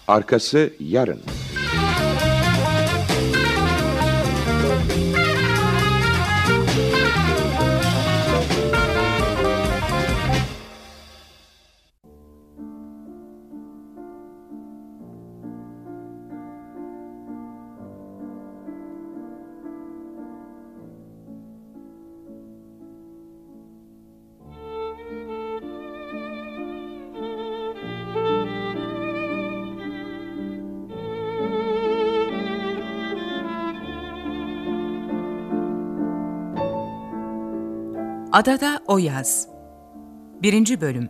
Arkası yarın. Adada o yaz. 1. Bölüm.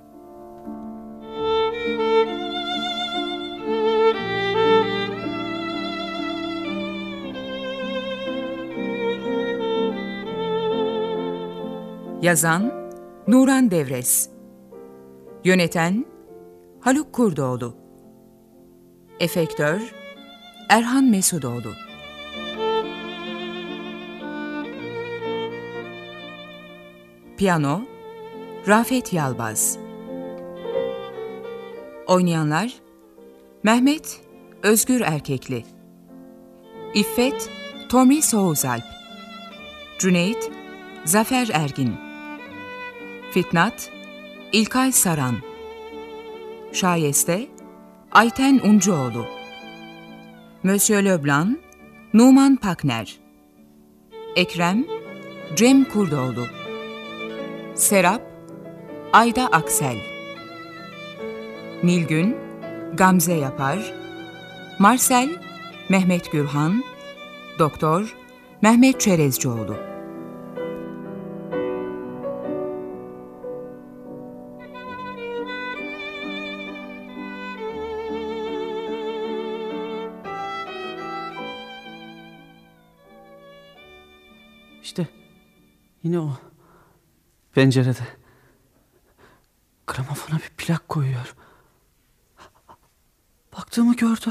Yazan Nuran Devres. Yöneten Haluk Kurdoğlu. Efektör Erhan Mesudoğlu. Piyano Rafet Yalbaz. Oynayanlar Mehmet Özgür Erkekli, İffet Tomris Oğuzalp, Cüneyt Zafer Ergin, Fitnat İlkay Saran, Şayeste Ayten Uncuoğlu, Monsieur Leblanc Numan Pakner, Ekrem Cem Kurdoğlu, Serap Ayda Aksel, Nilgün Gamze Yapar, Marcel Mehmet Gürhan, Doktor Mehmet Çerezcioğlu. İşte yine o pencerede gramofona bir plak koyuyor. Baktığımı gördü.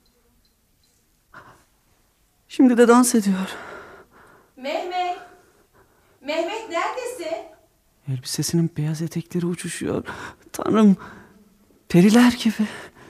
Şimdi de dans ediyor. Mehmet! Mehmet neredesin? Elbisesinin beyaz etekleri uçuşuyor. Tanrım, periler gibi.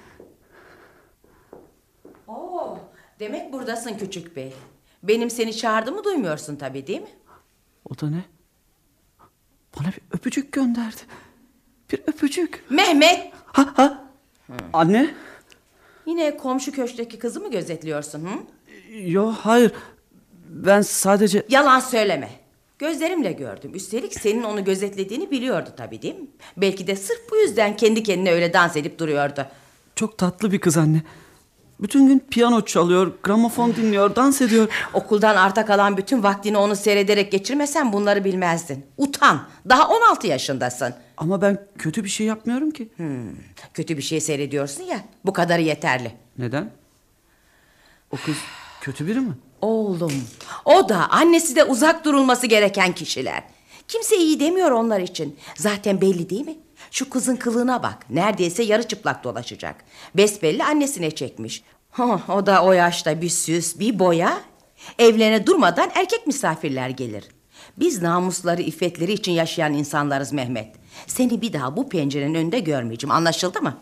Oo, demek buradasın küçük bey. Benim seni çağırdığımı duymuyorsun tabii, değil mi? O da ne? Bana bir öpücük gönderdi. Bir öpücük. Mehmet! Anne? Yine komşu köşkteki kızı mı gözetliyorsun? Hı? Yo, hayır. Ben sadece... Yalan söyleme. Gözlerimle gördüm. Üstelik senin onu gözetlediğini biliyordu tabii, değil mi? Belki de sırf bu yüzden kendi kendine öyle dans edip duruyordu. Çok tatlı bir kız anne. Bütün gün piyano çalıyor, gramofon dinliyor, dans ediyor. Okuldan arta kalan bütün vaktini onu seyrederek geçirmesen bunları bilmezdin. Utan. Daha 16 yaşındasın. Ama ben kötü bir şey yapmıyorum ki. Kötü bir şey seyrediyorsun ya. Bu kadarı yeterli. Neden? O kız kötü biri mi? Oğlum, o da annesi de uzak durulması gereken kişiler. Kimse iyi demiyor onlar için. Zaten belli değil mi? Şu kızın kılığına bak. Neredeyse yarı çıplak dolaşacak. Besbelli annesine çekmiş. O da o yaşta bir süs, bir boya. Evlerine durmadan erkek misafirler gelir. Biz namusları, iffetleri için yaşayan insanlarız Mehmet. Seni bir daha bu pencerenin önünde görmeyeceğim. Anlaşıldı mı?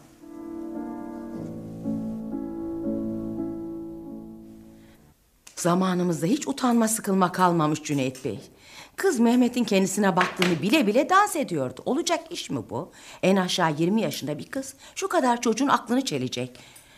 Zamanımızda hiç utanma sıkılma kalmamış Cüneyt Bey. Kız Mehmet'in kendisine baktığını bile bile dans ediyordu. Olacak iş mi bu? En aşağı 20 yaşında bir kız. Şu kadar çocuğun aklını çelecek.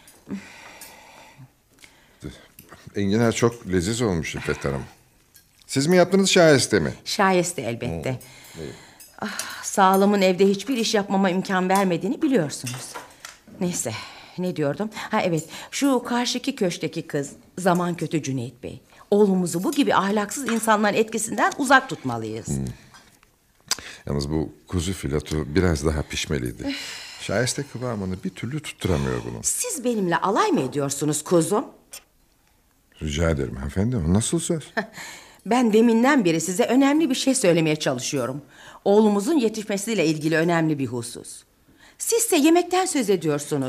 Enginar çok leziz olmuş İffet Hanım. Siz mi yaptınız şayeste mi? Şayeste elbette. Sağlığımın evde hiçbir iş yapmama imkan vermediğini biliyorsunuz. Neyse, ne diyordum? Evet, şu karşıki köşkteki kız zaman kötü Cüneyt Bey. Oğlumuzu bu gibi ahlaksız insanların etkisinden uzak tutmalıyız. Yalnız bu kuzu fileto biraz daha pişmeliydi. Şayeste kıvamını bir türlü tutturamıyor bunu. Siz benimle alay mı ediyorsunuz kuzum? Rica ederim hanımefendi, o nasıl söz? Ben deminden beri size önemli bir şey söylemeye çalışıyorum. Oğlumuzun yetişmesiyle ilgili önemli bir husus. Sizse yemekten söz ediyorsunuz.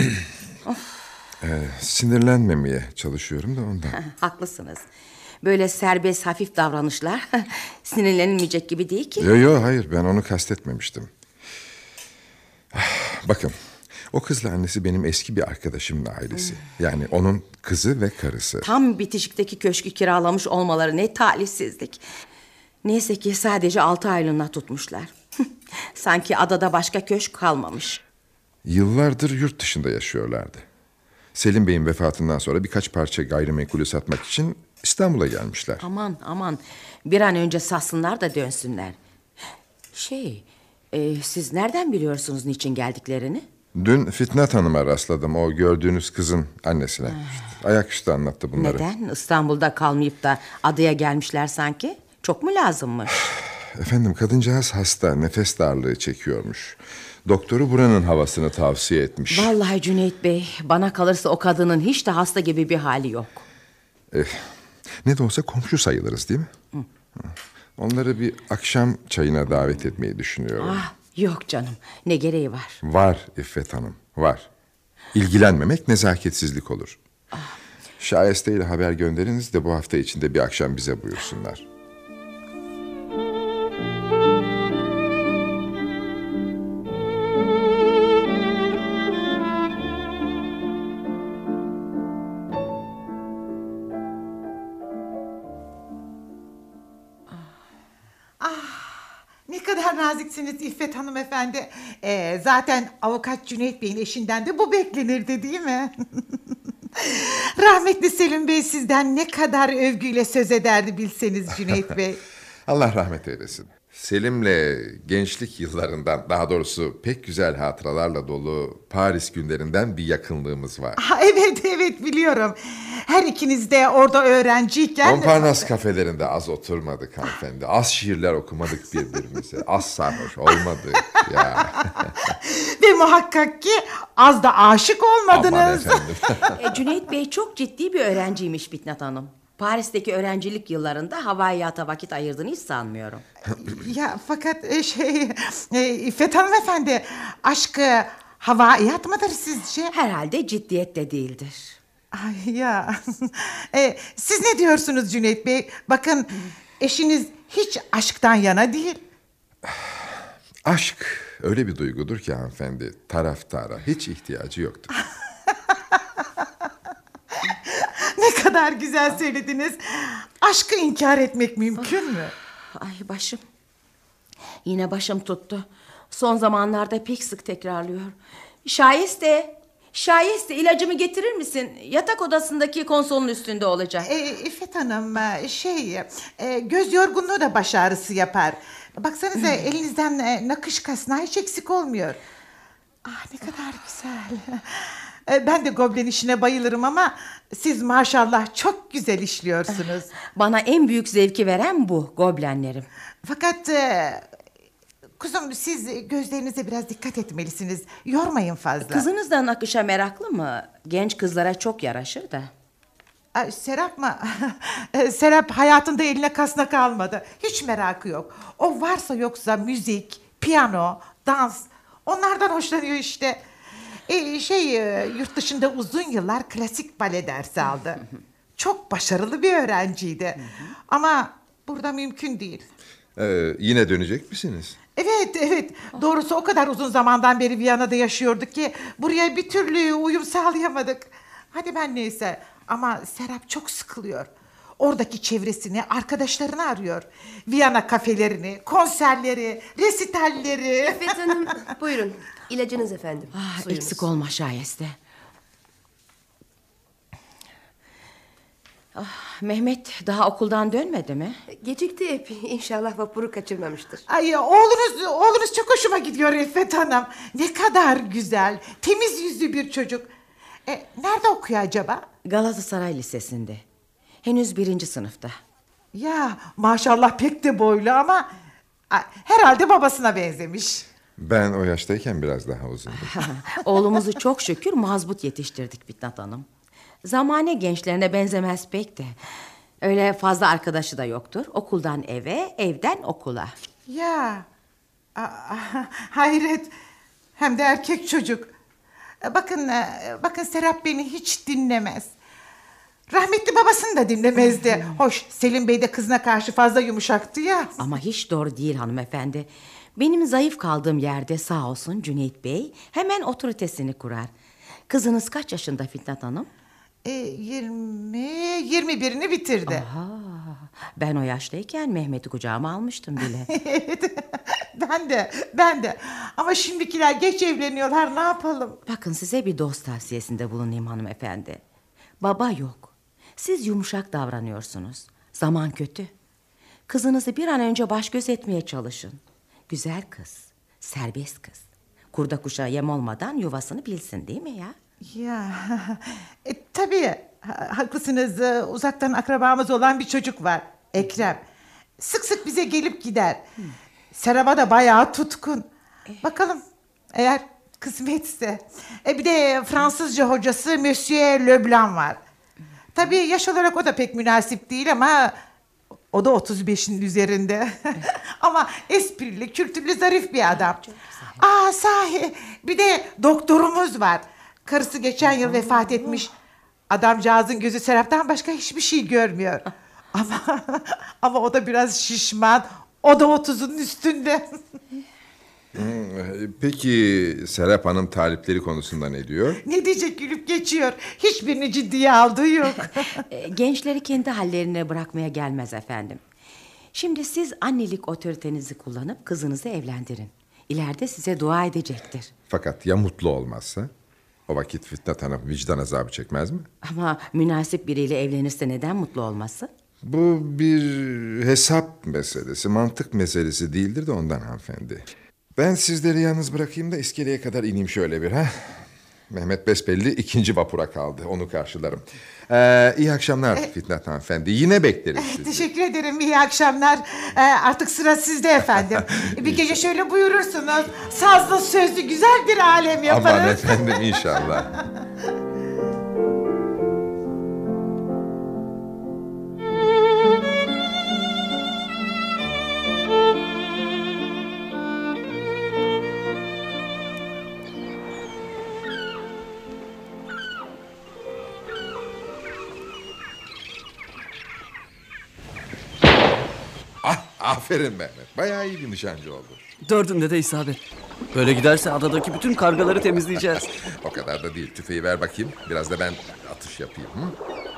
Sinirlenmemeye çalışıyorum da ondan. Haklısınız. Böyle serbest hafif davranışlar sinirlenilmeyecek gibi değil ki. Yo hayır, ben onu kastetmemiştim. Bakın, O kızla annesi benim eski bir arkadaşımın ailesi. Yani onun kızı ve karısı. Tam bitişikteki köşkü kiralamış olmaları ne talihsizlik. Neyse ki sadece 6 aylığına tutmuşlar. Sanki adada başka köşk kalmamış. Yıllardır yurt dışında yaşıyorlardı. Selim Bey'in vefatından sonra birkaç parça gayrimenkulü satmak için İstanbul'a gelmişler. Aman bir an önce satsınlar da dönsünler. Siz nereden biliyorsunuz niçin geldiklerini? Dün Fitnat Hanım'a rastladım, o gördüğünüz kızın annesine. Ayaküstü anlattı bunları. Neden? İstanbul'da kalmayıp da adaya gelmişler sanki. Çok mu lazımmış? Efendim, kadıncağız hasta, nefes darlığı çekiyormuş. Doktoru buranın havasını tavsiye etmiş. Vallahi Cüneyt Bey, bana kalırsa o kadının hiç de hasta gibi bir hali yok. Ne de olsa komşu sayılırız değil mi? Hı. Onları bir akşam çayına davet etmeyi düşünüyorum. Yok canım, ne gereği var? Var İffet Hanım, var. İlgilenmemek nezaketsizlik olur. Şayeste ile haber gönderiniz de bu hafta içinde bir akşam bize buyursunlar. Ne kadar naziksiniz İffet hanımefendi. Zaten avukat Cüneyt Bey'in eşinden de bu beklenirdi değil mi? Rahmetli Selim Bey sizden ne kadar övgüyle söz ederdi bilseniz Cüneyt Bey. Allah rahmet eylesin. Selim'le gençlik yıllarından, daha doğrusu pek güzel hatıralarla dolu Paris günlerinden bir yakınlığımız var. Evet biliyorum. Her ikiniz de orada öğrenciyken... Montparnasse kafelerinde az oturmadık hanımefendi. Az şiirler okumadık birbirimize. Az sarhoş olmadık ya. Ve muhakkak ki az da aşık olmadınız. Aman efendim. Cüneyt Bey çok ciddi bir öğrenciymiş Fitnat Hanım. Paris'teki öğrencilik yıllarında havaiyata vakit ayırdığını hiç sanmıyorum. Ya fakat İffet hanımefendi, aşkı havaiyat mıdır sizce? Herhalde ciddiyette değildir. Ay ya. Siz ne diyorsunuz Cüneyt Bey? Bakın, eşiniz hiç aşktan yana değil. Aşk öyle bir duygudur ki hanımefendi, taraftara hiç ihtiyacı yoktur. Ne kadar güzel söylediniz. Aşkı inkar etmek mümkün mü? Ay başım. Yine başım tuttu. Son zamanlarda pek sık tekrarlıyor. Şayeste ilacımı getirir misin? Yatak odasındaki konsolun üstünde olacak. İffet Hanım, göz yorgunluğu da baş ağrısı yapar. Baksanıza elinizden nakış kasnağı hiç eksik olmuyor. Ne kadar güzel. Ben de goblen işine bayılırım ama siz maşallah çok güzel işliyorsunuz. Bana en büyük zevki veren bu, goblenlerim. Fakat kuzum, siz gözlerinize biraz dikkat etmelisiniz. Yormayın fazla. Kızınız da nakışa meraklı mı? Genç kızlara çok yaraşır da. Serap mı? Serap hayatında eline kasnak almadı. Hiç merakı yok. O varsa yoksa müzik, piyano, dans, onlardan hoşlanıyor işte. Yurt dışında uzun yıllar klasik bale dersi aldı. Çok başarılı bir öğrenciydi. Ama burada mümkün değil. Yine dönecek misiniz? Evet. Doğrusu o kadar uzun zamandan beri Viyana'da yaşıyorduk ki buraya bir türlü uyum sağlayamadık. Hadi ben neyse, ama Serap çok sıkılıyor. Oradaki çevresini, arkadaşlarını arıyor. Viyana kafelerini, konserleri, resitalleri. İffet Hanım, buyurun. İlacınız efendim. Suyunuz. Eksik olma şayeste. Mehmet daha okuldan dönmedi mi? Gecikti epey. İnşallah vapuru kaçırmamıştır. Ay, oğlunuz çok hoşuma gidiyor İffet Hanım. Ne kadar güzel, temiz yüzlü bir çocuk. Nerede okuyor acaba? Galatasaray Lisesi'nde. Henüz 1. sınıfta. Ya maşallah pek de boylu ama herhalde babasına benzemiş. Ben o yaştayken biraz daha uzundum. Oğlumuzu çok şükür mazbut yetiştirdik Fitnat Hanım. Zamane gençlerine benzemez pek de. Öyle fazla arkadaşı da yoktur. Okuldan eve, evden okula. Ya hayret, hem de erkek çocuk. Bakın Serap beni hiç dinlemez. Rahmetli babasını da dinlemezdi. Hoş, Selim Bey de kızına karşı fazla yumuşaktı ya. Ama hiç doğru değil hanımefendi. Benim zayıf kaldığım yerde sağ olsun Cüneyt Bey hemen otoritesini kurar. Kızınız kaç yaşında Fitnat Hanım? 21'ini bitirdi. Aha, ben o yaştayken Mehmet'i kucağıma almıştım bile. Evet, ben de. Ama şimdikiler geç evleniyorlar, ne yapalım? Bakın size bir dost tavsiyesinde bulunayım hanımefendi. Baba yok. Siz yumuşak davranıyorsunuz. Zaman kötü. Kızınızı bir an önce baş göz etmeye çalışın. Güzel kız, serbest kız. Kurda kuşa yem olmadan yuvasını bilsin, değil mi ya? Ya tabii haklısınız. Uzaktan akrabamız olan bir çocuk var, Ekrem. Sık sık bize gelip gider. Serap'a da bayağı tutkun. Bakalım eğer kısmetse. Bir de Fransızca hocası Monsieur Leblanc var. Tabii yaş olarak o da pek münasip değil ama o da 35'in üzerinde. Ama esprili, kültürlü, zarif bir adam. Sahi bir de doktorumuz var. Karısı geçen yıl vefat etmiş. Adamcağızın gözü Serap'tan başka hiçbir şey görmüyor. Ama o da biraz şişman. O da 30'un üstünde. Peki Serap Hanım talipleri konusunda ne diyor? Ne diyecek, gülüp geçiyor. Hiçbirini ciddiye aldığı yok. Gençleri kendi hallerine bırakmaya gelmez efendim. Şimdi siz annelik otoritenizi kullanıp kızınızı evlendirin. İleride size dua edecektir. Fakat ya mutlu olmazsa? O vakit Fitnat Hanım vicdan azabı çekmez mi? Ama münasip biriyle evlenirse neden mutlu olmasın? Bu bir hesap meselesi, mantık meselesi değildir de ondan hanımefendi. Ben sizleri yalnız bırakayım da iskeleye kadar ineyim şöyle bir ha. Mehmet besbelli 2. vapura kaldı, onu karşılarım. İyi akşamlar Fitnat hanımefendi, yine bekleriz sizi. Teşekkür ederim, iyi akşamlar. Artık sıra sizde efendim. Bir gece şöyle buyurursunuz. Sazlı sözlü güzel bir alem yaparız. Aman efendim, inşallah. Aferin Mehmet. Bayağı iyi bir nişancı oldu. 4'ünde de isabet. Böyle giderse adadaki bütün kargaları temizleyeceğiz. O kadar da değil. Tüfeği ver bakayım. Biraz da ben atış yapayım. Hı?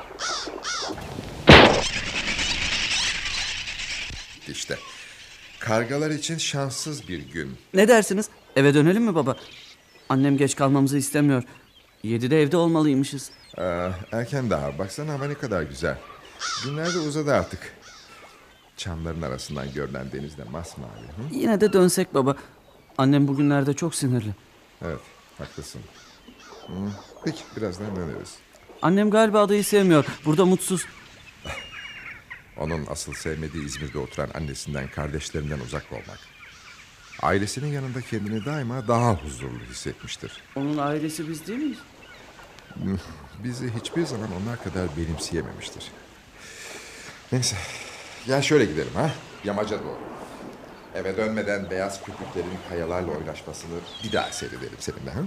İşte. Kargalar için şanssız bir gün. Ne dersiniz? Eve dönelim mi baba? Annem geç kalmamızı istemiyor. 7'de evde olmalıymışız. Erken daha. Baksana hava ne kadar güzel. Günler de uzadı artık. Çamların arasından görünen denizde masmavi. Hı? Yine de dönsek baba. Annem bugünlerde çok sinirli. Evet, haklısın. Hı. Peki, birazdan döneriz. Annem galiba adayı sevmiyor. Burada mutsuz. Onun asıl sevmediği İzmir'de oturan annesinden, kardeşlerinden uzak olmak. Ailesinin yanında kendini daima daha huzurlu hissetmiştir. Onun ailesi biz değil miyiz? Bizi hiçbir zaman onlar kadar benimseyememiştir. Neyse, gel şöyle gidelim ha, yamaca doğru. Eve dönmeden beyaz köpüklerin kayalarla oynaşmasını bir daha seyredelim seninle ha.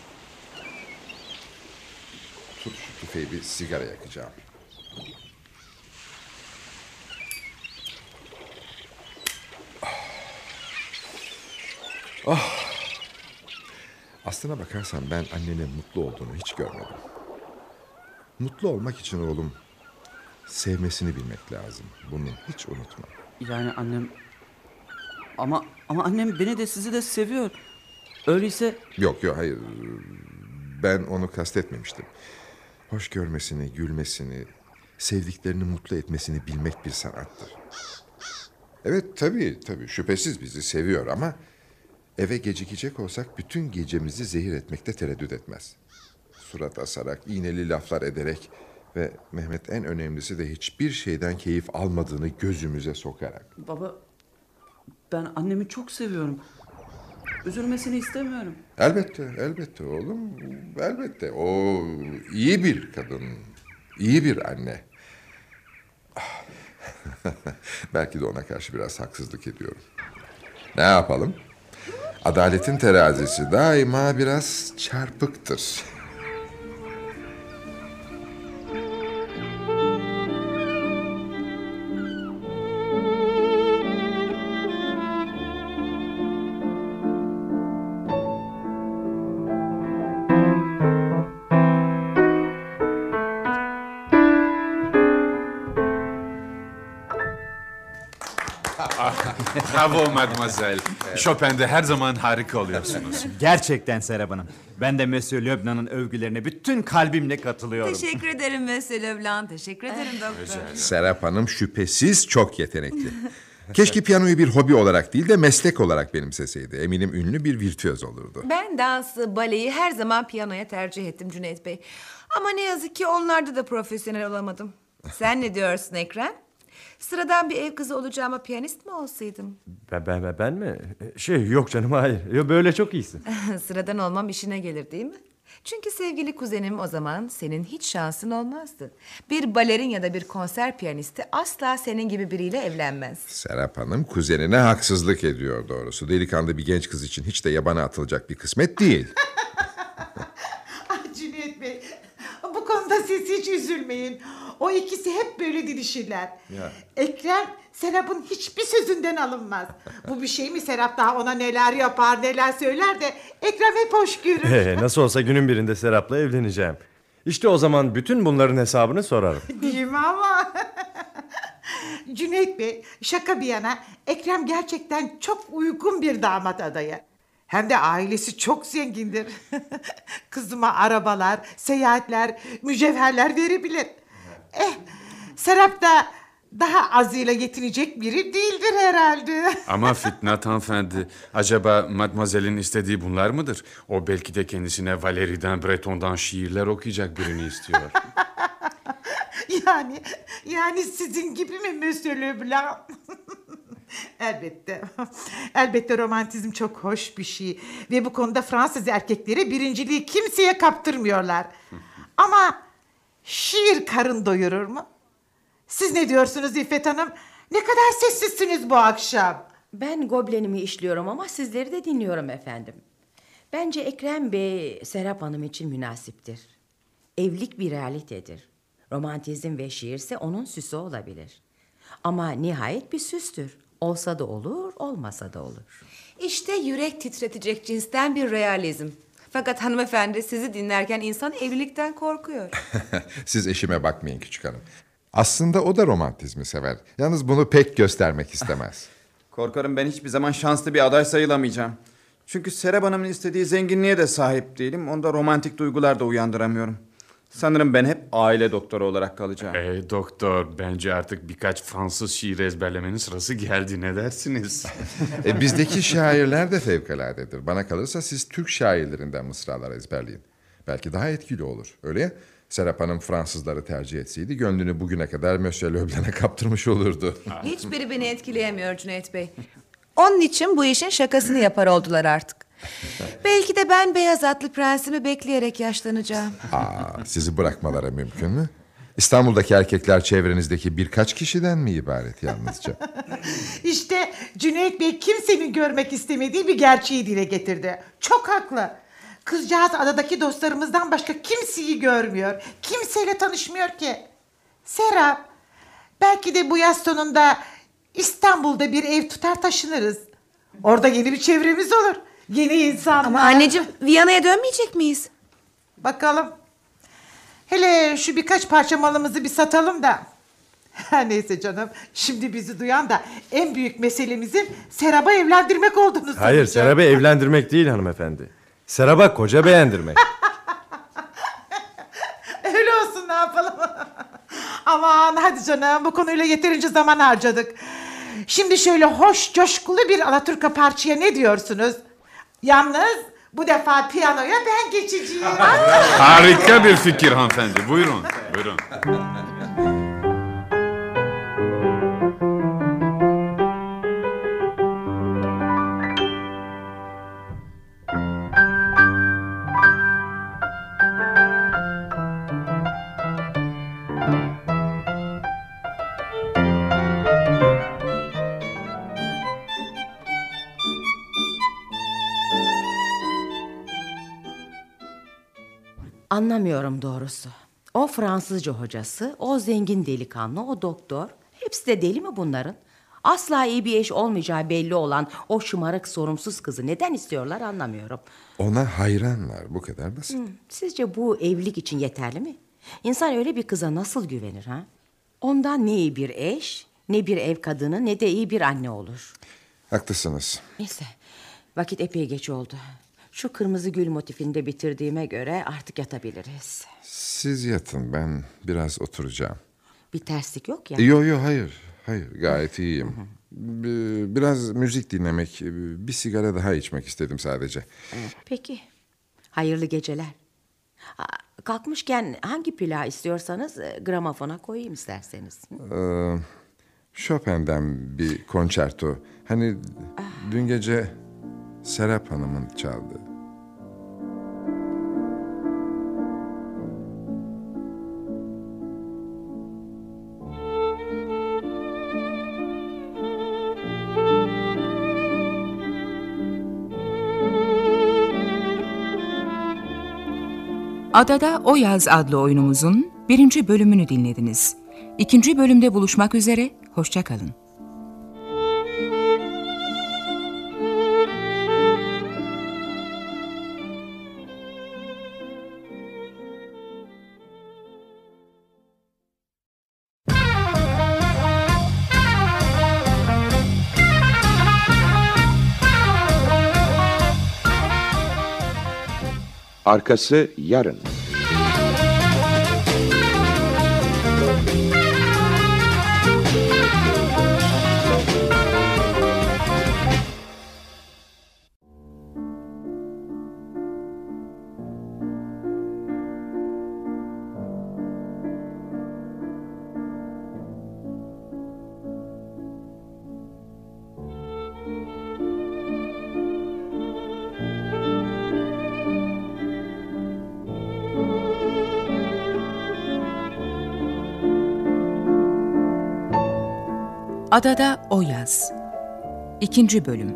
Tut şu tüfeği, bir sigara yakacağım. Aslına bakarsan ben annenin mutlu olduğunu hiç görmedim. Mutlu olmak için oğlum sevmesini bilmek lazım. Bunu hiç unutma. Yani annem... Ama annem beni de sizi de seviyor. Öyleyse... Yok hayır. Ben onu kastetmemiştim. Hoş görmesini, gülmesini, sevdiklerini mutlu etmesini bilmek bir sanattır. Evet tabii şüphesiz bizi seviyor ama eve gecikecek olsak bütün gecemizi zehir etmekte tereddüt etmez. Surat asarak, iğneli laflar ederek ve Mehmet en önemlisi de hiçbir şeyden keyif almadığını gözümüze sokarak. Baba, ben annemi çok seviyorum. Üzülmesini istemiyorum. Elbette oğlum, elbette. O iyi bir kadın, iyi bir anne. Belki de ona karşı biraz haksızlık ediyorum. Ne yapalım? Adaletin terazisi daima biraz çarpıktır. Bravo mademoiselle. Chopin'de her zaman harika oluyorsunuz. Gerçekten Serap Hanım. Ben de Monsieur Leblanc'ın övgülerine bütün kalbimle katılıyorum. Teşekkür ederim Monsieur Leblanc. Teşekkür ederim doktor. Serap Hanım şüphesiz çok yetenekli. Keşke piyanoyu bir hobi olarak değil de meslek olarak benimseseydi. Eminim ünlü bir virtüöz olurdu. Ben dansı, baleyi her zaman piyanoya tercih ettim Cüneyt Bey. Ama ne yazık ki onlarda da profesyonel olamadım. Sen ne diyorsun Ekrem? Sıradan bir ev kızı olacağıma piyanist mi olsaydım? Ben mi? Yok canım, hayır. Böyle çok iyisin. Sıradan olmam işine gelir değil mi? Çünkü sevgili kuzenim o zaman senin hiç şansın olmazdı. Bir balerin ya da bir konser piyanisti asla senin gibi biriyle evlenmez. Serap Hanım kuzenine haksızlık ediyor doğrusu. Delikanlı bir genç kız için hiç de yabana atılacak bir kısmet değil. Ah Cüneyt Bey, bu konuda siz hiç üzülmeyin. O ikisi hep böyle didişirler. Ekrem, Serap'ın hiçbir sözünden alınmaz. Bu bir şey mi Serap daha ona neler yapar, neler söyler de Ekrem hep hoş görür. Nasıl olsa günün birinde Serap'la evleneceğim. İşte o zaman bütün bunların hesabını sorarım. Değil mi ama? Cüneyt Bey, şaka bir yana Ekrem gerçekten çok uygun bir damat adayı. Hem de ailesi çok zengindir. Kızıma arabalar, seyahatler, mücevherler verebilir. Serap da daha azıyla yetinecek biri değildir herhalde. Ama Fitnat hanımefendi, acaba mademoiselle'in istediği bunlar mıdır? O belki de kendisine Valéry'den, Breton'dan şiirler okuyacak birini istiyor. Yani sizin gibi mi Monsieur Leblanc? Elbette. Elbette romantizm çok hoş bir şey. Ve bu konuda Fransız erkekleri birinciliği kimseye kaptırmıyorlar. Ama şiir karın doyurur mu? Siz ne diyorsunuz İffet Hanım? Ne kadar sessizsiniz bu akşam. Ben goblenimi işliyorum ama sizleri de dinliyorum efendim. Bence Ekrem Bey Serap Hanım için münasiptir. Evlilik bir realitedir. Romantizm ve şiirse onun süsü olabilir. Ama nihayet bir süstür. Olsa da olur, olmasa da olur. İşte yürek titretecek cinsten bir realizm. Fakat hanımefendi sizi dinlerken insan evlilikten korkuyor. Siz eşime bakmayın küçük hanım. Aslında o da romantizmi sever. Yalnız bunu pek göstermek istemez. Korkarım ben hiçbir zaman şanslı bir aday sayılamayacağım. Çünkü Serap Hanım'ın istediği zenginliğe de sahip değilim. Onda romantik duygular da uyandıramıyorum. Sanırım ben hep aile doktoru olarak kalacağım. Doktor, bence artık birkaç Fransız şiiri ezberlemenin sırası geldi. Ne dersiniz? Bizdeki şairler de fevkaladedir. Bana kalırsa siz Türk şairlerinden mısralar ezberleyin. Belki daha etkili olur. Öyle ya? Serap Hanım Fransızları tercih etseydi gönlünü bugüne kadar Monsieur Leblanc'a kaptırmış olurdu. Hiçbiri beni etkileyemiyor Cüneyt Bey. Onun için bu işin şakasını yapar oldular artık. Belki de ben beyaz atlı prensimi bekleyerek yaşlanacağım. Sizi bırakmaları mümkün mü? İstanbul'daki erkekler çevrenizdeki birkaç kişiden mi ibaret yalnızca? İşte Cüneyt Bey kimsenin görmek istemediği bir gerçeği dile getirdi. Çok haklı. Kızcağız adadaki dostlarımızdan başka kimseyi görmüyor. Kimseyle tanışmıyor ki. Serap, belki de bu yaz sonunda İstanbul'da bir ev tutar taşınırız. Orada yeni bir çevremiz olur. Yeni insanlar. Ama anneciğim Viyana'ya dönmeyecek miyiz? Bakalım. Hele şu birkaç parça malımızı bir satalım da. Her neyse canım. Şimdi bizi duyan da en büyük meselemizin Serap'ı evlendirmek olduğunu sanacak. Hayır, Serap'ı evlendirmek değil hanımefendi. Serap'a koca beğendirmek. Öyle olsun, ne yapalım. Aman hadi canım, bu konuyla yeterince zaman harcadık. Şimdi şöyle hoş coşkulu bir alaturka parçaya ne diyorsunuz? Yalnız bu defa piyanoya ben geçeceğim. Harika bir fikir hanımefendi. Buyurun, buyurun. Anlamıyorum doğrusu. O Fransızca hocası, o zengin delikanlı, o doktor. Hepsi de deli mi bunların? Asla iyi bir eş olmayacağı belli olan o şımarık sorumsuz kızı neden istiyorlar anlamıyorum. Ona hayranlar, bu kadar basit. Sizce bu evlilik için yeterli mi? İnsan öyle bir kıza nasıl güvenir ha? Ondan ne iyi bir eş, Ne bir ev kadını ne de iyi bir anne olur. Haklısınız. Neyse, vakit epey geç oldu. Şu kırmızı gül motifini de bitirdiğime göre artık yatabiliriz. Siz yatın, ben biraz oturacağım. Bir terslik yok ya. Yo hayır gayet iyiyim. Biraz müzik dinlemek, bir sigara daha içmek istedim sadece. Peki, hayırlı geceler. Kalkmışken hangi plağı istiyorsanız gramofona koyayım isterseniz. Chopin'den bir konçerto. Hani dün gece Serap Hanım'ın çaldığı. Adada O Yaz adlı oyunumuzun 1. bölümünü dinlediniz. 2. bölümde buluşmak üzere, hoşça kalın. Arkası yarın. Adada O Yaz 2. bölüm.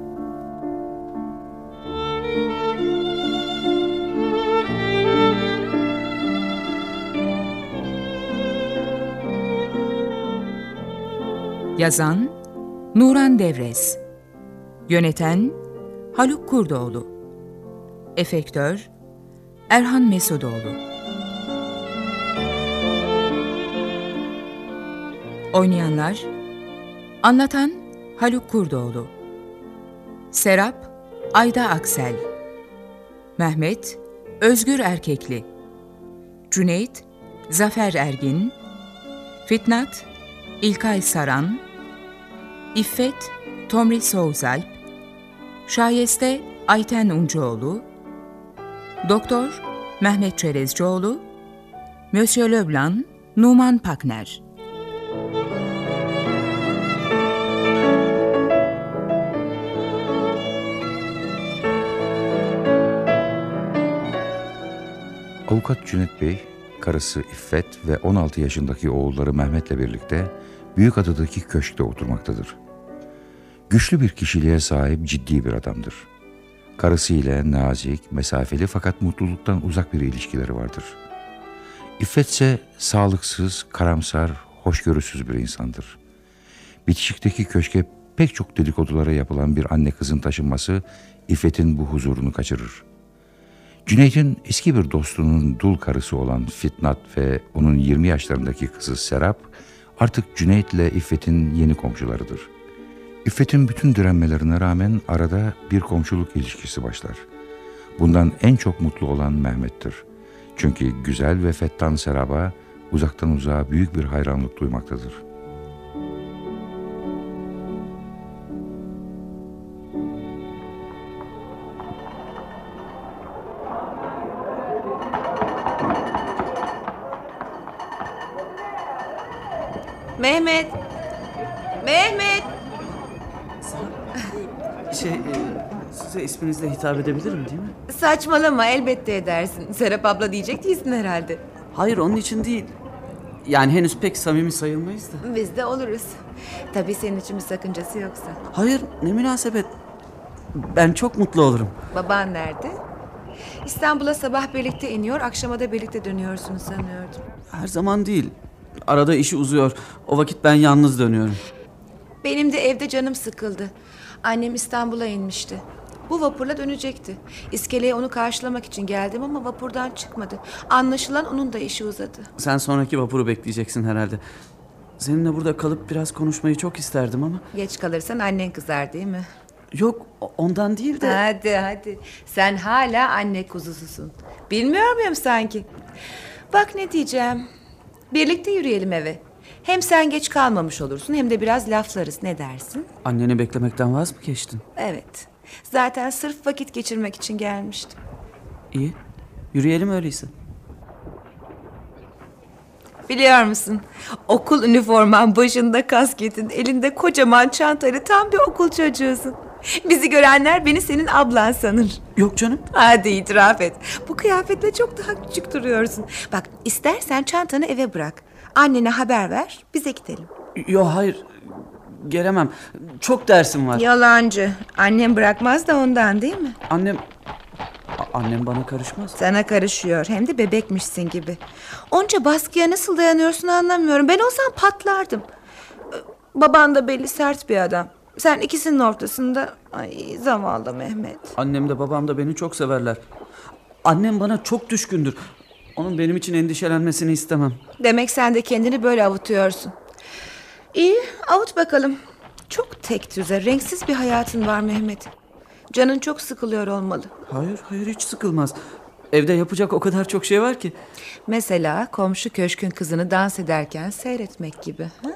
Yazan Nuran Devrez, yöneten Haluk Kurdoğlu, efektör Erhan Mesudoğlu. Oynayanlar: anlatan Haluk Kurdoğlu, Serap Ayda Aksel, Mehmet Özgür Erkekli, Cüneyt Zafer Ergin, Fitnat İlkay Saran, İffet Tomris Soğuzalp, Şayeste Ayten Uncuoğlu, Doktor Mehmet Çerezcioğlu, Monsieur Leblanc Numan Pakner. Avukat Cüneyt Bey, karısı İffet ve 16 yaşındaki oğulları Mehmet'le birlikte Büyükada'daki köşkte oturmaktadır. Güçlü bir kişiliğe sahip ciddi bir adamdır. Karısıyla nazik, mesafeli fakat mutluluktan uzak bir ilişkileri vardır. İffet ise sağlıksız, karamsar, hoşgörüsüz bir insandır. Bitişikteki köşke pek çok dedikodulara yapılan bir anne kızın taşınması İffet'in bu huzurunu kaçırır. Cüneyt'in eski bir dostunun dul karısı olan Fitnat ve onun 20 yaşlarındaki kızı Serap artık Cüneyt ile İffet'in yeni komşularıdır. İffet'in bütün direnmelerine rağmen arada bir komşuluk ilişkisi başlar. Bundan en çok mutlu olan Mehmet'tir. Çünkü güzel ve fettan Serap'a uzaktan uzağa büyük bir hayranlık duymaktadır. Mehmet! Mehmet! Size isminizle hitap edebilirim değil mi? Saçmalama, elbette edersin. Serap abla diyecek değilsin herhalde. Hayır, onun için değil. Yani henüz pek samimi sayılmayız da. Biz de oluruz. Tabii senin için bir sakıncası yoksa. Hayır, ne münasebet. Ben çok mutlu olurum. Baban nerede? İstanbul'a sabah birlikte iniyor, akşama da birlikte dönüyorsunuz sanıyordum. Her zaman değil. Arada işi uzuyor. O vakit ben yalnız dönüyorum. Benim de evde canım sıkıldı. Annem İstanbul'a inmişti. Bu vapurla dönecekti. İskeleye onu karşılamak için geldim ama vapurdan çıkmadı. Anlaşılan onun da işi uzadı. Sen sonraki vapuru bekleyeceksin herhalde. Seninle burada kalıp biraz konuşmayı çok isterdim ama... Geç kalırsan annen kızar değil mi? Yok, ondan değil de... Hadi. Sen hala anne kuzususun. Bilmiyor muyum sanki? Bak ne diyeceğim. Birlikte yürüyelim eve. Hem sen geç kalmamış olursun hem de biraz laflarız. Ne dersin? Anneni beklemekten vaz mı geçtin? Evet. Zaten sırf vakit geçirmek için gelmiştim. İyi. Yürüyelim öyleyse. Biliyor musun? Okul üniforman, başında kasketin, elinde kocaman çantayla tam bir okul çocuğusun. Bizi görenler beni senin ablan sanır. Yok canım. Hadi itiraf et. Bu kıyafetle çok daha küçük duruyorsun. Bak istersen çantanı eve bırak. Annene haber ver, bize gidelim. Yok hayır. Gelemem. Çok dersim var. Yalancı. Annem bırakmaz da ondan değil mi? Annem bana karışmaz. Sana karışıyor. Hem de bebekmişsin gibi. Onca baskıya nasıl dayanıyorsun anlamıyorum. Ben olsam patlardım. Baban da belli sert bir adam. Sen ikisinin ortasında. Ay zavallı Mehmet. Annem de babam da beni çok severler. Annem bana çok düşkündür. Onun benim için endişelenmesini istemem. Demek sen de kendini böyle avutuyorsun. İyi, avut bakalım. Çok tek düze, renksiz bir hayatın var Mehmet. Canın çok sıkılıyor olmalı. Hayır hiç sıkılmaz. Evde yapacak o kadar çok şey var ki. Mesela komşu köşkün kızını dans ederken seyretmek gibi. Ha?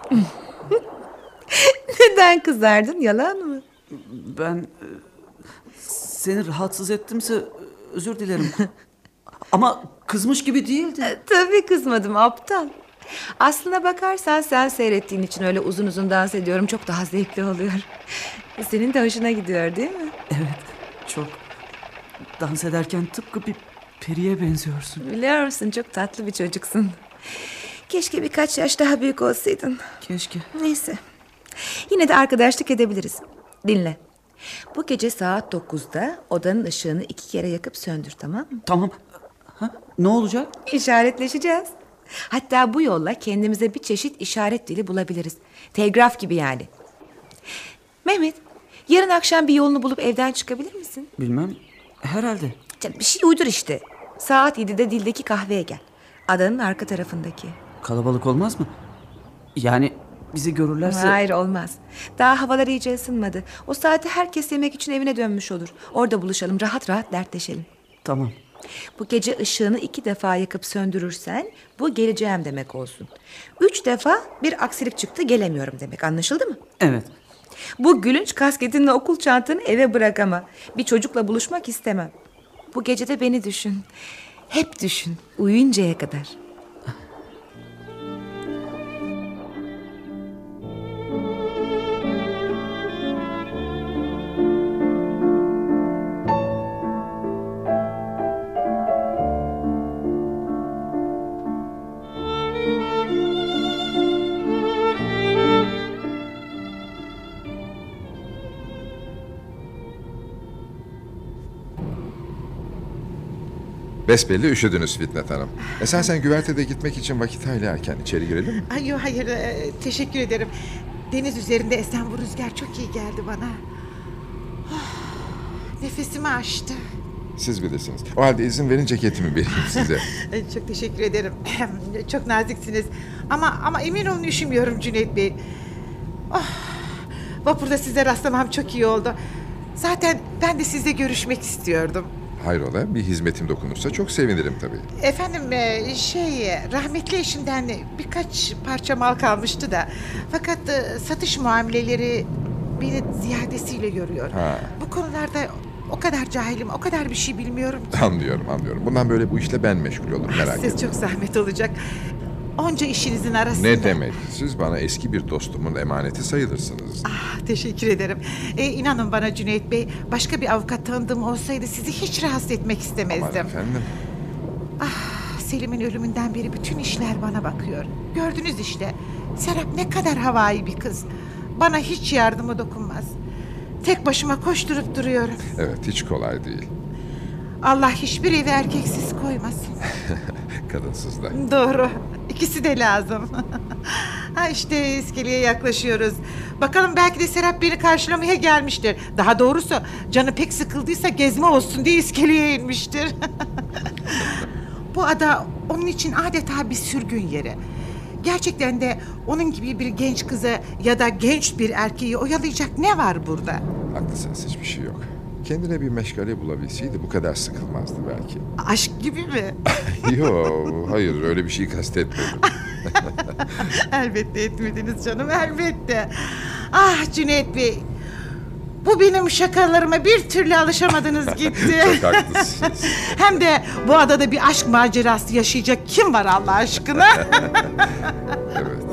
Neden kızardın? Yalan mı? Ben seni rahatsız ettimse özür dilerim. Ama kızmış gibi değildi. Tabii kızmadım aptal. Aslına bakarsan sen seyrettiğin için öyle uzun uzun dans ediyorum. Çok daha zevkli oluyor. Senin de hoşuna gidiyor değil mi? Evet çok. Dans ederken tıpkı bir periye benziyorsun. Biliyor musun çok tatlı bir çocuksun. Keşke birkaç yaş daha büyük olsaydın. Keşke. Neyse. Yine de arkadaşlık edebiliriz. Dinle. Bu gece saat 9'da odanın ışığını 2 kere yakıp söndür, tamam mı? Tamam. Ha? Ne olacak? İşaretleşeceğiz. Hatta bu yolla kendimize bir çeşit işaret dili bulabiliriz. Telgraf gibi yani. Mehmet, yarın akşam bir yolunu bulup evden çıkabilir misin? Bilmem. Herhalde. Canım, bir şey uydur işte. Saat 7'de Dildeki kahveye gel. Adanın arka tarafındaki. Kalabalık olmaz mı? Yani bizi görürlerse... Hayır olmaz. Daha havalar iyice ısınmadı. O saatte herkes yemek için evine dönmüş olur. Orada buluşalım, rahat rahat dertleşelim. Tamam. Bu gece ışığını 2 defa yakıp söndürürsen bu geleceğim demek olsun. 3 defa bir aksilik çıktı gelemiyorum demek, anlaşıldı mı? Evet. Bu gülünç kasketinle okul çantanı eve bırak ama bir çocukla buluşmak istemem. Bu gece de beni düşün. Hep düşün, uyuyuncaya kadar. Besbelli üşüdünüz Fitnat Hanım. Esasen güvertede gitmek için vakit hayli erken. İçeri girelim mi? Ay, yok, hayır, teşekkür ederim. Deniz üzerinde esen bu rüzgar çok iyi geldi bana. Nefesimi açtı. Siz bilirsiniz. O halde izin verin ceketimi vereyim size. Çok teşekkür ederim. Çok naziksiniz. Ama emin olun üşümüyorum Cüneyt Bey. Vapurda size rastlamam çok iyi oldu. Zaten ben de sizle görüşmek istiyordum. Hayrola, bir hizmetim dokunursa çok sevinirim tabii. Efendim rahmetli eşimden birkaç parça mal kalmıştı da. Fakat satış muameleleri beni ziyadesiyle görüyor. Bu konularda o kadar cahilim, o kadar bir şey bilmiyorum ki. Anlıyorum. Bundan böyle bu işle ben meşgul olurum, merak etmeyin. Siz çok zahmet olacak. Onca işinizin arasında. Ne demek? Siz bana eski bir dostumun emaneti sayılırsınız. Teşekkür ederim. İnanın bana Cüneyt Bey, başka bir avukat tanıdığım olsaydı sizi hiç rahatsız etmek istemezdim. Aman efendim. Selim'in ölümünden beri bütün işler bana bakıyor. Gördünüz işte. Serap ne kadar havai bir kız. Bana hiç yardımı dokunmaz. Tek başıma koşturup duruyorum. Evet, hiç kolay değil. Allah hiçbir evi erkeksiz koymasın. Kadınsız da. Doğru. İkisi de lazım. İşte iskeleye yaklaşıyoruz. Bakalım belki de Serap beni karşılamaya gelmiştir. Daha doğrusu canı pek sıkıldıysa gezme olsun diye iskeleye inmiştir. Bu ada onun için adeta bir sürgün yeri. Gerçekten de onun gibi bir genç kızı ya da genç bir erkeği oyalayacak ne var burada? Haklısınız, hiçbir şey yok. Kendine bir meşgale bulabilseydi bu kadar sıkılmazdı belki. Aşk gibi mi? Yok, hayır, öyle bir şey kastetmedim. Elbette etmediniz canım, elbette. Ah Cüneyt Bey, bu benim şakalarıma bir türlü alışamadınız gitti. Çok haklısınız. Hem de bu adada bir aşk macerası yaşayacak kim var Allah aşkına? Evet.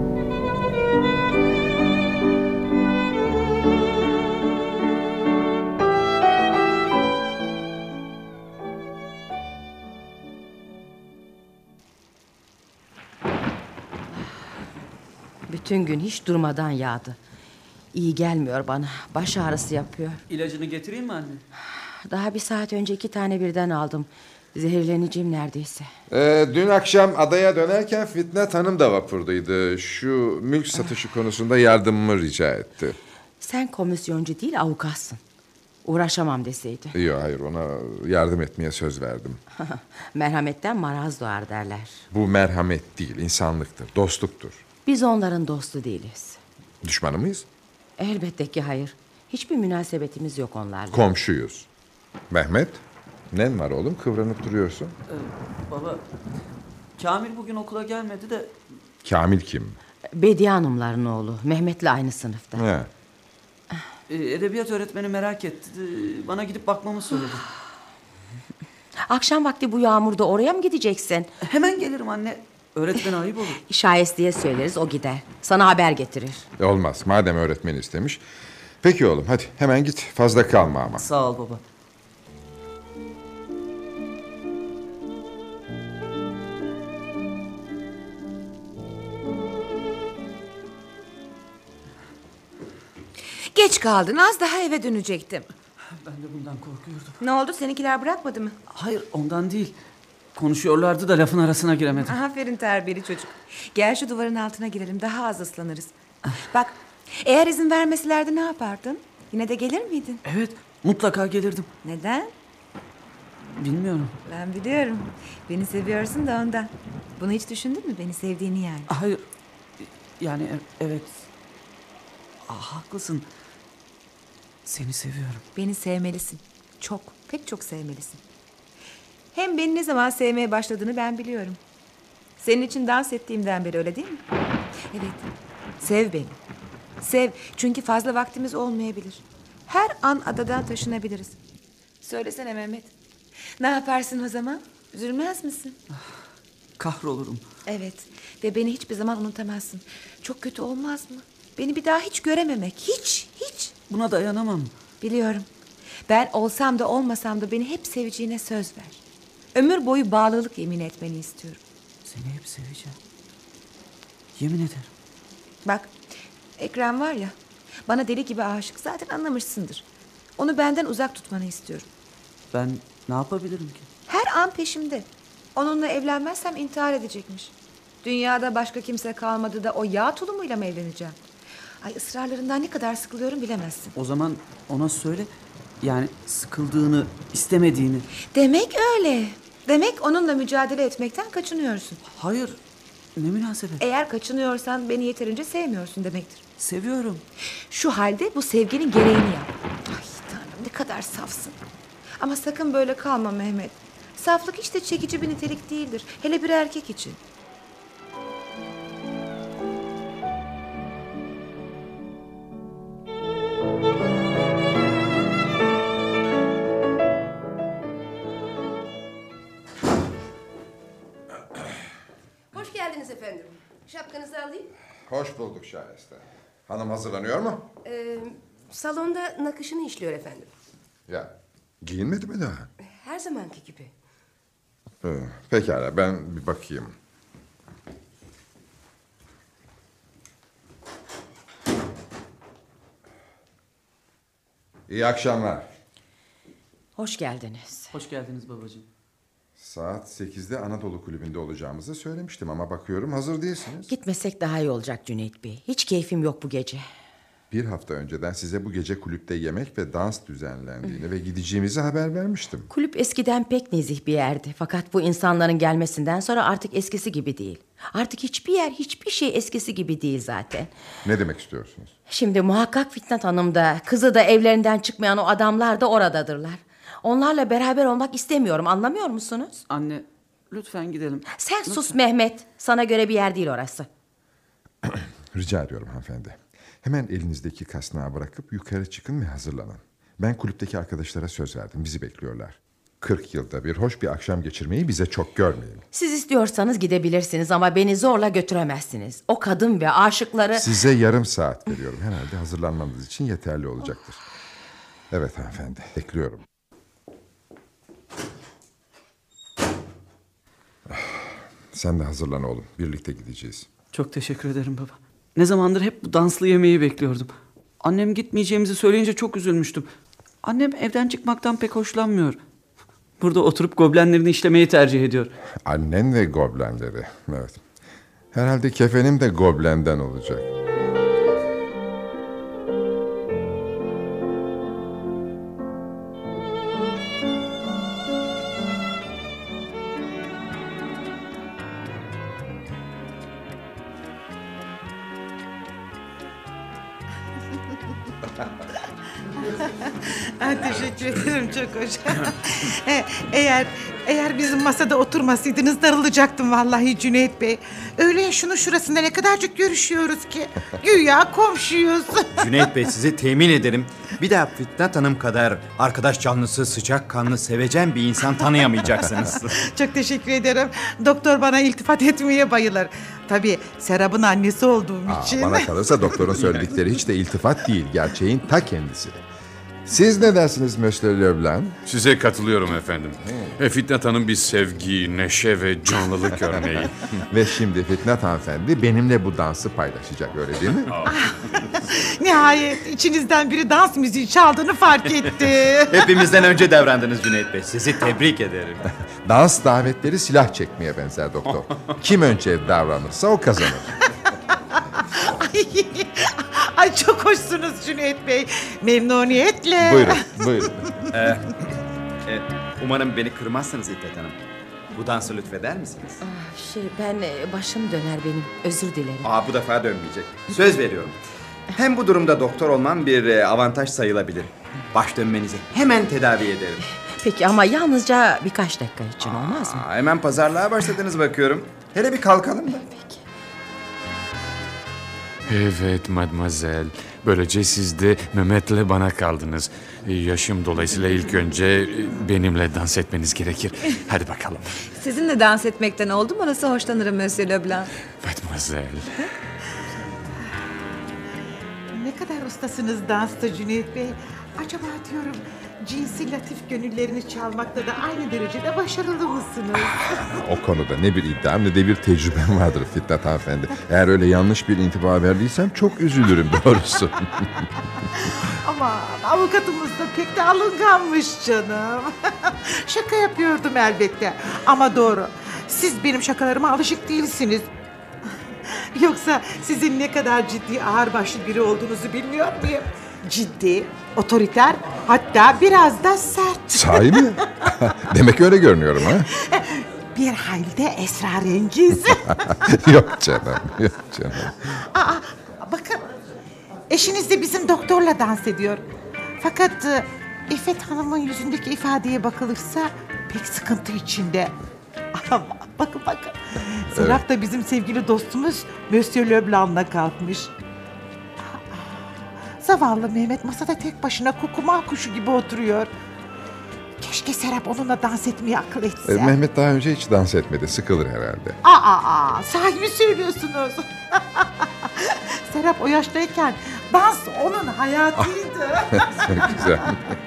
Bütün gün hiç durmadan yağdı. İyi gelmiyor bana. Baş ağrısı yapıyor. İlacını getireyim mi anne? Daha bir saat önce 2 tane birden aldım. Zehirleneceğim neredeyse. Dün akşam adaya dönerken Fitnat Hanım da vapurdaydı. Şu mülk satışı konusunda yardımımı rica etti. Sen komisyoncu değil avukatsın. Uğraşamam deseydi. Yok, hayır, ona yardım etmeye söz verdim. Merhametten maraz doğar derler. Bu merhamet değil, insanlıktır, dostluktur. Biz onların dostu değiliz. Düşmanı mıyız? Elbette ki hayır. Hiçbir münasebetimiz yok onlarla. Komşuyuz. Mehmet, nen var oğlum, kıvranıp duruyorsun. Baba, Kamil bugün okula gelmedi de... Kamil kim? Bediye Hanımların oğlu. Mehmet'le aynı sınıfta. He. Edebiyat öğretmeni merak etti. Bana gidip bakmamı söyledi. Akşam vakti bu yağmurda oraya mı gideceksin? Hemen gelirim anne. Öğretmene ayıp olur. Şayeste'ye söyleriz, o gider. Sana haber getirir. Olmaz, madem öğretmen istemiş. Peki oğlum, hadi hemen git, fazla kalma ama. Sağ ol baba. Geç kaldın, az daha eve dönecektim. Ben de bundan korkuyordum. Ne oldu, seninkiler bırakmadı mı? Hayır, ondan değil. Konuşuyorlardı da lafın arasına giremedim. Aferin terbiyeli çocuk. Gel şu duvarın altına girelim, daha az ıslanırız. Bak, eğer izin vermeselerdi ne yapardın? Yine de gelir miydin? Evet, mutlaka gelirdim. Neden? Bilmiyorum. Ben biliyorum. Beni seviyorsun da ondan. Bunu hiç düşündün mü, beni sevdiğini yani? Hayır, yani evet. Haklısın. Seni seviyorum. Beni sevmelisin. Çok, pek çok sevmelisin. Hem beni ne zaman sevmeye başladığını ben biliyorum. Senin için dans ettiğimden beri, öyle değil mi? Evet, sev beni. Sev, çünkü fazla vaktimiz olmayabilir. Her an adadan taşınabiliriz. Söylesene Mehmet. Ne yaparsın o zaman? Üzülmez misin? Kahrolurum. Evet, ve beni hiçbir zaman unutamazsın. Çok kötü olmaz mı? Beni bir daha hiç görememek, hiç. Buna dayanamam. Biliyorum. Ben olsam da olmasam da beni hep seveceğine söz ver. Ömür boyu bağlılık yemin etmeni istiyorum. Seni hep seveceğim. Yemin ederim. Bak, Ekrem var ya, bana deli gibi aşık, zaten anlamışsındır. Onu benden uzak tutmanı istiyorum. Ben ne yapabilirim ki? Her an peşimde. Onunla evlenmezsem intihar edecekmiş. Dünyada başka kimse kalmadı da o yağ tulumuyla mı evleneceğim? Ay, ısrarlarından ne kadar sıkılıyorum bilemezsin. O zaman ona söyle. Yani sıkıldığını, istemediğini. Demek öyle. Demek onunla mücadele etmekten kaçınıyorsun. Hayır. Ne münasebet. Eğer kaçınıyorsan beni yeterince sevmiyorsun demektir. Seviyorum. Şu halde bu sevginin gereğini yap. Ay Tanrım, ne kadar safsın. Ama sakın böyle kalma Mehmet. Saflık hiç de çekici bir nitelik değildir. Hele bir erkek için. Hoş geldiniz efendim. Şapkanızı alayım. Hoş bulduk Şahiste. Hanım hazırlanıyor mu? Salonda nakışını işliyor efendim. Ya, giyinmedi mi daha? Her zamanki gibi. Pekala, ben bir bakayım. İyi akşamlar. Hoş geldiniz. Hoş geldiniz babacığım. Saat 8'de Anadolu Kulübü'nde olacağımızı söylemiştim ama bakıyorum hazır değilsiniz. Gitmesek daha iyi olacak Cüneyt Bey. Hiç keyfim yok bu gece. Bir hafta önceden size bu gece kulüpte yemek ve dans düzenlendiğini ve gideceğimizi haber vermiştim. Kulüp eskiden pek nezih bir yerdi. Fakat bu insanların gelmesinden sonra artık eskisi gibi değil. Artık hiçbir yer, hiçbir şey eskisi gibi değil zaten. Ne demek istiyorsunuz? Şimdi muhakkak Fitnat Hanım da, kızı da, evlerinden çıkmayan o adamlar da oradadırlar. Onlarla beraber olmak istemiyorum, anlamıyor musunuz? Anne, lütfen gidelim. Sen Lütfen. sus Mehmet. Sana göre bir yer değil orası. Rica ediyorum hanımefendi. Hemen elinizdeki kasnağı bırakıp yukarı çıkın ve hazırlanın. Ben kulüpteki arkadaşlara söz verdim. Bizi bekliyorlar. 40 yılda bir hoş bir akşam geçirmeyi bize çok görmeyin. Siz istiyorsanız gidebilirsiniz ama beni zorla götüremezsiniz. O kadın ve aşıkları... Size yarım saat veriyorum. Herhalde hazırlanmanız için yeterli olacaktır. Evet hanımefendi, bekliyorum. Sen de hazırlan oğlum. Birlikte gideceğiz. Çok teşekkür ederim baba. Ne zamandır hep bu danslı yemeği bekliyordum. Annem gitmeyeceğimizi söyleyince çok üzülmüştüm. Annem evden çıkmaktan pek hoşlanmıyor. Burada oturup goblenlerini işlemeyi tercih ediyor. Annen ve goblenleri. Evet. Herhalde kefenim de goblenden olacak. Teşekkür ederim, çok hoş. Eğer bizim masada oturmasaydınız darılacaktım vallahi Cüneyt Bey. Öyle ya, şunun şurasında ne kadarcık görüşüyoruz ki. Güya komşuyuz. Cüneyt Bey, size temin ederim, bir daha Fitnat Hanım kadar arkadaş canlısı, sıcakkanlı, sevecen bir insan tanıyamayacaksınız. Çok teşekkür ederim. Doktor bana iltifat etmeye bayılır. Tabii Serap'ın annesi olduğum için. Bana kalırsa doktorun söyledikleri hiç de iltifat değil. Gerçeğin ta kendisi. Siz ne dersiniz Monsieur Leblanc? Size katılıyorum efendim. Fitnat Hanım bir sevgi, neşe ve canlılık örneği. Ve şimdi Fitnat hanımefendi benimle bu dansı paylaşacak, öyle değil mi? Nihayet içinizden biri dans müziği çaldığını fark etti. Hepimizden önce davrandınız Cüneyt Bey. Sizi tebrik ederim. Dans davetleri silah çekmeye benzer doktor. Kim önce davranırsa o kazanır. Ay çok hoşsunuz Cüneyt Bey. Memnuniyetle. Buyurun. Umarım beni kırmazsınız İffet Hanım. Bu dansı lütfeder misiniz? Ben başım döner benim. Özür dilerim. Bu defa dönmeyecek. Söz veriyorum. Hem bu durumda doktor olmam bir avantaj sayılabilir. Baş dönmenizi hemen tedavi ederim. Peki ama yalnızca birkaç dakika için olmaz mı? Hemen pazarlığa başladınız bakıyorum. Hele bir kalkalım da. Peki. Evet mademoiselle. Böylece siz de Mehmet'le bana kaldınız. Yaşım dolayısıyla ilk önce benimle dans etmeniz gerekir. Hadi bakalım. Sizinle dans etmekten oldu mu nasıl hoşlanırım Monsieur Leblanc. Mademoiselle. Ne kadar ustasınız dansta Cüneyt Bey. Acaba diyorum cinsi latif gönüllerini çalmakta da aynı derecede başarılı mısınız? O konuda ne bir iddiam ne de bir tecrübem vardır Fitnat hanımefendi. Eğer öyle yanlış bir intiba verdiysem çok üzülürüm doğrusu. Ama avukatımız da pek de alınganmış canım. Şaka yapıyordum elbette. Ama doğru. Siz benim şakalarıma alışık değilsiniz. Yoksa sizin ne kadar ciddi, ağırbaşlı biri olduğunuzu bilmiyor muyum? Ciddi, otoriter, hatta biraz da sert. Sahi mi? Demek öyle görünüyorum ha? Bir hayli de esrarengiz. Yok canım. Bakın, eşiniz de bizim doktorla dans ediyor. Fakat İffet Hanım'ın yüzündeki ifadeye bakılırsa pek sıkıntı içinde. Bakın. Serap da bizim sevgili dostumuz Monsieur Leblanc'la kalkmış. Zavallı Mehmet masada tek başına kukuma kuşu gibi oturuyor. Keşke Serap onunla dans etmeyi akıl etse. Mehmet daha önce hiç dans etmedi. Sıkılır herhalde. Sahi mi söylüyorsunuz? Serap o yaştayken dans onun hayatıydı. Çok güzel.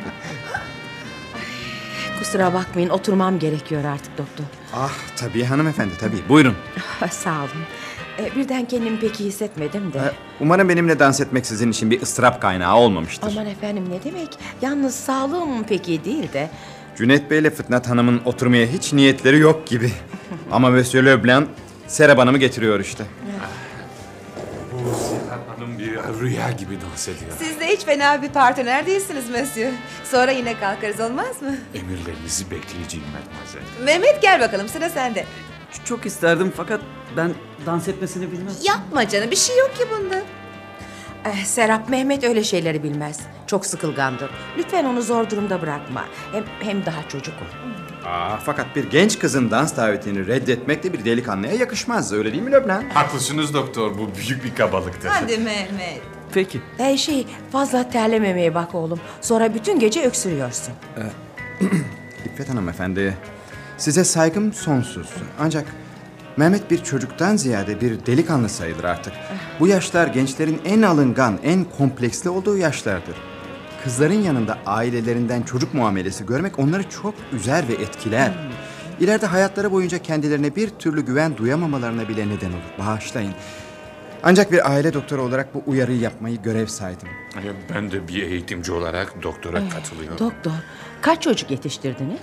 Kusura bakmayın, oturmam gerekiyor artık doktor. Tabii hanımefendi, tabii. Buyurun. Sağ olun. Birden kendimi pek iyi hissetmedim de. Umarım benimle dans etmek sizin için bir ıstırap kaynağı olmamıştır. Aman efendim, ne demek? Yalnız sağlığım pek iyi değil de. Cüneyt Bey ile Fitnat Hanım'ın oturmaya hiç niyetleri yok gibi. Ama Monsieur Leblanc Serap Hanım'ı getiriyor işte. Bu Serap Hanım bir rüya gibi dans ediyor. Siz de hiç fena bir partner değilsiniz Monsieur. Sonra yine kalkarız, olmaz mı? Emirlerinizi bekleyeceğim mademoiselle. Mehmet gel bakalım, sıra sende. Çok isterdim fakat ben dans etmesini bilmem. Yapma canım, bir şey yok ki bunda. Serap, Mehmet öyle şeyleri bilmez. Çok sıkılgandır. Lütfen onu zor durumda bırakma. Hem daha çocuk o. Fakat bir genç kızın dans davetini reddetmek de bir delikanlıya yakışmaz. Öyle değil mi Leblanc? Haklısınız doktor, bu büyük bir kabalıktır. Hadi Mehmet. Peki. Fazla terlememeye bak oğlum. Sonra bütün gece öksürüyorsun. İffet hanımefendi, size saygım sonsuz. Ancak Mehmet bir çocuktan ziyade bir delikanlı sayılır artık. Bu yaşlar gençlerin en alıngan, en kompleksli olduğu yaşlardır. Kızların yanında ailelerinden çocuk muamelesi görmek onları çok üzer ve etkiler. İleride hayatları boyunca kendilerine bir türlü güven duyamamalarına bile neden olur. Bağışlayın. Ancak bir aile doktoru olarak bu uyarıyı yapmayı görev saydım. Ben de bir eğitimci olarak doktora katılıyorum. Doktor, kaç çocuk yetiştirdiniz?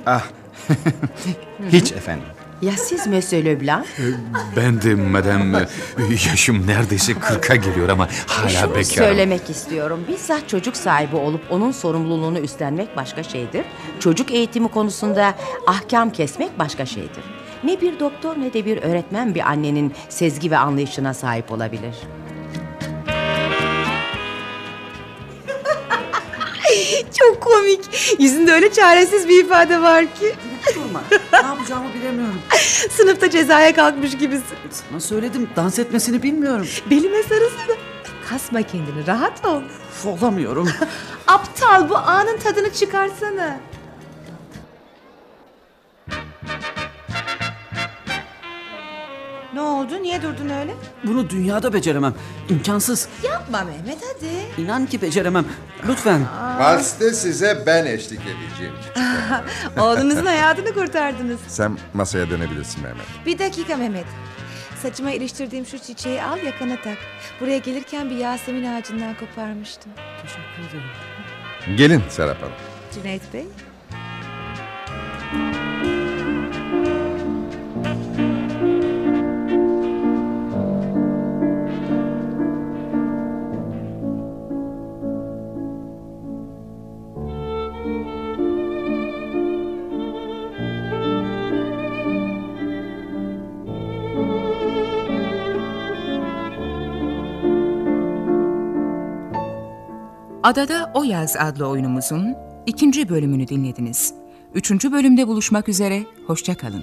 Hiç efendim. Ya siz Monsieur Leblanc? Ben de madem, yaşım neredeyse 40'a geliyor ama hala Şunu bekarım. söylemek istiyorum. Bizzat çocuk sahibi olup onun sorumluluğunu üstlenmek başka şeydir. Çocuk eğitimi konusunda ahkam kesmek başka şeydir. Ne bir doktor ne de bir öğretmen bir annenin sezgi ve anlayışına sahip olabilir. Çok komik. Yüzünde öyle çaresiz bir ifade var ki. Durma. Ne yapacağımı bilemiyorum. Sınıfta cezaya kalkmış gibisin. Sana söyledim, dans etmesini bilmiyorum. Belime sarılsana. Kasma kendini, rahat ol. Olamıyorum. Aptal, bu anın tadını çıkarsana. Ne oldu? Niye durdun öyle? Bunu dünyada beceremem. İmkansız. Yapma Mehmet, hadi. İnan ki beceremem. Lütfen. Valste size ben eşlik edeceğim. Oğlunuzun hayatını kurtardınız. Sen masaya dönebilirsin Mehmet. Bir dakika Mehmet. Saçıma iliştirdiğim şu çiçeği al, yakana tak. Buraya gelirken bir Yasemin ağacından koparmıştım. Teşekkür ederim. Gelin Serap Hanım. Cüneyt Bey. Adada O Yaz adlı oyunumuzun 2. bölümünü dinlediniz. 3. bölümde buluşmak üzere, hoşça kalın.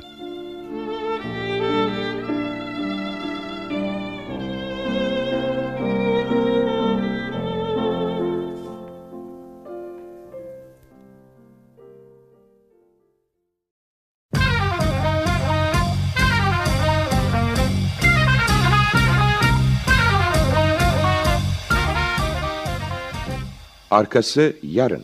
Arkası yarın.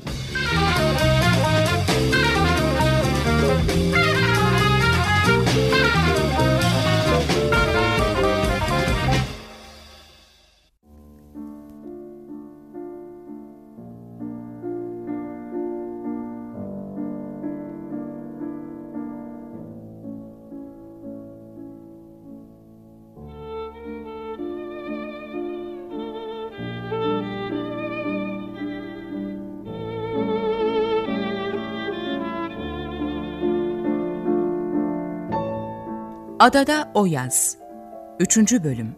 Adada O Yaz 3. bölüm.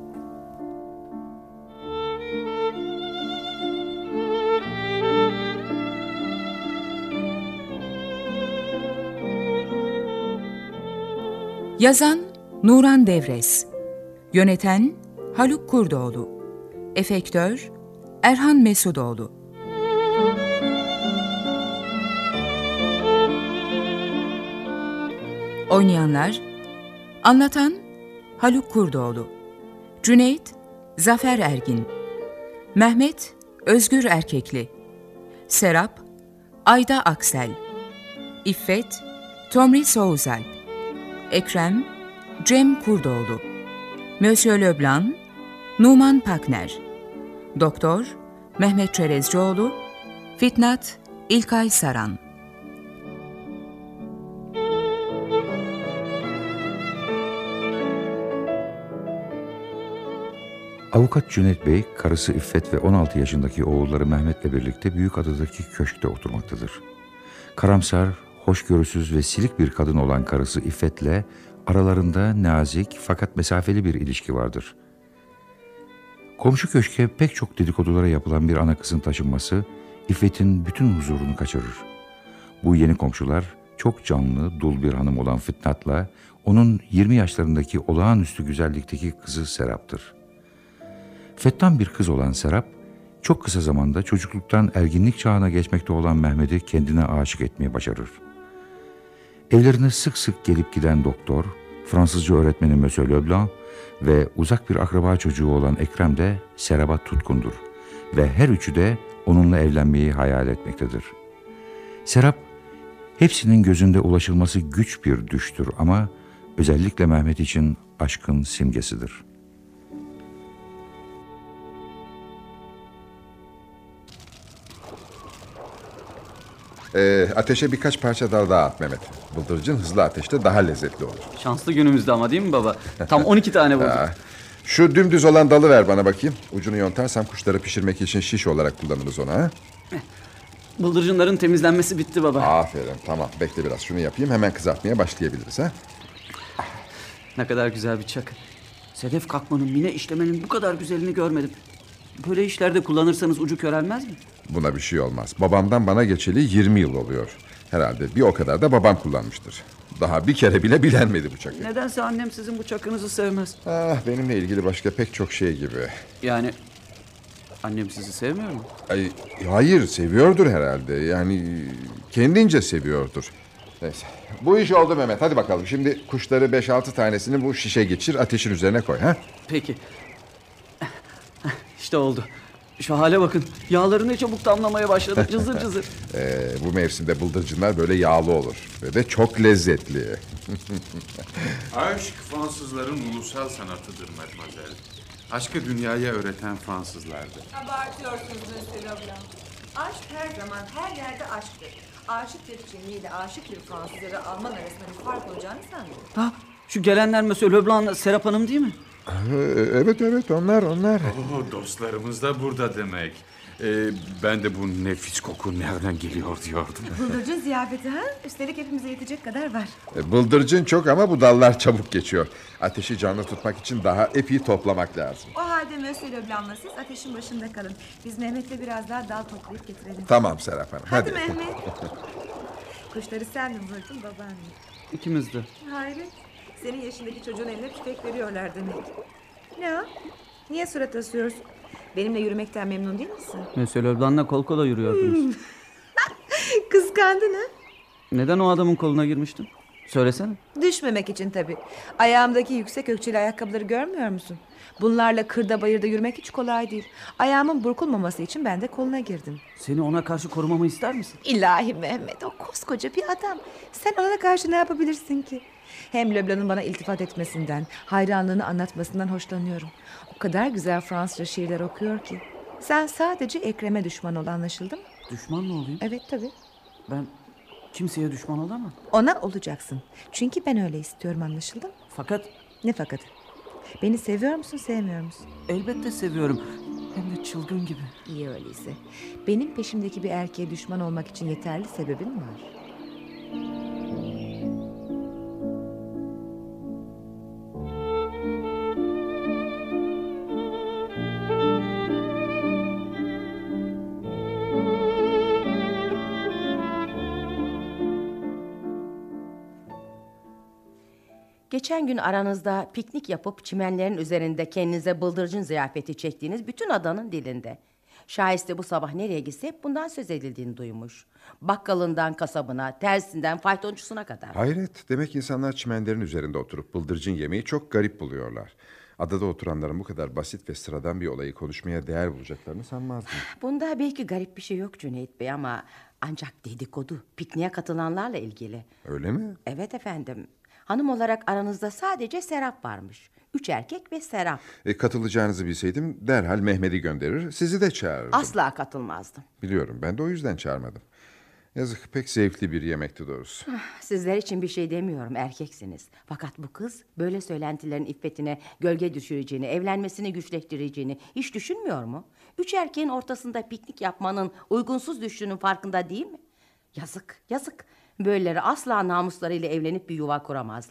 Yazan Nuran Devres, yöneten Haluk Kurdoğlu, efektör Erhan Mesudoğlu. Oynayanlar: anlatan Haluk Kurdoğlu, Cüneyt Zafer Ergin, Mehmet Özgür Erkekli, Serap Ayda Aksel, İffet Tomri Soğuzalp, Ekrem Cem Kurdoğlu, Monsieur Leblanc Numan Pakner, Doktor Mehmet Çerezcioğlu, Fitnat İlkay Saran. Avukat Cüneyt Bey, karısı İffet ve 16 yaşındaki oğulları Mehmet'le birlikte Büyükada'daki köşkte oturmaktadır. Karamsar, hoşgörüsüz ve silik bir kadın olan karısı İffet'le aralarında nazik fakat mesafeli bir ilişki vardır. Komşu köşke pek çok dedikodulara yapılan bir ana kızın taşınması İffet'in bütün huzurunu kaçırır. Bu yeni komşular çok canlı, dul bir hanım olan Fitnat'la onun 20 yaşlarındaki olağanüstü güzellikteki kızı Serap'tır. Fettan bir kız olan Serap, çok kısa zamanda çocukluktan erginlik çağına geçmekte olan Mehmet'i kendine aşık etmeye başarır. Evlerine sık sık gelip giden doktor, Fransızca öğretmeni Monsieur Leblanc ve uzak bir akraba çocuğu olan Ekrem de Serap'a tutkundur ve her üçü de onunla evlenmeyi hayal etmektedir. Serap, hepsinin gözünde ulaşılması güç bir düştür ama özellikle Mehmet için aşkın simgesidir. Ateşe birkaç parça dal daha at Mehmet. Bıldırcın hızlı ateşte daha lezzetli olur. Şanslı günümüzde ama değil mi baba? Tam 12 tane bulduk. Şu dümdüz olan dalı ver bana bakayım. Ucunu yontarsam kuşları pişirmek için şiş olarak kullanırız onu ha. Bıldırcınların temizlenmesi bitti baba. Aferin, tamam, bekle biraz şunu yapayım, hemen kızartmaya başlayabiliriz ha. Ne kadar güzel bir çakı. Sedef kalkmanın, mine işlemenin bu kadar güzelini görmedim. Böyle işlerde kullanırsanız ucu körelmez mi? Buna bir şey olmaz. Babamdan bana geçeli 20 yıl oluyor. Herhalde bir o kadar da babam kullanmıştır. Daha bir kere bile bilenmedi bu çakı. Nedense annem sizin bu çakınızı sevmez. Benimle ilgili başka pek çok şey gibi. Yani annem sizi sevmiyor mu? Hayır, seviyordur herhalde. Yani kendince seviyordur. Neyse. Bu iş oldu Mehmet. Hadi bakalım. Şimdi kuşları 5-6 tanesini bu şişe geçir, ateşin üzerine koy ha. Peki. İşte oldu. Şu hale bakın. Yağları ne çabuk damlamaya başladı. Cızır cızır. Bu mevsimde bıldırcınlar böyle yağlı olur. Ve de çok lezzetli. Aşk Fransızların ulusal sanatıdır Mademoiselle. Aşkı dünyaya öğreten Fransızlardır. Abartıyorsunuz Monsieur Leblanc. Aşk her zaman her yerde aşktır. Aşık bir Çinli ile aşık bir Fransız ya da Alman arasında bir fark olacağını sanmıyorum. Şu gelenler Monsieur Leblanc'la Serap Hanım değil mi? Evet onlar. Dostlarımız da burada demek. Ben de bu nefis koku nereden geliyor diyordum. Bıldırcın ziyafeti ha? Üstelik hepimize yetecek kadar var. Bıldırcın çok ama bu dallar çabuk geçiyor. Ateşi canlı tutmak için daha epey toplamak lazım. O halde Monsieur Leblanc'la siz ateşin başında kalın. Biz Mehmet'le biraz daha dal toplayıp getirelim. Tamam Serap Hanım, hadi. Mehmet. Kuşları sen mi vurdun babaanne? İkimiz de. Hayret. Senin yaşındaki çocuğun eline tüfek veriyorlar demek. Ne o? Niye surat asıyorsun? Benimle yürümekten memnun değil misin? Monsieur Leblanc'la kol kola yürüyordunuz. Kıskandın ha? Neden o adamın koluna girmiştin? Söylesene. Düşmemek için tabii. Ayağımdaki yüksek ökçeli ayakkabıları görmüyor musun? Bunlarla kırda bayırda yürümek hiç kolay değil. Ayağımın burkulmaması için ben de koluna girdim. Seni ona karşı korumamı ister misin? İlahi Mehmet, o koskoca bir adam. Sen ona karşı ne yapabilirsin ki? Hem Leblanc'ın bana iltifat etmesinden, hayranlığını anlatmasından hoşlanıyorum. O kadar güzel Fransızca şiirler okuyor ki. Sen sadece Ekrem'e düşman ol, anlaşıldı mı? Düşman mı olayım? Evet tabii. Ben kimseye düşman olamam. Ona olacaksın. Çünkü ben öyle istiyorum, anlaşıldı mı? Fakat... Ne fakatı? Beni seviyor musun, sevmiyor musun? Elbette seviyorum. Hem de çılgın gibi. İyi öyleyse. Benim peşimdeki bir erkeğe düşman olmak için yeterli sebebin var. Geçen gün aranızda piknik yapıp çimenlerin üzerinde kendinize bıldırcın ziyafeti çektiğiniz bütün adanın dilinde. Şahiste bu sabah nereye gitse hep bundan söz edildiğini duymuş. Bakkalından kasabına, tersinden faytoncusuna kadar. Hayret, demek insanlar çimenlerin üzerinde oturup bıldırcın yemeyi çok garip buluyorlar. Adada oturanların bu kadar basit ve sıradan bir olayı konuşmaya değer bulacaklarını sanmazdım. Bunda belki garip bir şey yok Cüneyt Bey ama ancak dedikodu pikniğe katılanlarla ilgili. Öyle mi? Evet efendim. Hanım olarak aranızda sadece Serap varmış. 3 erkek ve Serap. Katılacağınızı bilseydim derhal Mehmet'i gönderir, sizi de çağırırdım. Asla katılmazdım. Biliyorum, ben de o yüzden çağırmadım. Yazık, pek zevkli bir yemekti doğrusu. Sizler için bir şey demiyorum, erkeksiniz. Fakat bu kız böyle söylentilerin iffetine gölge düşüreceğini, evlenmesini güçleştireceğini hiç düşünmüyor mu? 3 erkeğin ortasında piknik yapmanın uygunsuz düştüğünün farkında değil mi? Yazık, yazık. Böyleleri asla namuslarıyla evlenip bir yuva kuramazlar.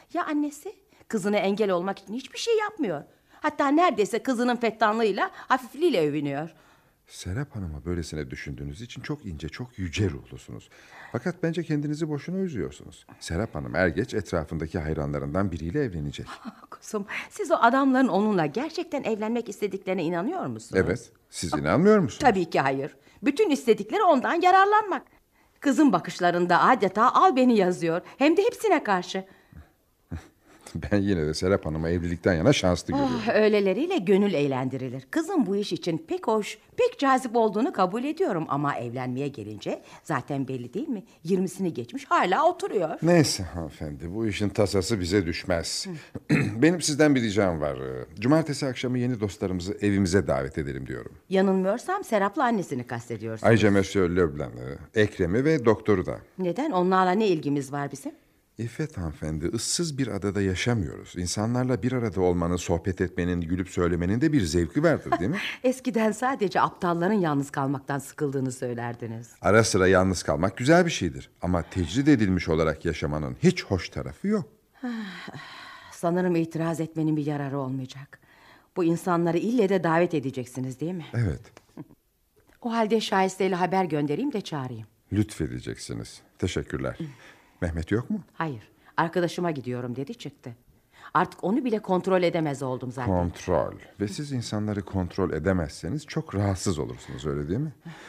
Ya annesi? Kızına engel olmak için hiçbir şey yapmıyor. Hatta neredeyse kızının fettanlığıyla, hafifliğiyle övünüyor. Serap Hanım'a böylesine düşündüğünüz için çok ince, çok yüce ruhlusunuz. Fakat bence kendinizi boşuna üzüyorsunuz. Serap Hanım er geç etrafındaki hayranlarından biriyle evlenecek. Kuzum, siz o adamların onunla gerçekten evlenmek istediklerine inanıyor musunuz? Evet, siz inanmıyor musunuz? Tabii ki hayır. Bütün istedikleri ondan yararlanmak. Kızın bakışlarında adeta al beni yazıyor. Hem de hepsine karşı. Ben yine de Serap Hanım'a evlilikten yana şanslı görüyorum. Öyleleriyle gönül eğlendirilir. Kızın bu iş için pek hoş, pek cazip olduğunu kabul ediyorum. Ama evlenmeye gelince zaten belli değil mi? 20'sini geçmiş hala oturuyor. Neyse hanımefendi, bu işin tasası bize düşmez. Benim sizden bir ricam var. Cumartesi akşamı yeni dostlarımızı evimize davet edelim diyorum. Yanılmıyorsam Serap'la annesini kastediyorsunuz. Ayrıca Monsieur Leblanc'ı, Ekrem'i ve doktoru da. Neden? Onlarla ne ilgimiz var bizim? İffet hanımefendi, ıssız bir adada yaşamıyoruz. İnsanlarla bir arada olmanın, sohbet etmenin, gülüp söylemenin de bir zevki vardır değil mi? Eskiden sadece aptalların yalnız kalmaktan sıkıldığını söylerdiniz. Ara sıra yalnız kalmak güzel bir şeydir. Ama tecrid edilmiş olarak yaşamanın hiç hoş tarafı yok. Sanırım itiraz etmenin bir yararı olmayacak. Bu insanları ille de davet edeceksiniz değil mi? Evet. O halde Şahiste'yle haber göndereyim de çağırayım. Lütfedeceksiniz. Teşekkürler. Mehmet yok mu? Hayır. Arkadaşıma gidiyorum dedi çıktı. Artık onu bile kontrol edemez oldum zaten. Kontrol. Ve siz insanları kontrol edemezseniz çok rahatsız olursunuz, öyle değil mi?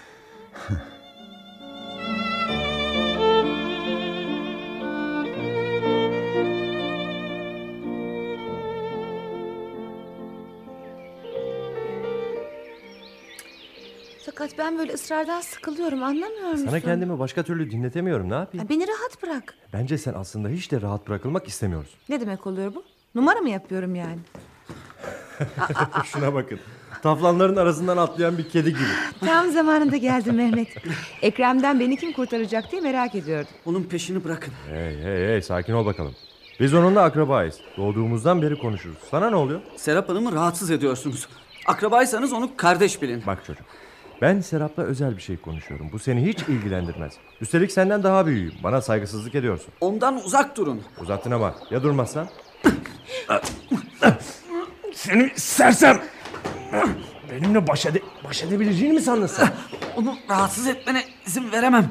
Fakat ben böyle ısrardan sıkılıyorum, anlamıyor musun? Sana kendimi başka türlü dinletemiyorum, ne yapayım? Beni rahat bırak. Bence sen aslında hiç de rahat bırakılmak istemiyorsun. Ne demek oluyor bu? Numara mı yapıyorum yani? Şuna bakın. Taflanların arasından atlayan bir kedi gibi. Tam zamanında geldin Mehmet. Ekrem'den beni kim kurtaracak diye merak ediyordum. Onun peşini bırakın. Hey, sakin ol bakalım. Biz onunla akrabayız. Doğduğumuzdan beri konuşuruz. Sana ne oluyor? Serap Hanım'ı rahatsız ediyorsunuz. Akrabaysanız onu kardeş bilin. Bak çocuk, ben Serap'la özel bir şey konuşuyorum. Bu seni hiç ilgilendirmez. Üstelik senden daha büyüğüm. Bana saygısızlık ediyorsun. Ondan uzak durun. Uzattın ama ya durmazsan? Seni sersem! Benimle baş edebileceğini mi sandın sen? Onu rahatsız etmene izin veremem.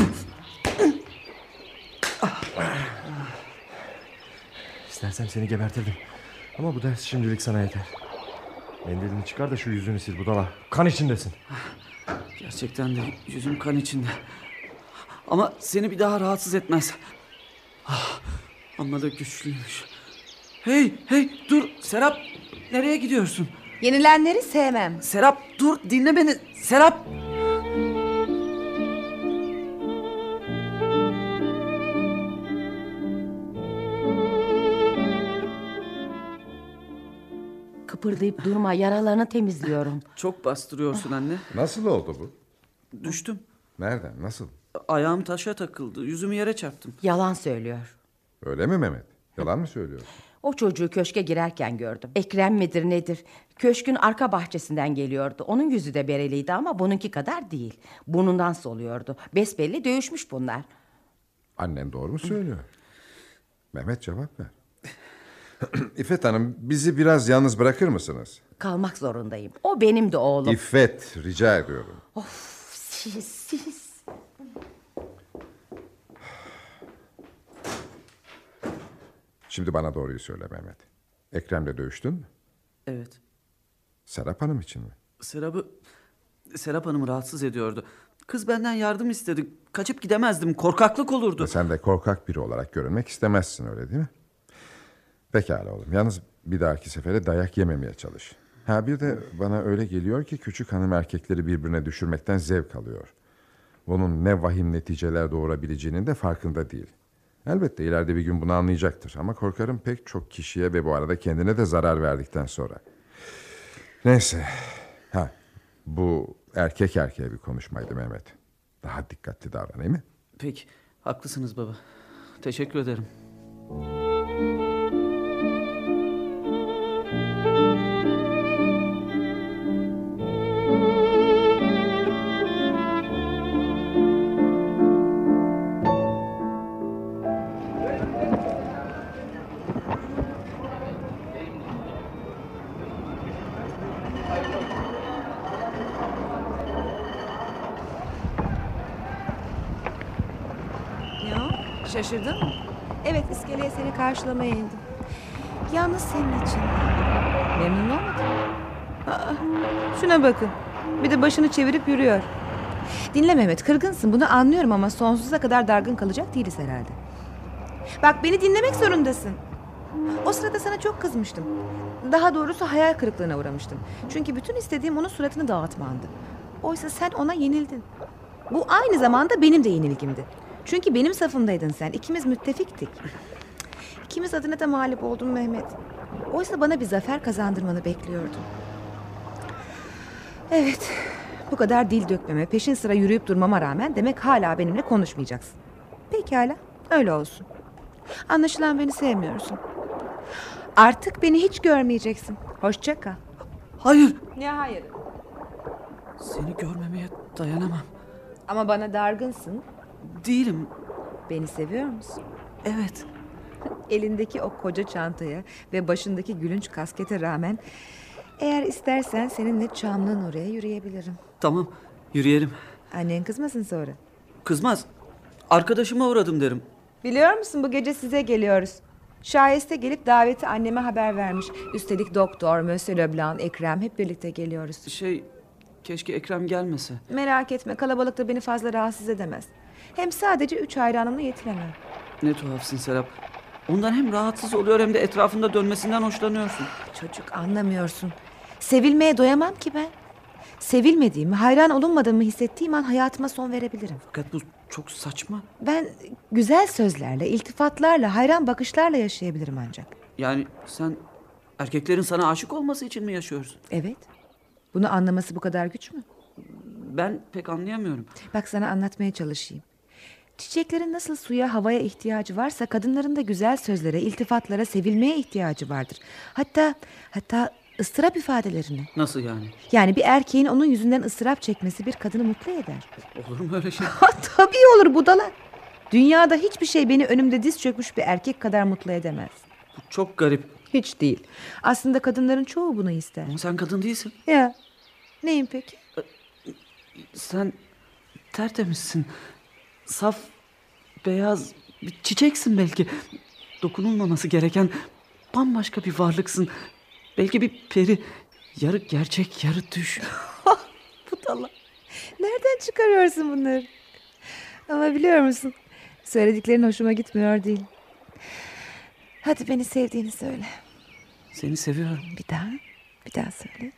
İstersen seni gebertirdim. Ama bu ders şimdilik sana yeter. Mendilini çıkar da şu yüzünü sil budala. Kan içindesin. Gerçekten de yüzüm kan içinde. Ama seni bir daha rahatsız etmez. Amma da güçlüymüş. Hey dur Serap, nereye gidiyorsun? Yenilenleri sevmem. Serap dur, dinle beni. Serap. Kıpırdayıp durma, yaralarını temizliyorum. Çok bastırıyorsun anne. Nasıl oldu bu? Düştüm. Nereden, nasıl? Ayağım taşa takıldı. Yüzümü yere çarptım. Yalan söylüyor. Öyle mi Mehmet? Yalan mı söylüyorsun? O çocuğu köşke girerken gördüm. Ekrem midir nedir? Köşkün arka bahçesinden geliyordu. Onun yüzü de bereliydi ama bununki kadar değil. Burnundan soluyordu. Besbelli dövüşmüş bunlar. Annen doğru mu söylüyor? Mehmet cevap ver. İffet Hanım, bizi biraz yalnız bırakır mısınız? Kalmak zorundayım. O benim de oğlum. İffet, rica ediyorum. Of, siz. Şimdi bana doğruyu söyle Mehmet. Ekrem'le dövüştün mü? Evet. Serap Hanım için mi? Serap Hanım'ı rahatsız ediyordu. Kız benden yardım istedi. Kaçıp gidemezdim. Korkaklık olurdu. Sen de korkak biri olarak görünmek istemezsin, öyle değil mi? Pekala oğlum. Yalnız bir dahaki sefere dayak yememeye çalış. Bir de bana öyle geliyor ki küçük hanım erkekleri birbirine düşürmekten zevk alıyor. Bunun ne vahim neticeler doğurabileceğinin de farkında değil. Elbette ileride bir gün bunu anlayacaktır. Ama korkarım pek çok kişiye ve bu arada kendine de zarar verdikten sonra. Neyse. Bu erkek erkeğe bir konuşmaydı Mehmet. Daha dikkatli davranayım mı? Peki. Haklısınız baba. Teşekkür ederim. Şaşırdın mı? Evet, iskeleye seni karşılamaya indim. Yalnız senin için. Memnun olmadın mı? Aa, şuna bakın. Bir de başını çevirip yürüyor. Dinle Mehmet, kırgınsın, bunu anlıyorum ama sonsuza kadar dargın kalacak değiliz herhalde. Bak, beni dinlemek zorundasın. O sırada sana çok kızmıştım. Daha doğrusu hayal kırıklığına uğramıştım. Çünkü bütün istediğim onun suratını dağıtmandı. Oysa sen ona yenildin. Bu aynı zamanda benim de yenilgimdi. Çünkü benim safımdaydın sen. İkimiz müttefiktik. İkimiz adına da mağlup oldun Mehmet. Oysa bana bir zafer kazandırmanı bekliyordum. Evet, bu kadar dil dökmeme, peşin sıra yürüyüp durmama rağmen demek hala benimle konuşmayacaksın. Pekala, öyle olsun. Anlaşılan beni sevmiyorsun. Artık beni hiç görmeyeceksin. Hoşça kal. Hayır. Ne hayır? Seni görmemeye dayanamam. Ama bana dargınsın. Değilim. Beni seviyor musun? Evet. Elindeki o koca çantaya ve başındaki gülünç kaskete rağmen eğer istersen seninle Çamlı'nın oraya yürüyebilirim. Tamam, yürüyelim. Annen kızmasın sonra. Kızmaz. Arkadaşıma uğradım derim. Biliyor musun, bu gece size geliyoruz. Şayeste gelip daveti anneme haber vermiş. Üstelik doktor, Monsieur Leblanc, Ekrem hep birlikte geliyoruz. Keşke Ekrem gelmese. Merak etme, kalabalıkta beni fazla rahatsız edemez. Hem sadece 3 hayranımla yetinemem. Ne tuhafsın Serap. Ondan hem rahatsız oluyor hem de etrafında dönmesinden hoşlanıyorsun. Çocuk, anlamıyorsun. Sevilmeye doyamam ki ben. Sevilmediğimi, hayran olunmadığımı hissettiğim an hayatıma son verebilirim. Fakat bu çok saçma. Ben güzel sözlerle, iltifatlarla, hayran bakışlarla yaşayabilirim ancak. Yani sen erkeklerin sana aşık olması için mi yaşıyorsun? Evet. Bunu anlaması bu kadar güç mü? Ben pek anlayamıyorum. Bak, sana anlatmaya çalışayım. Çiçeklerin nasıl suya, havaya ihtiyacı varsa kadınların da güzel sözlere, iltifatlara, sevilmeye ihtiyacı vardır. Hatta ıstırap ifadelerine. Nasıl yani? Yani bir erkeğin onun yüzünden ıstırap çekmesi bir kadını mutlu eder. Olur mu öyle şey? Tabii olur budala. Dünyada hiçbir şey beni önümde diz çökmüş bir erkek kadar mutlu edemez. Bu çok garip. Hiç değil. Aslında kadınların çoğu bunu ister. Ama sen kadın değilsin. Ya, neyim peki? Sen tertemizsin. Saf, beyaz bir çiçeksin belki. Dokunulmaması gereken bambaşka bir varlıksın. Belki bir peri. Yarı gerçek, yarı düş. Budala. Nereden çıkarıyorsun bunları? Ama biliyor musun? Söylediklerin hoşuma gitmiyor değil. Hadi beni sevdiğini söyle. Seni seviyorum. Bir daha söyle.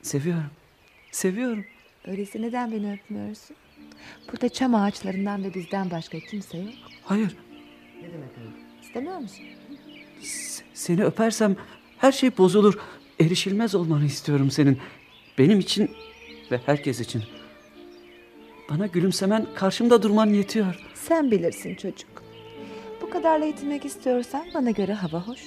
Seviyorum. Öyleyse neden beni öpmüyorsun? Burada çam ağaçlarından ve bizden başka kimse yok. Hayır. Ne demek öyle? İstemiyor musun? Seni öpersem her şey bozulur. Erişilmez olmanı istiyorum senin. Benim için ve herkes için. Bana gülümsemen, karşımda durman yetiyor. Sen bilirsin çocuk. Bu kadarla yetinmek istiyorsan bana göre hava hoş.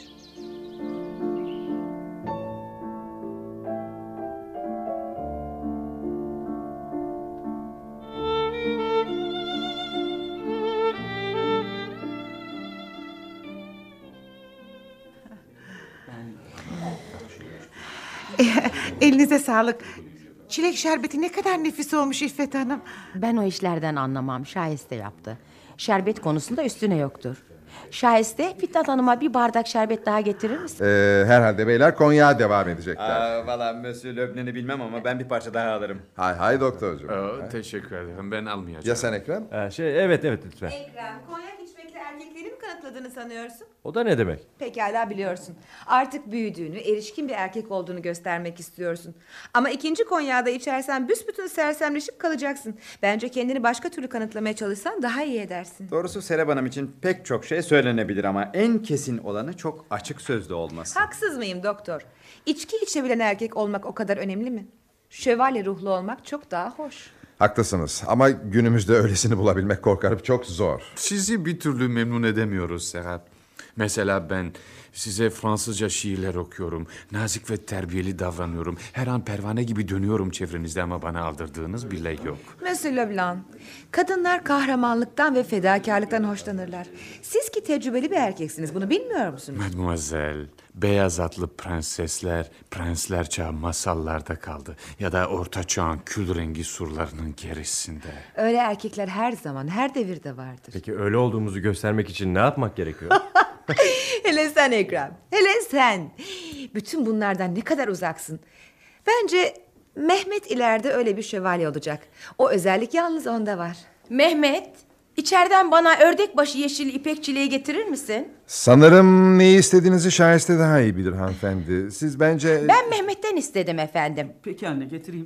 Elinize sağlık. Çilek şerbeti ne kadar nefis olmuş İffet Hanım. Ben o işlerden anlamam. Şahiste yaptı. Şerbet konusunda üstüne yoktur. Şahiste, Fitnat Hanım'a bir bardak şerbet daha getirir misin? Herhalde beyler konyağa devam edecekler. Valla Monsieur Leblanc'ı bilmem ama ben bir parça daha alırım. Hay doktorcuğum. Teşekkür ederim. Ben almayacağım. Ya sen Ekrem? Evet lütfen. Ekrem, konyak içmekle erkekleri mi kanıtladığını sanıyorsun? O da ne demek? Pekala, biliyorsun. Artık büyüdüğünü, erişkin bir erkek olduğunu göstermek istiyorsun. Ama ikinci konyağı da içersen büsbütün sersemleşip kalacaksın. Bence kendini başka türlü kanıtlamaya çalışsan daha iyi edersin. Doğrusu Serap Hanım için pek çok şey söylenebilir ama en kesin olanı çok açık sözlü olması. Haksız mıyım doktor? İçki içebilen erkek olmak o kadar önemli mi? Şövalye ruhlu olmak çok daha hoş. Haklısınız ama günümüzde öylesini bulabilmek korkarım çok zor. Sizi bir türlü memnun edemiyoruz Serap. Mesela ben size Fransızca şiirler okuyorum. Nazik ve terbiyeli davranıyorum. Her an pervane gibi dönüyorum çevrenizde ama bana aldırdığınız bile yok. Monsieur Leblanc, kadınlar kahramanlıktan ve fedakarlıktan hoşlanırlar. Siz ki ki tecrübeli bir erkeksiniz. Bunu bilmiyor musunuz? Mademoiselle, beyaz atlı prensler çağı masallarda kaldı. Ya da orta çağın kül rengi surlarının gerisinde. Öyle erkekler her zaman, her devirde vardır. Peki öyle olduğumuzu göstermek için ne yapmak gerekiyor? Hele sen Ekrem, hele sen. Bütün bunlardan ne kadar uzaksın. Bence Mehmet ileride öyle bir şövalye olacak. O özellik yalnız onda var. Mehmet, içeriden bana ördekbaşı yeşil ipek çileği getirir misin? Sanırım neyi istediğinizi Şahiste daha iyi bilir hanımefendi. Siz bence... Ben Mehmet'ten istedim efendim. Peki anne, getireyim.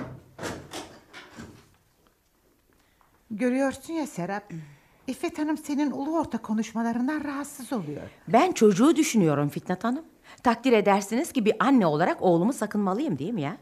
Görüyorsun ya Serap. İffet Hanım senin ulu orta konuşmalarından rahatsız oluyor. Ben çocuğu düşünüyorum Fitnat Hanım. Takdir edersiniz ki bir anne olarak oğlumu sakınmalıyım değil mi ya?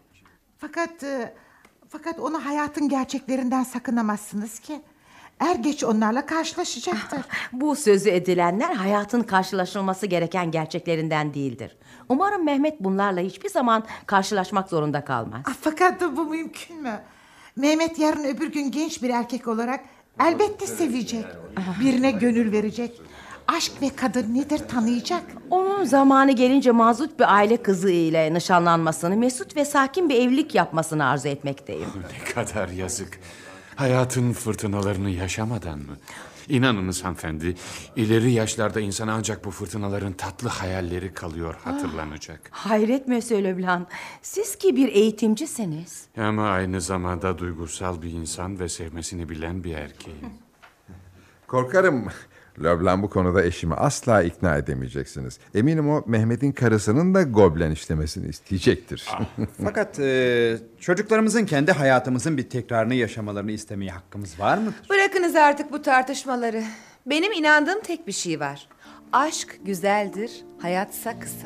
Fakat onu hayatın gerçeklerinden sakınamazsınız ki. Er geç onlarla karşılaşacaktır. Bu sözü edilenler hayatın karşılaşılması gereken gerçeklerinden değildir. Umarım Mehmet bunlarla hiçbir zaman karşılaşmak zorunda kalmaz. Fakat bu mümkün mü? Mehmet yarın öbür gün genç bir erkek olarak elbette sevecek. Birine gönül verecek. Aşk ve kadın nedir tanıyacak. Onun zamanı gelince mazut bir aile kızı ile nişanlanmasını, mesut ve sakin bir evlilik yapmasını arzu etmekteyim. Ne kadar yazık. Hayatın fırtınalarını yaşamadan mı? İnanınız hanımefendi, ileri yaşlarda insana ancak bu fırtınaların tatlı hayalleri kalıyor, hatırlanacak. Hayret Monsieur Leblanc, siz ki bir eğitimcisiniz. Ama aynı zamanda duygusal bir insan ve sevmesini bilen bir erkeğim. Korkarım Leblanc bu konuda eşimi asla ikna edemeyeceksiniz. Eminim o Mehmet'in karısının da goblen işlemesini isteyecektir. Fakat çocuklarımızın kendi hayatımızın bir tekrarını yaşamalarını istemeye hakkımız var mıdır? Bırakınız artık bu tartışmaları. Benim inandığım tek bir şey var. Aşk güzeldir, hayatsa kısa.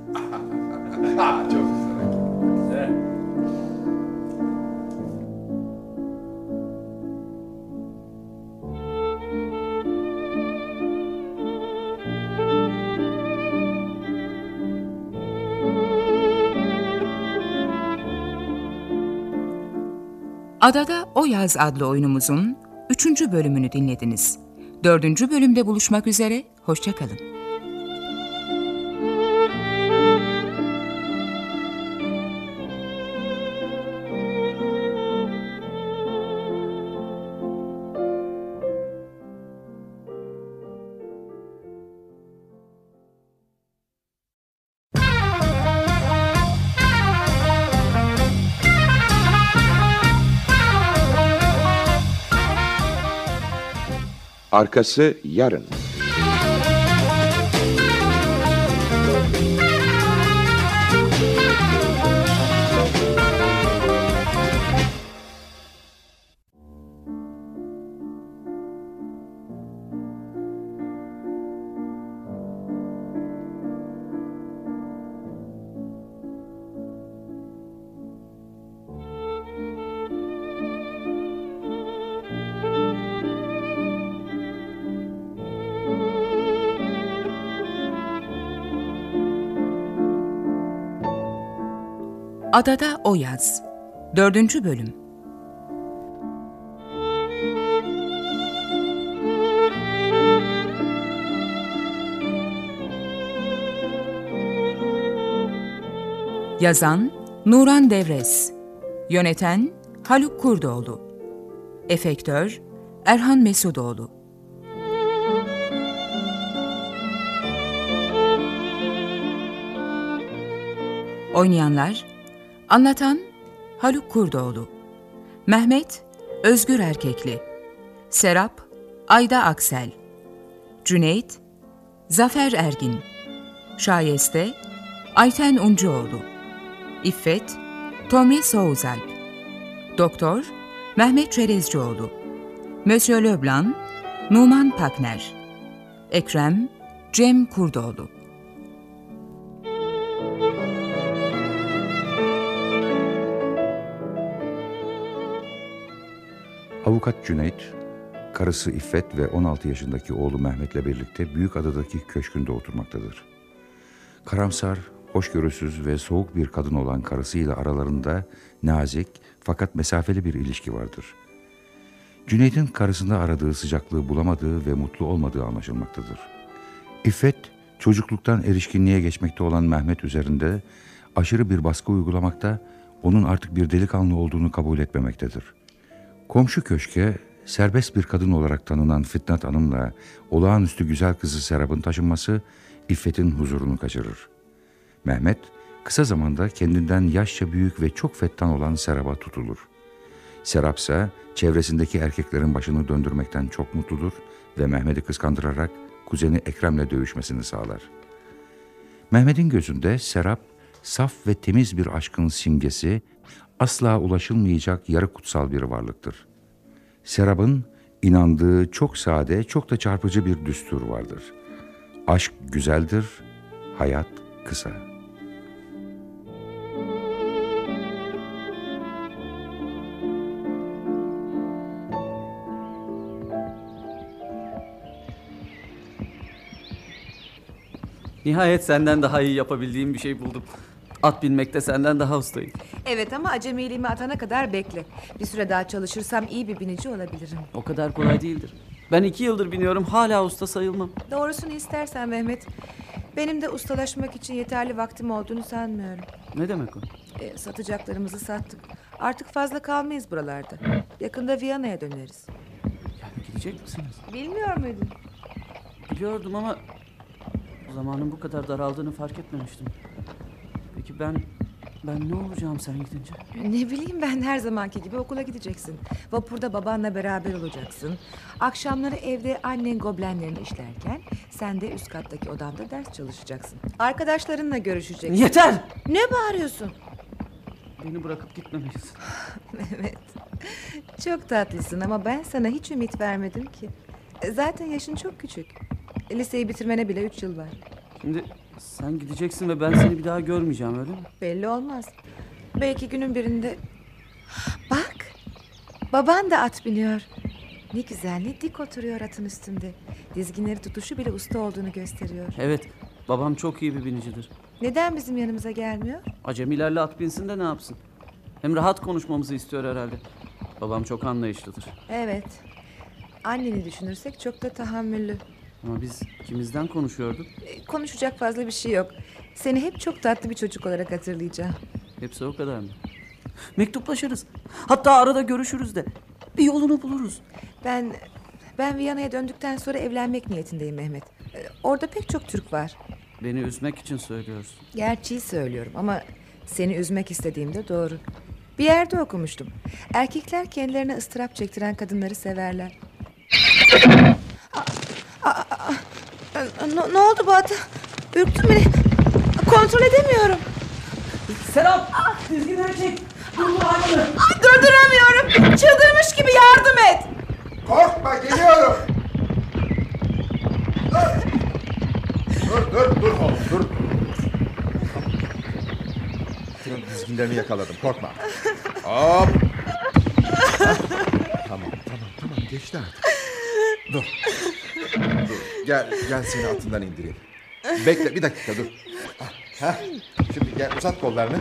Çok güzel. Adada O Yaz adlı oyunumuzun 3. bölümünü dinlediniz. 4. bölümde buluşmak üzere, hoşça kalın. Arkası yarın. Adada O Yaz 4. bölüm. Yazan Nuran Devrez, yöneten Haluk Kurdoğlu, efektör Erhan Mesudoğlu. Oynayanlar: anlatan Haluk Kurdoğlu, Mehmet Özgür Erkekli, Serap Ayda Aksel, Cüneyt Zafer Ergin, Şayeste Ayten Uncuoğlu, İffet Tomris Soğuzalp, Doktor Mehmet Çerezcioğlu, Monsieur Leblanc Numan Pakner, Ekrem Cem Kurdoğlu. Avukat Cüneyt, karısı İffet ve 16 yaşındaki oğlu Mehmet'le birlikte Büyükada'daki köşkünde oturmaktadır. Karamsar, hoşgörüsüz ve soğuk bir kadın olan karısıyla aralarında nazik fakat mesafeli bir ilişki vardır. Cüneyt'in karısında aradığı sıcaklığı bulamadığı ve mutlu olmadığı anlaşılmaktadır. İffet, çocukluktan erişkinliğe geçmekte olan Mehmet üzerinde aşırı bir baskı uygulamakta, onun artık bir delikanlı olduğunu kabul etmemektedir. Komşu köşke serbest bir kadın olarak tanınan Fitnat Hanım'la olağanüstü güzel kızı Serap'ın taşınması İffet'in huzurunu kaçırır. Mehmet kısa zamanda kendinden yaşça büyük ve çok fettan olan Serap'a tutulur. Serap ise çevresindeki erkeklerin başını döndürmekten çok mutludur ve Mehmet'i kıskandırarak kuzeni Ekrem'le dövüşmesini sağlar. Mehmet'in gözünde Serap, saf ve temiz bir aşkın simgesi, asla ulaşılmayacak yarı kutsal bir varlıktır. Serap'ın inandığı çok sade, çok da çarpıcı bir düstur vardır. Aşk güzeldir, hayat kısa. Nihayet senden daha iyi yapabildiğim bir şey buldum. At binmekte senden daha ustayım. Evet ama acemiliğimi atana kadar bekle. Bir süre daha çalışırsam iyi bir binici olabilirim. O kadar kolay değildir. Ben 2 yıldır biniyorum, hala usta sayılmam. Doğrusunu istersen Mehmet, benim de ustalaşmak için yeterli vaktim olduğunu sanmıyorum. Ne demek o? Satacaklarımızı sattık. Artık fazla kalmayız buralarda. Yakında Viyana'ya döneriz. Yani gidecek misiniz? Bilmiyor muydun? Biliyordum ama zamanın bu kadar daraldığını fark etmemiştim. Peki ben ne olacağım sen gidince? Ne bileyim ben, her zamanki gibi okula gideceksin. Vapurda babanla beraber olacaksın. Akşamları evde annen goblenlerini işlerken sen de üst kattaki odanda ders çalışacaksın. Arkadaşlarınla görüşeceksin. Yeter! Ne bağırıyorsun? Beni bırakıp gitmemelisin. Mehmet, çok tatlısın ama ben sana hiç ümit vermedim ki. Zaten yaşın çok küçük. Liseyi bitirmene bile 3 yıl var. Şimdi sen gideceksin ve ben seni bir daha görmeyeceğim, öyle mi? Belli olmaz. Belki günün birinde... Bak, baban da at biniyor. Ne güzel, ne dik oturuyor atın üstünde. Dizginleri tutuşu bile usta olduğunu gösteriyor. Evet, babam çok iyi bir binicidir. Neden bizim yanımıza gelmiyor? Acemilerle at binsin de ne yapsın? Hem rahat konuşmamızı istiyor herhalde. Babam çok anlayışlıdır. Evet. Anneni düşünürsek çok da tahammüllü. Ama biz ikimizden konuşuyorduk. Konuşacak fazla bir şey yok. Seni hep çok tatlı bir çocuk olarak hatırlayacağım. Hepsi o kadar mı? Mektuplaşırız. Hatta arada görüşürüz de. Bir yolunu buluruz. Ben Viyana'ya döndükten sonra evlenmek niyetindeyim Mehmet. Orada pek çok Türk var. Beni üzmek için söylüyorsun. Gerçeği söylüyorum ama seni üzmek istediğimde doğru. Bir yerde okumuştum. Erkekler kendilerine ıstırap çektiren kadınları severler. Ne oldu bu ata? Ürktün beni. Kontrol edemiyorum. Serap! Dizginleri çek! Durduramıyorum. Çıldırmış gibi, yardım et. Korkma, geliyorum. Dur oğlum, dur. Dizginlerini yakaladım, korkma. Hop. Tamam, geçti artık. Dur. Gel seni altından indireyim. Bekle, bir dakika dur. Şimdi gel, uzat kollarını.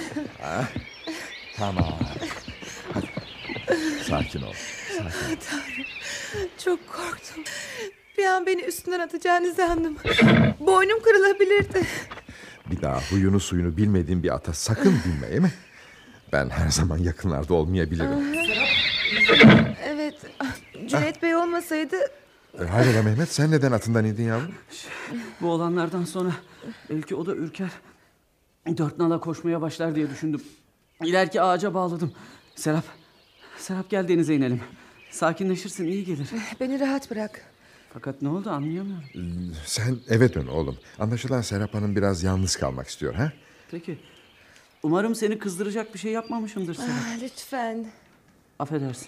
Tamam. Hadi. Sakin ol. Tanrım, çok korktum. Bir an beni üstünden atacağını sandım. Boynum kırılabilirdi. Bir daha huyunu suyunu bilmediğin bir ata sakın binme, değil mi? Ben her zaman yakınlarda olmayabilirim. Evet, Cüneyt Bey olmasaydı... Hayrola Mehmet, sen neden atından indin yavrum? Bu olanlardan sonra belki o da ürker. 4 nala koşmaya başlar diye düşündüm. İleriki ağaca bağladım. Serap gel denize inelim. Sakinleşirsin, iyi gelir. Beni rahat bırak. Fakat ne oldu anlayamıyorum. Sen eve dön oğlum. Anlaşılan Serap Hanım biraz yalnız kalmak istiyor, ha? Peki. Umarım seni kızdıracak bir şey yapmamışımdır Serap. Lütfen. Affedersin.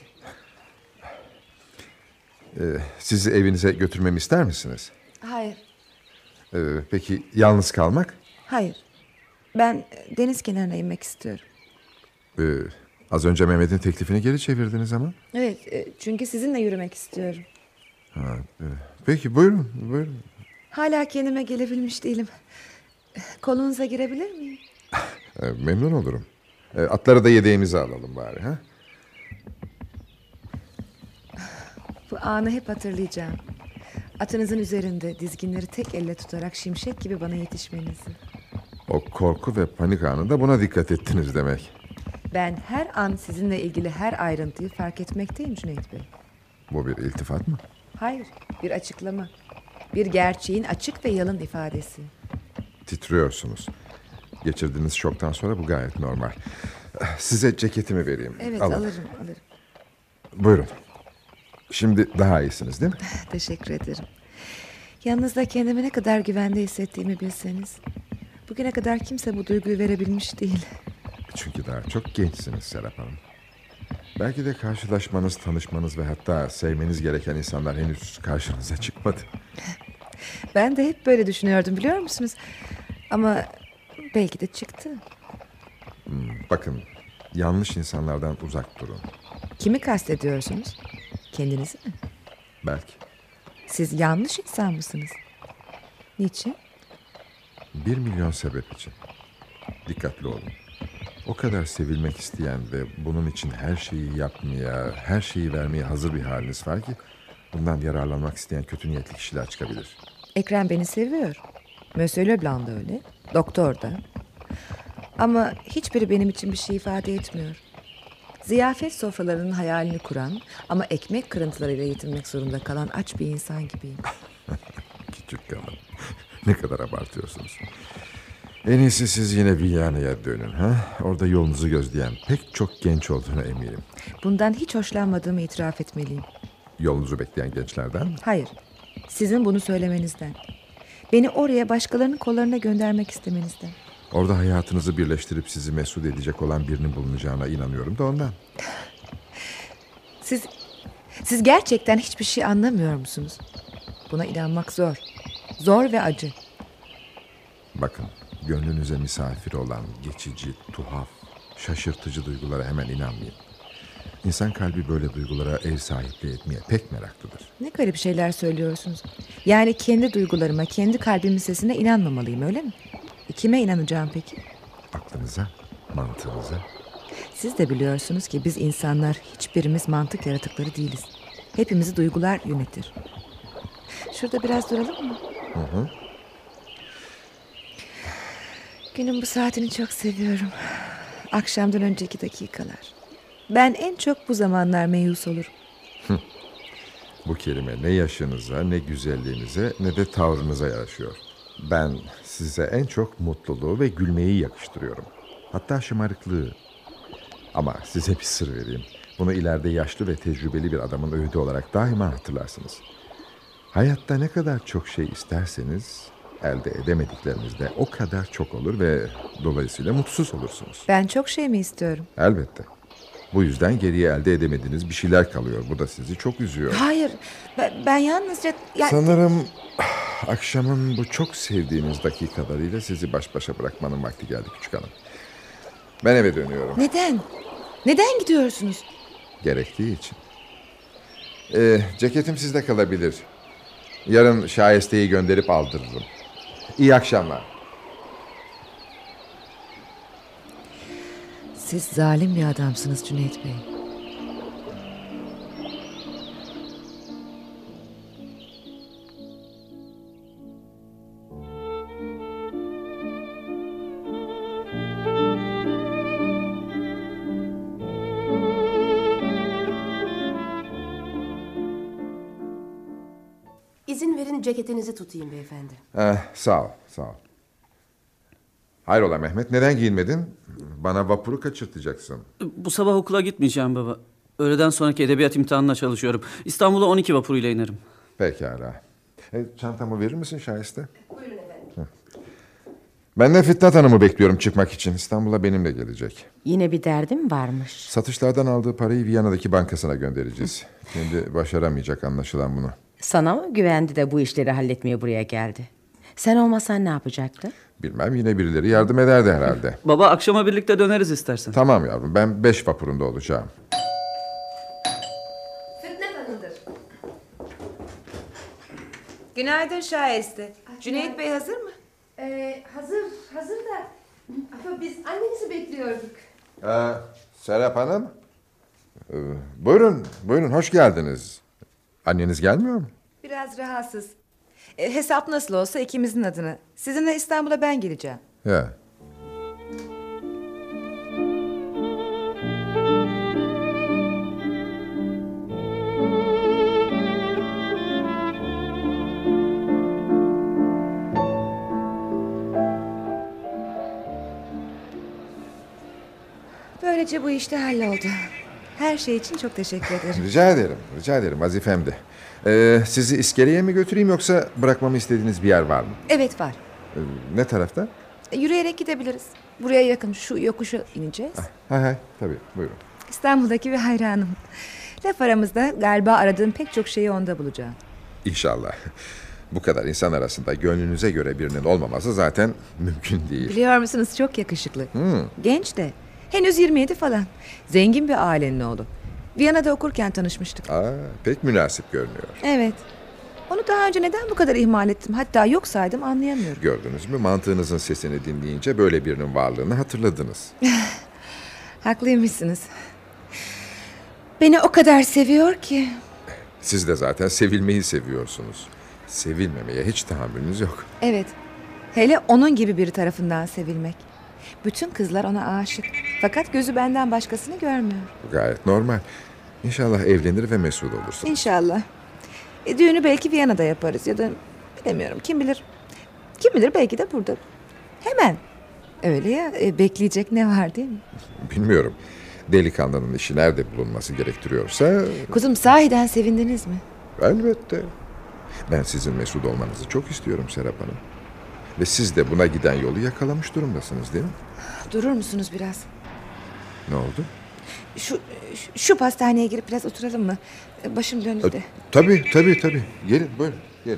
Sizi evinize götürmemi ister misiniz? Hayır. Peki yalnız kalmak? Hayır. Ben deniz kenarına inmek istiyorum. Az önce Mehmet'in teklifini geri çevirdiniz ama. Evet, çünkü sizinle yürümek istiyorum. Peki buyurun. Hala kendime gelebilmiş değilim. Kolunuza girebilir miyim? Memnun olurum. Atları da yedeğimize alalım bari, ha? Bu anı hep hatırlayacağım. Atınızın üzerinde dizginleri tek elle tutarak şimşek gibi bana yetişmenizi. O korku ve panik anında buna dikkat ettiniz demek. Ben her an sizinle ilgili her ayrıntıyı fark etmekteyim Cüneyt Bey. Bu bir iltifat mı? Hayır, bir açıklama. Bir gerçeğin açık ve yalın ifadesi. Titriyorsunuz. Geçirdiğiniz şoktan sonra bu gayet normal. Size ceketimi vereyim. Evet, Alın. alırım. Buyurun. Şimdi daha iyisiniz değil mi? Teşekkür ederim. Yanınızda kendimi ne kadar güvende hissettiğimi bilseniz. Bugüne kadar kimse bu duyguyu verebilmiş değil. Çünkü daha çok gençsiniz Serap Hanım. Belki de karşılaşmanız, tanışmanız ve hatta sevmeniz gereken insanlar henüz karşınıza çıkmadı. Ben de hep böyle düşünüyordum, biliyor musunuz? Ama belki de çıktı. Bakın, yanlış insanlardan uzak durun. Kimi kastediyorsunuz? Kendinizi mi? Belki. Siz yanlış insan mısınız? Niçin? 1 milyon sebep için. Dikkatli olun. O kadar sevilmek isteyen ve bunun için her şeyi yapmaya, her şeyi vermeye hazır bir haliniz var ki bundan yararlanmak isteyen kötü niyetli kişiler çıkabilir. Ekrem beni seviyor. Monsieur Leblanc da öyle. Doktor da. Ama hiçbiri benim için bir şey ifade etmiyor. Ziyafet sofralarının hayalini kuran ama ekmek kırıntılarıyla yetinmek zorunda kalan aç bir insan gibiyim. Küçük hanım. Ne kadar abartıyorsunuz. En iyisi siz yine Viyana'ya dönün. Ha? Orada yolunuzu gözleyen pek çok genç olduğuna eminim. Bundan hiç hoşlanmadığımı itiraf etmeliyim. Yolunuzu bekleyen gençlerden mi? Hayır. Sizin bunu söylemenizden. Beni oraya başkalarının kollarına göndermek istemenizden. Orada hayatınızı birleştirip sizi mesut edecek olan birinin bulunacağına inanıyorum da ondan. Siz gerçekten hiçbir şey anlamıyor musunuz? Buna inanmak zor. Zor ve acı. Bakın, gönlünüze misafir olan geçici, tuhaf, şaşırtıcı duygulara hemen inanmayın. İnsan kalbi böyle duygulara ev sahipliği etmeye pek meraklıdır. Ne garip şeyler söylüyorsunuz. Yani kendi duygularıma, kendi kalbimin sesine inanmamalıyım, öyle mi? Kime inanacağım peki? Aklınıza, mantığınıza. Siz de biliyorsunuz ki biz insanlar hiçbirimiz mantık yaratıkları değiliz. Hepimizi duygular yönetir. Şurada biraz duralım mı? Hı. Günün bu saatini çok seviyorum. Akşamdan önceki dakikalar. Ben en çok bu zamanlar meyus olurum. Bu kelime ne yaşınıza, ne güzelliğinize, ne de tavrınıza yaraşıyor. Ben size en çok mutluluğu ve gülmeyi yakıştırıyorum. Hatta şımarıklığı. Ama size bir sır vereyim. Bunu ileride yaşlı ve tecrübeli bir adamın öğüdü olarak daima hatırlarsınız. Hayatta ne kadar çok şey isterseniz elde edemedikleriniz de o kadar çok olur ve dolayısıyla mutsuz olursunuz. Ben çok şey mi istiyorum? Elbette. Bu yüzden geriye elde edemediğiniz bir şeyler kalıyor. Bu da sizi çok üzüyor. Hayır, ben yalnızca... Sanırım akşamın bu çok sevdiğiniz dakikalarıyla sizi baş başa bırakmanın vakti geldi küçük hanım. Ben eve dönüyorum. Neden? Neden gidiyorsunuz? Gerektiği için. Ceketim sizde kalabilir. Yarın Şayeste'yi gönderip aldırırım. İyi akşamlar. Siz zalim bir adamsınız Cüneyt Bey. İzin verin ceketinizi tutayım beyefendi. Sağ ol, sağ ol. Hayrola Mehmet, neden giyinmedin? Bana vapuru kaçırtacaksın. Bu sabah okula gitmeyeceğim baba. Öğleden sonraki edebiyat imtihanına çalışıyorum. İstanbul'a 12 vapuruyla inerim. Pekala. Çantamı verir misin Şayeste? Buyurun efendim. Ben de Fitnat Hanım'ı bekliyorum çıkmak için. İstanbul'a benimle gelecek. Yine bir derdim varmış. Satışlardan aldığı parayı Viyana'daki bankasına göndereceğiz. Şimdi başaramayacak anlaşılan bunu. Sana mı güvendi de bu işleri halletmeye buraya geldi? Sen olmasan ne yapacaktı? Bilmem, yine birileri yardım ederdi herhalde. Baba, akşama birlikte döneriz istersen. Tamam yavrum, ben 5 vapurunda olacağım. Fitnat Hanım'dır. Günaydın Şayeste. Cüneyt Bey hazır mı? Hazır da ama biz annenizi bekliyorduk. Serap Hanım. Buyurun, hoş geldiniz. Anneniz gelmiyor mu? biraz rahatsız. Hesap nasıl olsa ikimizin adına. Sizinle İstanbul'a ben geleceğim. Ya. Böylece bu işte halloldu. Her şey için çok teşekkür ederim. Rica ederim, rica ederim. Vazifemdi. Sizi iskeleye mi götüreyim yoksa bırakmamı istediğiniz bir yer var mı? Evet var. Ne tarafta? Yürüyerek gidebiliriz. Buraya yakın, şu yokuşa ineceğiz. Hay tabii, buyurun. İstanbul'daki bir hayranım. Laf aramızda galiba aradığım pek çok şeyi onda bulacağım. İnşallah. Bu kadar insan arasında gönlünüze göre birinin olmaması zaten mümkün değil. Biliyor musunuz, çok yakışıklı. Genç de. Henüz 27 falan. Zengin bir ailenin oğlu. Viyana'da okurken tanışmıştık. Pek münasip görünüyor. Evet. Onu daha önce neden bu kadar ihmal ettim, hatta yok saydım, anlayamıyorum. Gördünüz mü? Mantığınızın sesini dinleyince böyle birinin varlığını hatırladınız. Haklıymışsınız. Beni o kadar seviyor ki. Siz de zaten sevilmeyi seviyorsunuz. Sevilmemeye hiç tahammülünüz yok. Evet. Hele onun gibi biri tarafından sevilmek. Bütün kızlar ona aşık. Fakat gözü benden başkasını görmüyor. Gayet normal. İnşallah evlenir ve mesut olursun. İnşallah. Düğünü belki Viyana'da yaparız ya da bilemiyorum, kim bilir. Kim bilir, belki de burada. Hemen. Öyle ya, bekleyecek ne var değil mi? Bilmiyorum. Delikanlının işi nerede bulunması gerektiriyorsa... Kuzum, sahiden sevindiniz mi? Elbette. Ben sizin mesut olmanızı çok istiyorum Serap Hanım. Ve siz de buna giden yolu yakalamış durumdasınız değil mi? Durur musunuz biraz? Ne oldu? Şu pastaneye girip biraz oturalım mı? Başım döndü de. Tabii. Gelin, buyurun, gelin.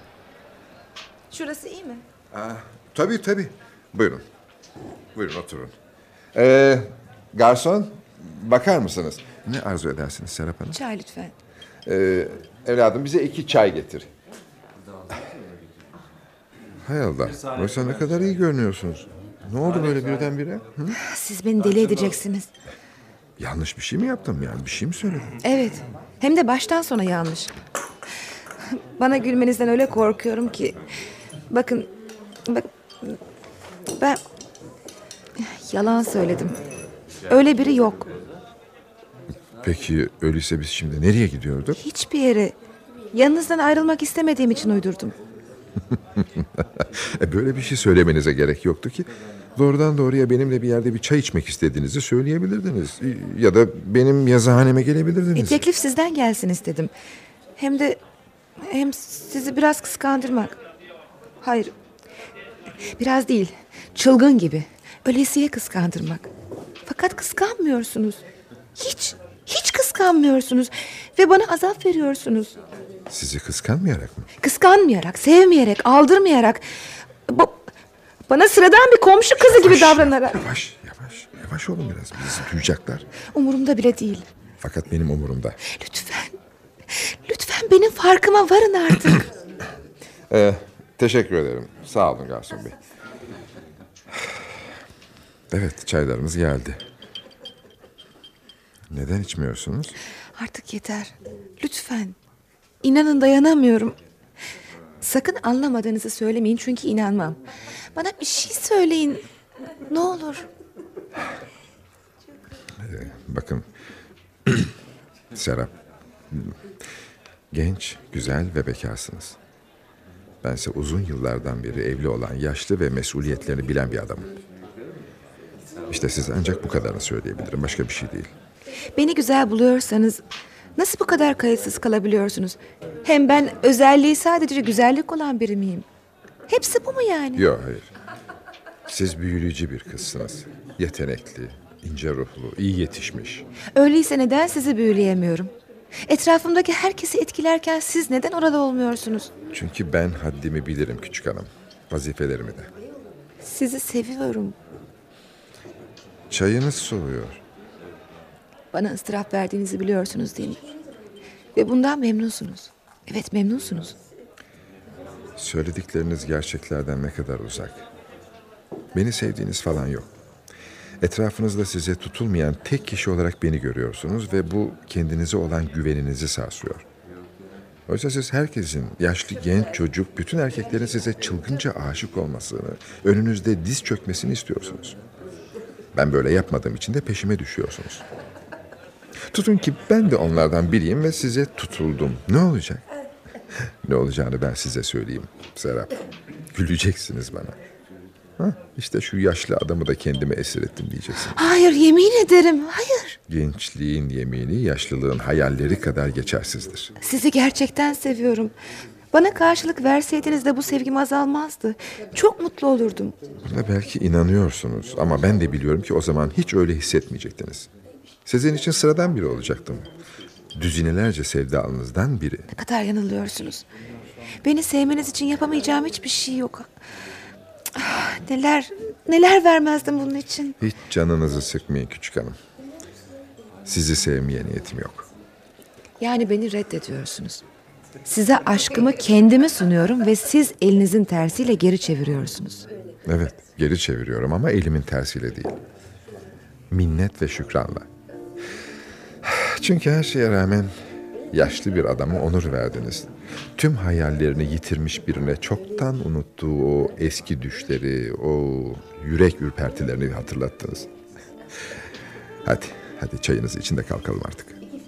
Şurası iyi mi? Tabii. Buyurun. Buyurun, oturun. Garson, bakar mısınız? Ne arzu edersiniz Serap Hanım? Çay lütfen. Evladım, bize 2 çay getir. Hay Allah, oysa ne kadar iyi görünüyorsunuz. Ne oldu böyle birdenbire? Hı? Siz beni deli edeceksiniz. Yanlış bir şey mi yaptım yani? Bir şey mi söyledim? Evet. Hem de baştan sona yanlış. Bana gülmenizden öyle korkuyorum ki. Bakın. Ben yalan söyledim. Öyle biri yok. Peki öyleyse biz şimdi nereye gidiyorduk? Hiçbir yere. Yanınızdan ayrılmak istemediğim için uydurdum. Böyle bir şey söylemenize gerek yoktu ki. Doğrudan doğruya benimle bir yerde bir çay içmek istediğinizi söyleyebilirdiniz. Ya da benim yazıhaneme gelebilirdiniz. Teklif sizden gelsin istedim. Hem sizi biraz kıskandırmak. Hayır. Biraz değil. Çılgın gibi. Ölesiye kıskandırmak. Fakat kıskanmıyorsunuz. Hiç kıskanmıyorsunuz. Ve bana azap veriyorsunuz. Sizi kıskanmayarak mı? Kıskanmayarak, sevmeyerek, aldırmayarak. Bana sıradan bir komşu kızı gibi davranarak. Yavaş olun biraz. Bizi duyacaklar. Umurumda bile değil. Fakat benim umurumda. Lütfen benim farkıma varın artık. Teşekkür ederim. Sağ olun garson bey. Evet, çaylarımız geldi. Neden içmiyorsunuz? Artık yeter. Lütfen. İnanın, dayanamıyorum. Sakın anlamadığınızı söylemeyin, çünkü inanmam. Bana bir şey söyleyin. Ne olur. Bakın. Serap. Genç, güzel ve bekarsınız. Bense uzun yıllardan beri evli olan, yaşlı ve mesuliyetlerini bilen bir adamım. İşte size ancak bu kadarını söyleyebilirim. Başka bir şey değil. Beni güzel buluyorsanız nasıl bu kadar kayıtsız kalabiliyorsunuz? Hem ben özelliği sadece güzellik olan biri miyim? Hepsi bu mu yani? Yok, hayır. Siz büyüleyici bir kızsınız. Yetenekli, ince ruhlu, iyi yetişmiş. Öyleyse neden sizi büyüleyemiyorum? Etrafımdaki herkesi etkilerken siz neden orada olmuyorsunuz? Çünkü ben haddimi bilirim küçük hanım. Vazifelerimi de. Sizi seviyorum. Çayınız soğuyor. Bana ıstırap verdiğinizi biliyorsunuz değil mi? Ve bundan memnunsunuz. Evet, memnunsunuz. Söyledikleriniz gerçeklerden ne kadar uzak. Beni sevdiğiniz falan yok. Etrafınızda size tutulmayan tek kişi olarak beni görüyorsunuz ve bu kendinize olan güveninizi sarsıyor. Oysa siz herkesin, yaşlı, genç, çocuk, bütün erkeklerin size çılgınca aşık olmasını, önünüzde diz çökmesini istiyorsunuz. Ben böyle yapmadığım için de peşime düşüyorsunuz. Tutun ki ben de onlardan biriyim ve size tutuldum. Ne olacak? Ne olacağını ben size söyleyeyim Serap. Güleceksiniz bana. İşte şu yaşlı adamı da kendime esir ettim diyeceksin. Hayır, yemin ederim, hayır. Gençliğin yemini yaşlılığın hayalleri kadar geçersizdir. Sizi gerçekten seviyorum. Bana karşılık verseydiniz de bu sevgim azalmazdı. Çok mutlu olurdum. Buna belki inanıyorsunuz ama ben de biliyorum ki o zaman hiç öyle hissetmeyecektiniz. Sizin için sıradan biri olacaktım. Düzinelerce sevdalınızdan biri. Ne kadar yanılıyorsunuz. Beni sevmeniz için yapamayacağım hiçbir şey yok. Neler vermezdim bunun için. Hiç canınızı sıkmayın küçük hanım. Sizi sevmeye niyetim yok. Yani beni reddediyorsunuz. Size aşkımı kendime sunuyorum ve siz elinizin tersiyle geri çeviriyorsunuz. Evet, geri çeviriyorum ama elimin tersiyle değil. Minnet ve şükranla. Çünkü her şeye rağmen yaşlı bir adama onur verdiniz. Tüm hayallerini yitirmiş birine çoktan unuttuğu o eski düşleri, o yürek ürpertilerini hatırlattınız. Hadi çayınızı için de kalkalım artık.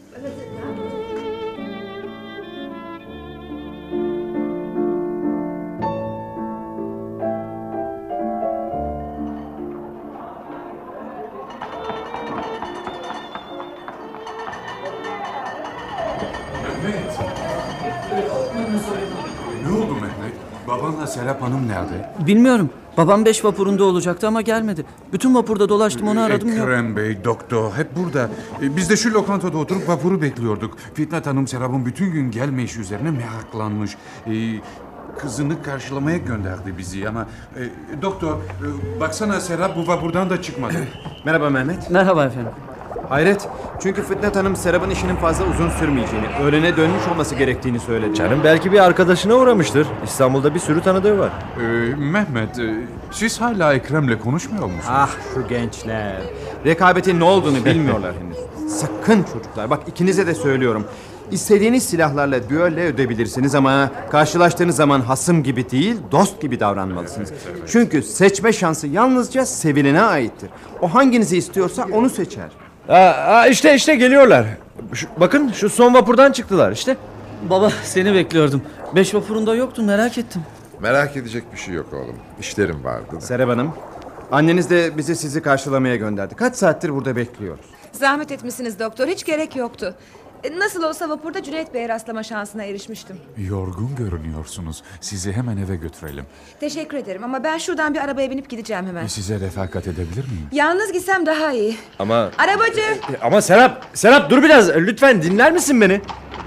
Ne oldu Mehmet? Babanla Serap Hanım nerede? Bilmiyorum. Babam 5 vapurunda olacaktı ama gelmedi. Bütün vapurda dolaştım, onu aradım, yok. Ekrem Bey, doktor hep burada. Biz de şu lokantada oturup vapuru bekliyorduk. Fitnat Hanım Serap'ın bütün gün gelmeyişi üzerine meraklanmış. Kızını karşılamaya gönderdi bizi ama... doktor, baksana Serap bu vapurdan da çıkmadı. Merhaba Mehmet. Merhaba efendim. Hayret. Çünkü Fitnat Hanım Serap'ın işinin fazla uzun sürmeyeceğini, öğlene dönmüş olması gerektiğini söyledi. Canım belki bir arkadaşına uğramıştır. İstanbul'da bir sürü tanıdığı var. Mehmet, siz hala Ekrem'le konuşmuyor musunuz? Ah şu gençler. Rekabetin ne olduğunu bilmiyorlar henüz. Sakın çocuklar, bak ikinize de söylüyorum. İstediğiniz silahlarla düelle ödebilirsiniz ama karşılaştığınız zaman hasım gibi değil, dost gibi davranmalısınız. Çünkü seçme şansı yalnızca sevilene aittir. O hanginizi istiyorsa onu seçer. İşte geliyorlar. Bakın şu son vapurdan çıktılar işte. Baba seni bekliyordum. 5 vapurunda yoktun, merak ettim. Merak edecek bir şey yok oğlum. İşlerim vardı da. Serap Hanım, anneniz de bizi sizi karşılamaya gönderdi. Kaç saattir burada bekliyoruz. Zahmet etmişsiniz doktor, hiç gerek yoktu. Nasıl olsa vapurda Cüneyt Bey'e rastlama şansına erişmiştim. Yorgun görünüyorsunuz. Sizi hemen eve götürelim. Teşekkür ederim ama ben şuradan bir arabaya binip gideceğim hemen. Size refakat edebilir miyim? Yalnız gitsem daha iyi. Ama... Arabacı! Ama Serap dur biraz. Lütfen dinler misin beni?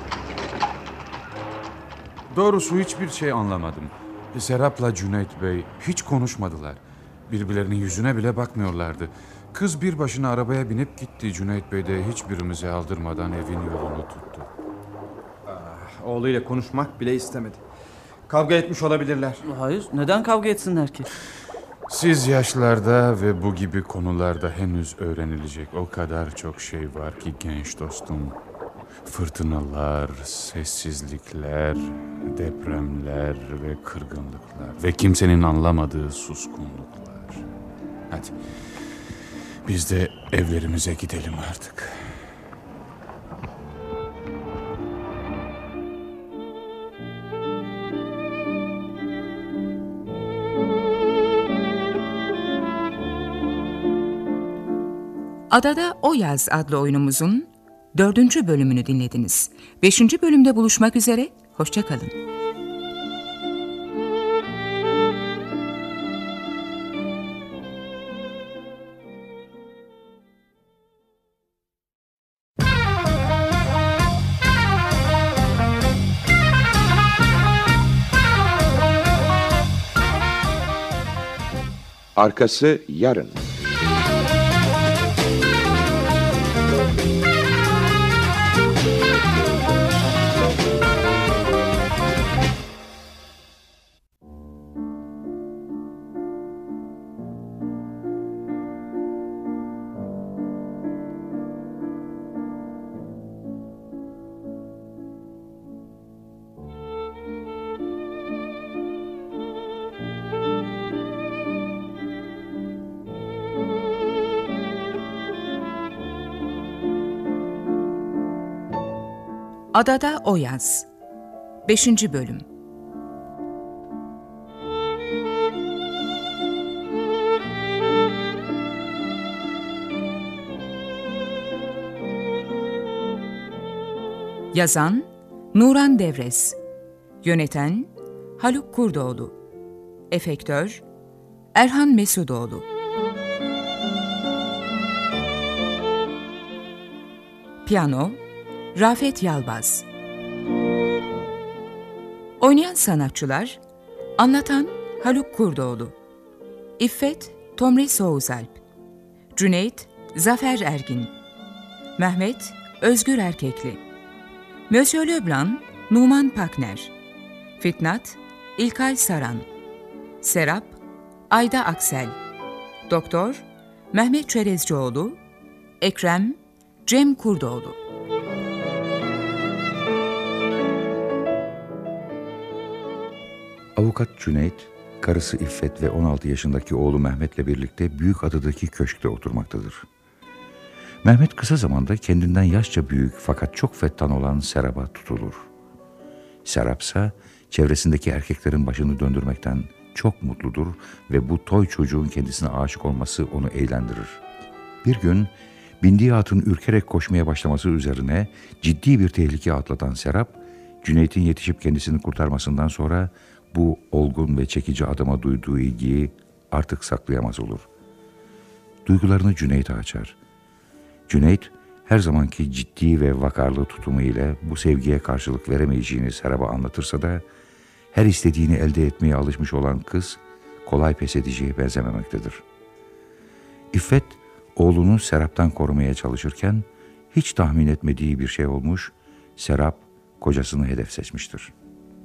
Doğrusu hiçbir şey anlamadım. Serap'la Cüneyt Bey hiç konuşmadılar. Birbirlerinin yüzüne bile bakmıyorlardı. Kız bir başına arabaya binip gitti. Cüneyt Bey de hiçbirimize aldırmadan evin yolunu tuttu. Oğluyla konuşmak bile istemedi. Kavga etmiş olabilirler. Hayır, neden kavga etsinler ki? Siz yaşlarda ve bu gibi konularda henüz öğrenilecek o kadar çok şey var ki genç dostum. Fırtınalar, sessizlikler, depremler ve kırgınlıklar ve kimsenin anlamadığı suskunluklar. Hadi biz de evlerimize gidelim artık. Adada O Yaz adlı oyunumuzun 4. bölümünü dinlediniz. 5. bölümde buluşmak üzere, hoşça kalın. Arkası yarın. Adada o yaz. 5. bölüm. Yazan Nuran Devres. Yöneten Haluk Kurdoğlu. Efektör Erhan Mesudoğlu. Piyano Rafet Yalbaz. Oynayan sanatçılar: anlatan Haluk Kurdoğlu, İffet Tomris Soğuzalp, Cüneyt Zafer Ergin, Mehmet Özgür Erkekli, Monsieur Leblanc Numan Pakner, Fitnat İlkay Saran, Serap Ayda Aksel, Doktor Mehmet Çerezcioğlu, Ekrem Cem Kurdoğlu. Avukat Cüneyt, karısı İffet ve 16 yaşındaki oğlu Mehmet'le birlikte Büyükada'daki köşkte oturmaktadır. Mehmet kısa zamanda kendinden yaşça büyük fakat çok fettan olan Serap'a tutulur. Serap ise çevresindeki erkeklerin başını döndürmekten çok mutludur ve bu toy çocuğun kendisine aşık olması onu eğlendirir. Bir gün bindiği atın ürkerek koşmaya başlaması üzerine ciddi bir tehlike atlatan Serap, Cüneyt'in yetişip kendisini kurtarmasından sonra bu olgun ve çekici adama duyduğu ilgiyi artık saklayamaz olur. Duygularını Cüneyt'e açar. Cüneyt, her zamanki ciddi ve vakarlı tutumu ile bu sevgiye karşılık veremeyeceğini Serap'a anlatırsa da, her istediğini elde etmeye alışmış olan kız, kolay pes edeceğe benzememektedir. İffet, oğlunu Serap'tan korumaya çalışırken, hiç tahmin etmediği bir şey olmuş, Serap, kocasını hedef seçmiştir.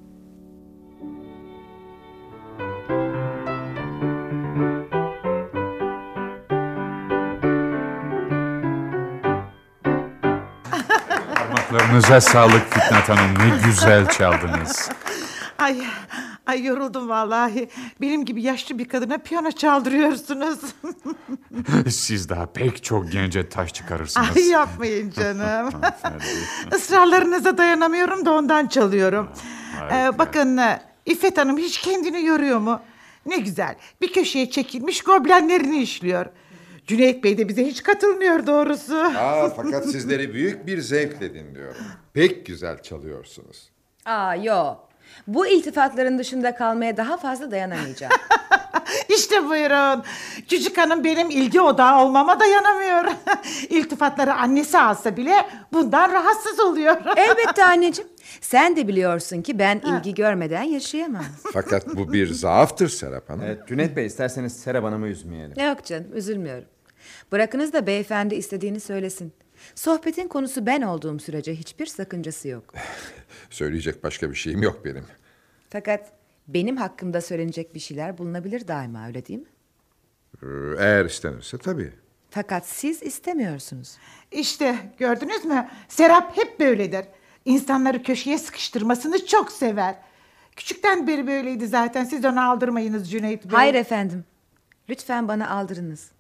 Parmaklarınıza sağlık Fitnat Hanım. Ne güzel çaldınız. Ay yoruldum vallahi. Benim gibi yaşlı bir kadına piyano çaldırıyorsunuz. Siz daha pek çok gence taş çıkarırsınız. Ay yapmayın canım. Israrlarınıza dayanamıyorum da ondan çalıyorum. Bakın İffet Hanım hiç kendini yoruyor mu? Ne güzel. Bir köşeye çekilmiş goblenlerini işliyor. Cüneyt Bey de bize hiç katılmıyor doğrusu. Fakat sizleri büyük bir zevkle dinliyorum. Pek güzel çalıyorsunuz. Yo. Bu iltifatların dışında kalmaya daha fazla dayanamayacağım. İşte buyurun. Küçük hanım benim ilgi odağı olmama dayanamıyor. İltifatları annesi alsa bile bundan rahatsız oluyor. Elbette anneciğim. Sen de biliyorsun ki ben ilgi görmeden yaşayamam. Fakat bu bir zaaftır Serap Hanım. Evet, Cüneyt Bey, isterseniz Serap Hanım'ı üzmeyelim. Yok canım, üzülmüyorum. Bırakınız da beyefendi istediğini söylesin. Sohbetin konusu ben olduğum sürece hiçbir sakıncası yok. Söyleyecek başka bir şeyim yok benim. Fakat benim hakkımda söylenecek bir şeyler bulunabilir daima, öyle değil mi? Eğer istenirse tabii. Fakat siz istemiyorsunuz. İşte gördünüz mü? Serap hep böyledir. İnsanları köşeye sıkıştırmasını çok sever. Küçükten beri böyleydi zaten. Siz onu aldırmayınız Cüneyt Bey. Hayır efendim. Lütfen bana aldırınız.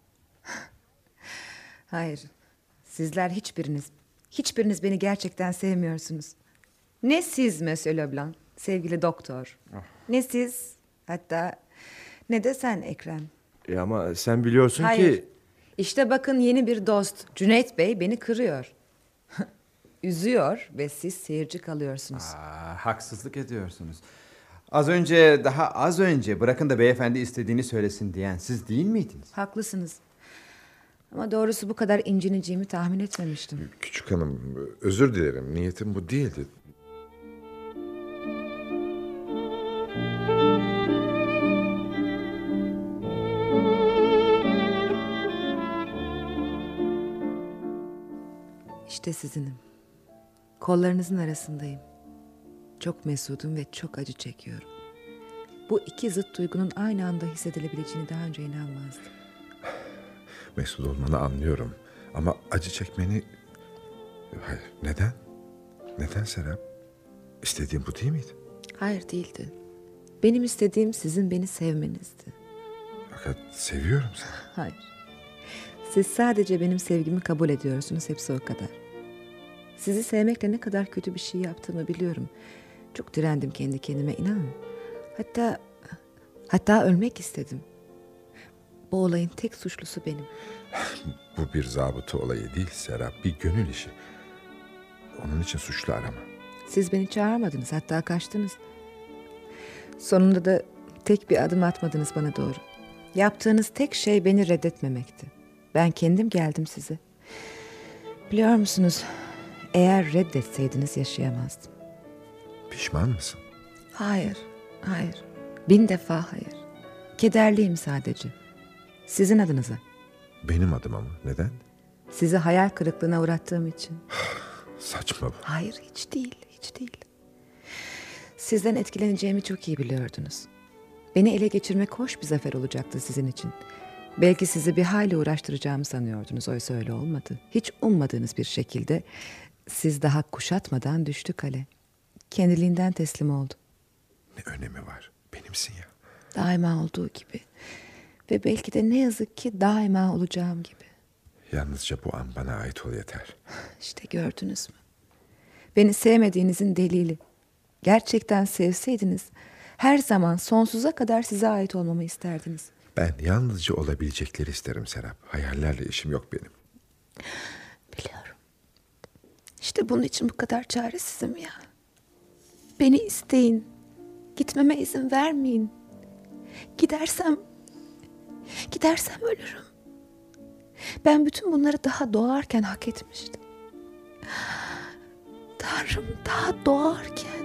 Hayır. Sizler hiçbiriniz beni gerçekten sevmiyorsunuz. Ne siz Monsieur Leblanc, sevgili doktor. Ne siz, hatta ne de sen Ekrem. Ama sen biliyorsun Hayır. ki... İşte bakın yeni bir dost. Cüneyt Bey beni kırıyor. Üzüyor ve siz seyirci kalıyorsunuz. Haksızlık ediyorsunuz. Daha az önce bırakın da beyefendi istediğini söylesin diyen siz değil miydiniz? Haklısınız. Ama doğrusu bu kadar incineceğimi tahmin etmemiştim. Küçük hanım, özür dilerim. Niyetim bu değildi. İşte sizinim. Kollarınızın arasındayım. Çok mesudum ve çok acı çekiyorum. Bu iki zıt duygunun aynı anda hissedilebileceğini daha önce inanmazdım. Mesut olmanı anlıyorum. Ama acı çekmeni... Hayır, neden? Neden Serap? İstediğim bu değil miydi? Hayır, değildi. Benim istediğim sizin beni sevmenizdi. Fakat seviyorum seni. Hayır. Siz sadece benim sevgimi kabul ediyorsunuz, hepsi o kadar. Sizi sevmekle ne kadar kötü bir şey yaptığımı biliyorum. Çok direndim kendi kendime, inanın. Hatta ölmek istedim. Bu olayın tek suçlusu benim. Bu bir zabıta olayı değil Serap, bir gönül işi. Onun için suçlu arama. Siz beni çağırmadınız, hatta kaçtınız. Sonunda da tek bir adım atmadınız bana doğru. Yaptığınız tek şey beni reddetmemekti. Ben kendim geldim size. Biliyor musunuz, eğer reddetseydiniz yaşayamazdım. Pişman mısın? Hayır. 1000 defa hayır. Kederliyim sadece. Sizin adınıza. Benim adıma mı? Neden? Sizi hayal kırıklığına uğrattığım için. Saçma bu. Hayır, hiç değil. Sizden etkileneceğimi çok iyi biliyordunuz. Beni ele geçirmek hoş bir zafer olacaktı sizin için. Belki sizi bir hayli uğraştıracağımı sanıyordunuz. Oysa öyle olmadı. Hiç ummadığınız bir şekilde siz daha kuşatmadan düştü kale. Kendiliğinden teslim oldu. Ne önemi var? Benimsin ya. Daima olduğu gibi. Ve belki de ne yazık ki daima olacağım gibi. Yalnızca bu an bana ait ol yeter. İşte gördünüz mü? Beni sevmediğinizin delili. Gerçekten sevseydiniz her zaman sonsuza kadar size ait olmamı isterdiniz. Ben yalnızca olabilecekleri isterim Serap. Hayallerle işim yok benim. Biliyorum. İşte bunun için bu kadar çaresizim ya. Beni isteyin. Gitmeme izin vermeyin. Gidersem ölürüm. Ben bütün bunları daha doğarken hak etmiştim. Tanrım, daha doğarken.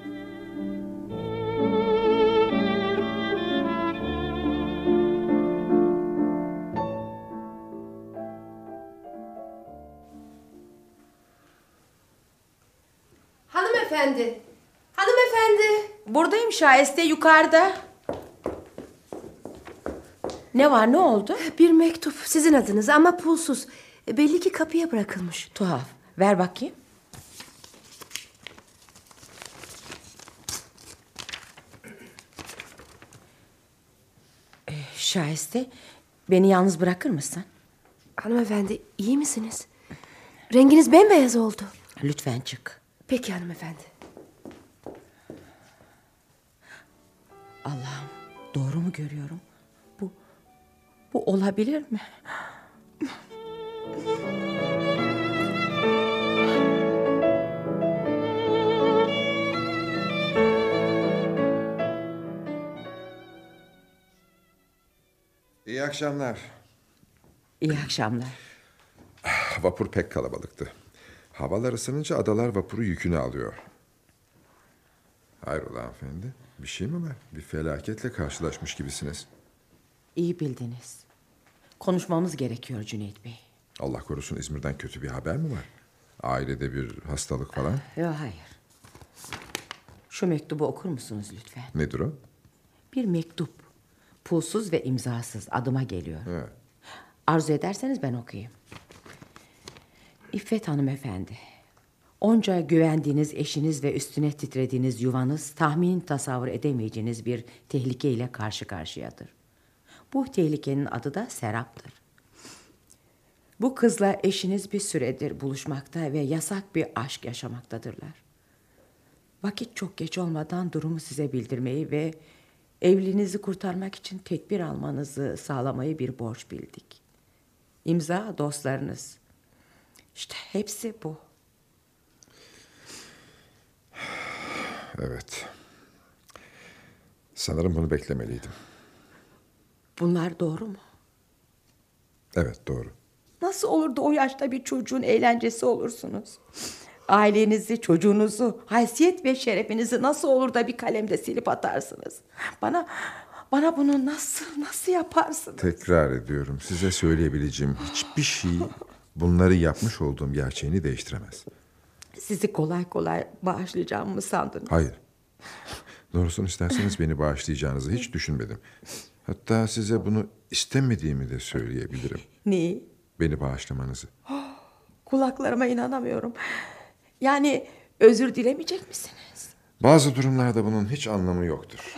Hanımefendi. Buradayım Şahiste, yukarıda. Ne var, ne oldu? Bir mektup sizin adınıza ama pulsuz. Belli ki kapıya bırakılmış. Tuhaf. Ver bakayım. Şahiste, beni yalnız bırakır mısın? Hanımefendi, iyi misiniz? Renginiz bembeyaz oldu. Lütfen çık. Peki hanımefendi. Allah'ım, doğru mu görüyorum? Bu olabilir mi? İyi akşamlar. İyi akşamlar. Vapur pek kalabalıktı. Havalar ısınınca adalar vapuru yükünü alıyor. Hayrola hanımefendi? Bir şey mi var? Bir felaketle karşılaşmış gibisiniz. İyi bildiniz. Konuşmamız gerekiyor Cüneyt Bey. Allah korusun, İzmir'den kötü bir haber mi var? Ailede bir hastalık falan? Yok, hayır. Şu mektubu okur musunuz lütfen? Nedir o? Bir mektup. Pulsuz ve imzasız, adıma geliyor. Evet. Arzu ederseniz ben okuyayım. İffet hanımefendi. Onca güvendiğiniz eşiniz ve üstüne titrediğiniz yuvanız tahmin tasavvur edemeyeceğiniz bir tehlikeyle karşı karşıyadır. Bu tehlikenin adı da Serap'tır. Bu kızla eşiniz bir süredir buluşmakta ve yasak bir aşk yaşamaktadırlar. Vakit çok geç olmadan durumu size bildirmeyi ve evliliğinizi kurtarmak için tedbir almanızı sağlamayı bir borç bildik. İmza dostlarınız. İşte hepsi bu. Evet. Sanırım bunu beklemeliydim. Bunlar doğru mu? Evet, doğru. Nasıl olur da o yaşta bir çocuğun eğlencesi olursunuz? Ailenizi, çocuğunuzu, haysiyet ve şerefinizi nasıl olur da bir kalemde silip atarsınız? Bana bunu nasıl yaparsınız? Tekrar ediyorum, size söyleyebileceğim hiçbir şey bunları yapmış olduğum gerçeğini değiştiremez. Sizi kolay kolay bağışlayacağımı mı sandınız? Hayır. Doğrusunu isterseniz beni bağışlayacağınızı hiç düşünmedim. Hatta size bunu istemediğimi de söyleyebilirim. Neyi? Beni bağışlamanızı. Kulaklarıma inanamıyorum. Yani özür dilemeyecek misiniz? Bazı durumlarda bunun hiç anlamı yoktur.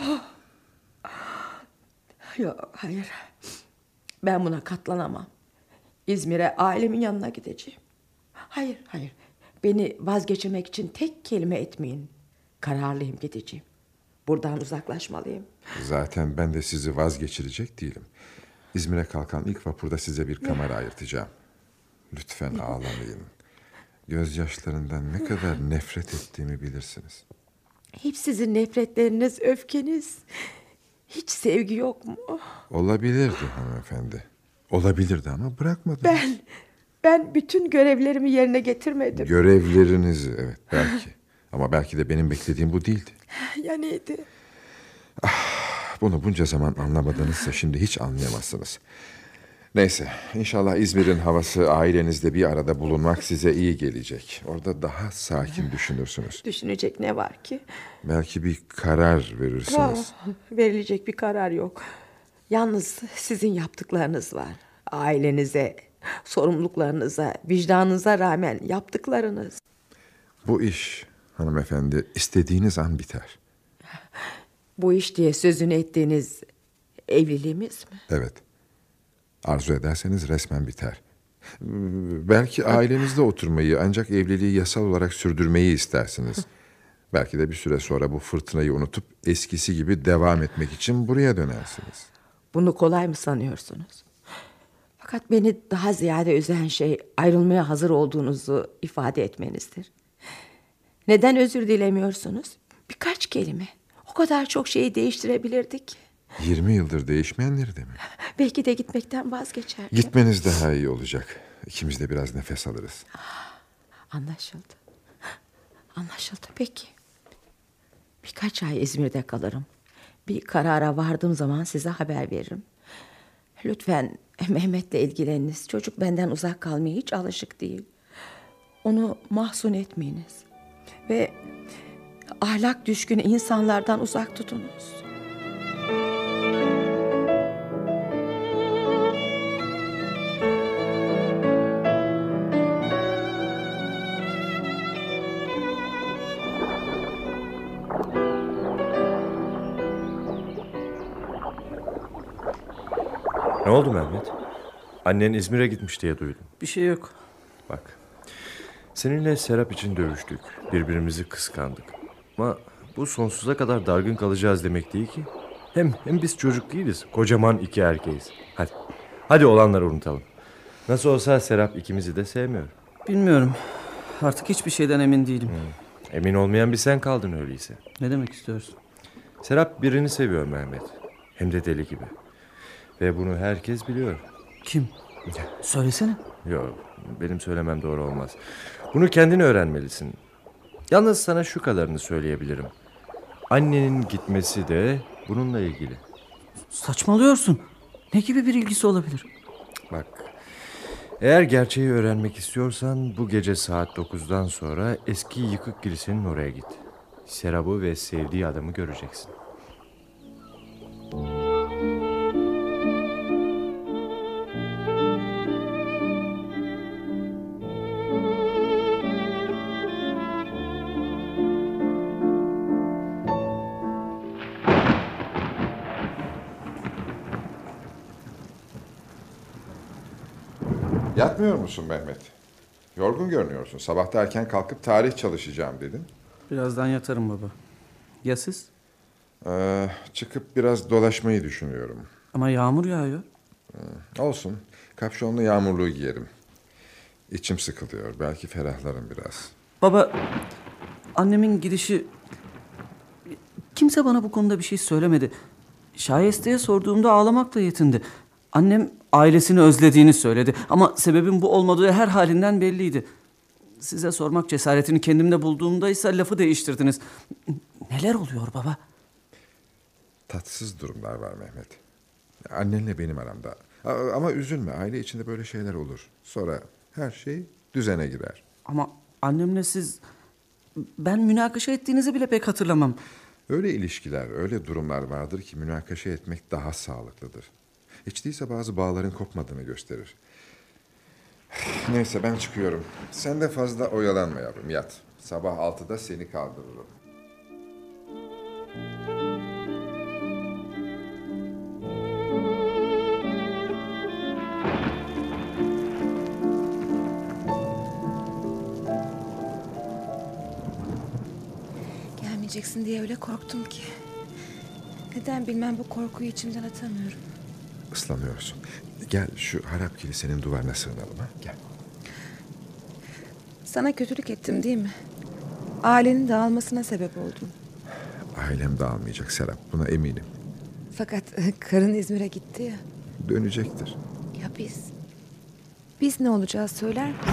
Yok, hayır. Ben buna katlanamam. İzmir'e ailemin yanına gideceğim. Hayır. Beni vazgeçirmek için tek kelime etmeyin. Kararlıyım, gideceğim. Buradan uzaklaşmalıyım. Zaten ben de sizi vazgeçirecek değilim. İzmir'e kalkan ilk vapurda size bir kamera ayırtacağım. Lütfen ağlamayın. Gözyaşlarından ne kadar nefret ettiğimi bilirsiniz. Hep sizin nefretleriniz, öfkeniz. Hiç sevgi yok mu? Olabilirdi hanımefendi. Olabilirdi ama bırakmadınız. Ben bütün görevlerimi yerine getirmedim. Görevlerinizi, evet belki. Ama belki de benim beklediğim bu değildi. Ya neydi? Bunu bunca zaman anlamadınızsa şimdi hiç anlayamazsınız. Neyse, inşallah İzmir'in havası, ailenizle bir arada bulunmak size iyi gelecek. Orada daha sakin düşünürsünüz. Düşünecek ne var ki? Belki bir karar verirsiniz. Verilecek bir karar yok. Yalnız sizin yaptıklarınız var. Ailenize, sorumluluklarınıza, vicdanınıza rağmen yaptıklarınız. Bu iş hanımefendi istediğiniz an biter. Bu iş diye sözünü ettiğiniz evliliğimiz mi? Evet. Arzu ederseniz resmen biter. Belki ailenizde oturmayı, ancak evliliği yasal olarak sürdürmeyi istersiniz. Belki de bir süre sonra bu fırtınayı unutup eskisi gibi devam etmek için buraya dönersiniz. Bunu kolay mı sanıyorsunuz? Fakat beni daha ziyade üzen şey ayrılmaya hazır olduğunuzu ifade etmenizdir. Neden özür dilemiyorsunuz? Birkaç kelime. O kadar çok şeyi değiştirebilirdik. 20 yıldır değişmeyenleri de mi? Belki de gitmekten vazgeçerdim. Gitmeniz daha iyi olacak. İkimiz de biraz nefes alırız. Anlaşıldı. Anlaşıldı peki. Birkaç ay İzmir'de kalırım. Bir karara vardığım zaman size haber veririm. Lütfen Mehmet'le ilgileniniz. Çocuk benden uzak kalmaya hiç alışık değil. Onu mahzun etmeyiniz. Ve ahlak düşkünü insanlardan uzak tutunuz. Ne oldu Mehmet? Annen İzmir'e gitmiş diye duydum. Bir şey yok. Bak, seninle Serap için dövüştük. Birbirimizi kıskandık. Ama bu sonsuza kadar dargın kalacağız demek değil ki. Hem biz çocuk değiliz. Kocaman iki erkeğiz. Hadi olanları unutalım. Nasıl olsa Serap ikimizi de sevmiyor. Bilmiyorum. Artık hiçbir şeyden emin değilim. Emin olmayan bir sen kaldın öyleyse. Ne demek istiyorsun? Serap birini seviyor Mehmet. Hem de deli gibi. Ve bunu herkes biliyor. Kim? Söylesene. Yok, benim söylemem doğru olmaz. Bunu kendin öğrenmelisin. Yalnız sana şu kadarını söyleyebilirim. Annenin gitmesi de bununla ilgili. Saçmalıyorsun. Ne gibi bir ilgisi olabilir? Bak, eğer gerçeği öğrenmek istiyorsan bu gece saat 9'dan sonra eski yıkık kilisenin oraya git. Serap'ı ve sevdiği adamı göreceksin. Yatmıyor musun Mehmet? Yorgun görünüyorsun. Sabah da erken kalkıp tarih çalışacağım dedin. Birazdan yatarım baba. Ya siz? Çıkıp biraz dolaşmayı düşünüyorum. Ama yağmur yağıyor. Olsun. Kapşonlu yağmurluğu giyerim. İçim sıkılıyor. Belki ferahlarım biraz. Baba, annemin gidişi... Kimse bana bu konuda bir şey söylemedi. Şayeste'ye sorduğumda ağlamakla yetindi. Annem ailesini özlediğini söyledi. Ama sebebin bu olmadığı her halinden belliydi. Size sormak cesaretini kendimde bulduğumda ise lafı değiştirdiniz. Neler oluyor baba? Tatsız durumlar var Mehmet. Annenle benim aramda. Ama üzülme. Aile içinde böyle şeyler olur. Sonra her şey düzene girer. Ama annemle siz... Ben münakaşa ettiğinizi bile pek hatırlamam. Öyle ilişkiler, öyle durumlar vardır ki münakaşa etmek daha sağlıklıdır. Hiç değilse bazı bağların kopmadığını gösterir. Neyse ben çıkıyorum. Sen de fazla oyalanma yavrum, yat. Sabah 6'da seni kaldırırım. sevmeyeceksin diye öyle korktum ki. Neden bilmem bu korkuyu içimden atamıyorum. Islanıyorsun. Gel şu harap kilisenin duvarına sığınalım ha. Gel. Sana kötülük ettim değil mi? Ailenin dağılmasına sebep oldum. Ailem dağılmayacak Serap. Buna eminim. Fakat karın İzmir'e gitti ya. Dönecektir. Ya biz? Biz ne olacağız söyler misin?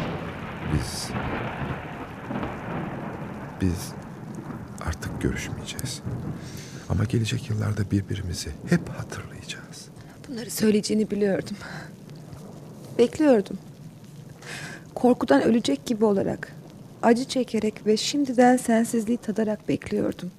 Biz artık görüşmeyeceğiz. Ama gelecek yıllarda birbirimizi hep hatırlayacağız. Bunları söyleyeceğini biliyordum. Bekliyordum. Korkudan ölecek gibi olarak, acı çekerek ve şimdiden sensizliği tadarak bekliyordum.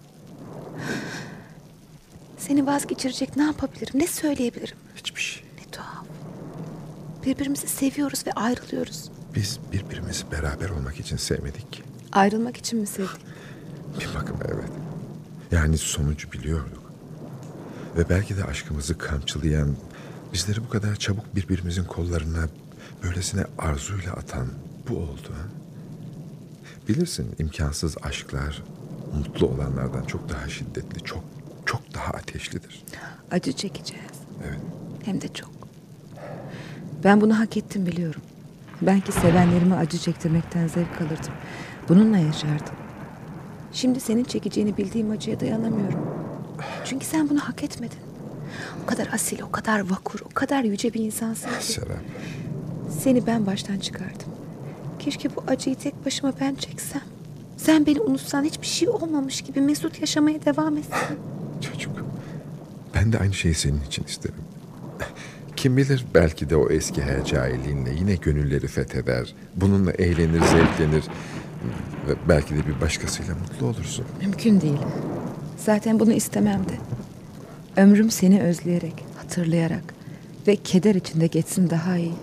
Seni vazgeçirecek ne yapabilirim, ne söyleyebilirim? Hiçbir şey. Ne tuhaf. Birbirimizi seviyoruz ve ayrılıyoruz. Biz birbirimizi beraber olmak için sevmedik ki. Ayrılmak için mi sevdik? Bir bakıma evet. Yani sonucu biliyorduk. Ve belki de aşkımızı kamçılayan, bizleri bu kadar çabuk birbirimizin kollarına böylesine arzuyla atan bu oldu. Ha? Bilirsin imkansız aşklar mutlu olanlardan çok daha şiddetli, çok daha ateşlidir. Acı çekeceğiz. Evet. Hem de çok. Ben bunu hak ettim biliyorum. Belki sevenlerime acı çektirmekten zevk alırdım. Bununla yaşardım. Şimdi senin çekeceğini bildiğim acıya dayanamıyorum. Çünkü sen bunu hak etmedin. O kadar asil, o kadar vakur, o kadar yüce bir insansın ki. Serap. Seni ben baştan çıkardım. Keşke bu acıyı tek başıma ben çeksem. Sen beni unutsan, hiçbir şey olmamış gibi mesut yaşamaya devam etsen. Çocuk. Ben de aynı şeyi senin için isterim. Kim bilir belki de o eski hercailinle yine gönülleri fetheder. Bununla eğlenir, zevklenir. Ve belki de bir başkasıyla mutlu olursun. Mümkün değil. Zaten bunu istemem de. Ömrüm seni özleyerek, hatırlayarak ve keder içinde geçsin daha iyi.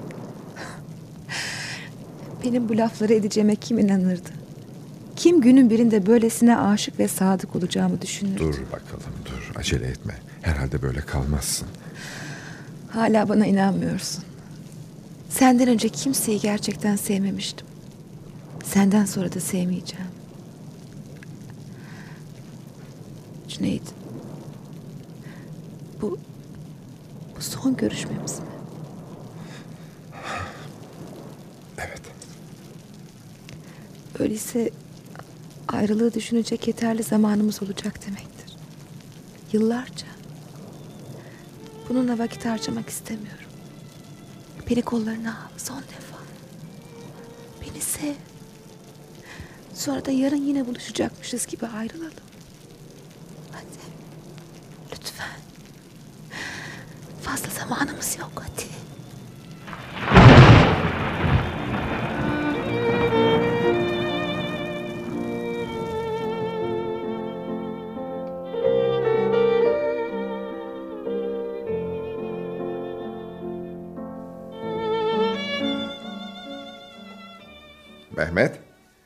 Benim bu lafları edeceğime kim inanırdı? Kim günün birinde böylesine aşık ve sadık olacağımı düşünürdü? Dur bakalım, dur. Acele etme. Herhalde böyle kalmazsın. Hala bana inanmıyorsun. Senden önce kimseyi gerçekten sevmemiştim. Senden sonra da sevmeyeceğim. Cüneyt. Bu son görüşmemiz mi? Evet. Öyleyse ayrılığı düşünecek yeterli zamanımız olacak demektir. Yıllarca. Bununla vakit harcamak istemiyorum. Beni kollarına al son defa. Beni sev. Sonra da yarın yine buluşacakmışız gibi ayrılalım. Hadi. Lütfen. Fazla zamanımız yok, hadi. Mehmet.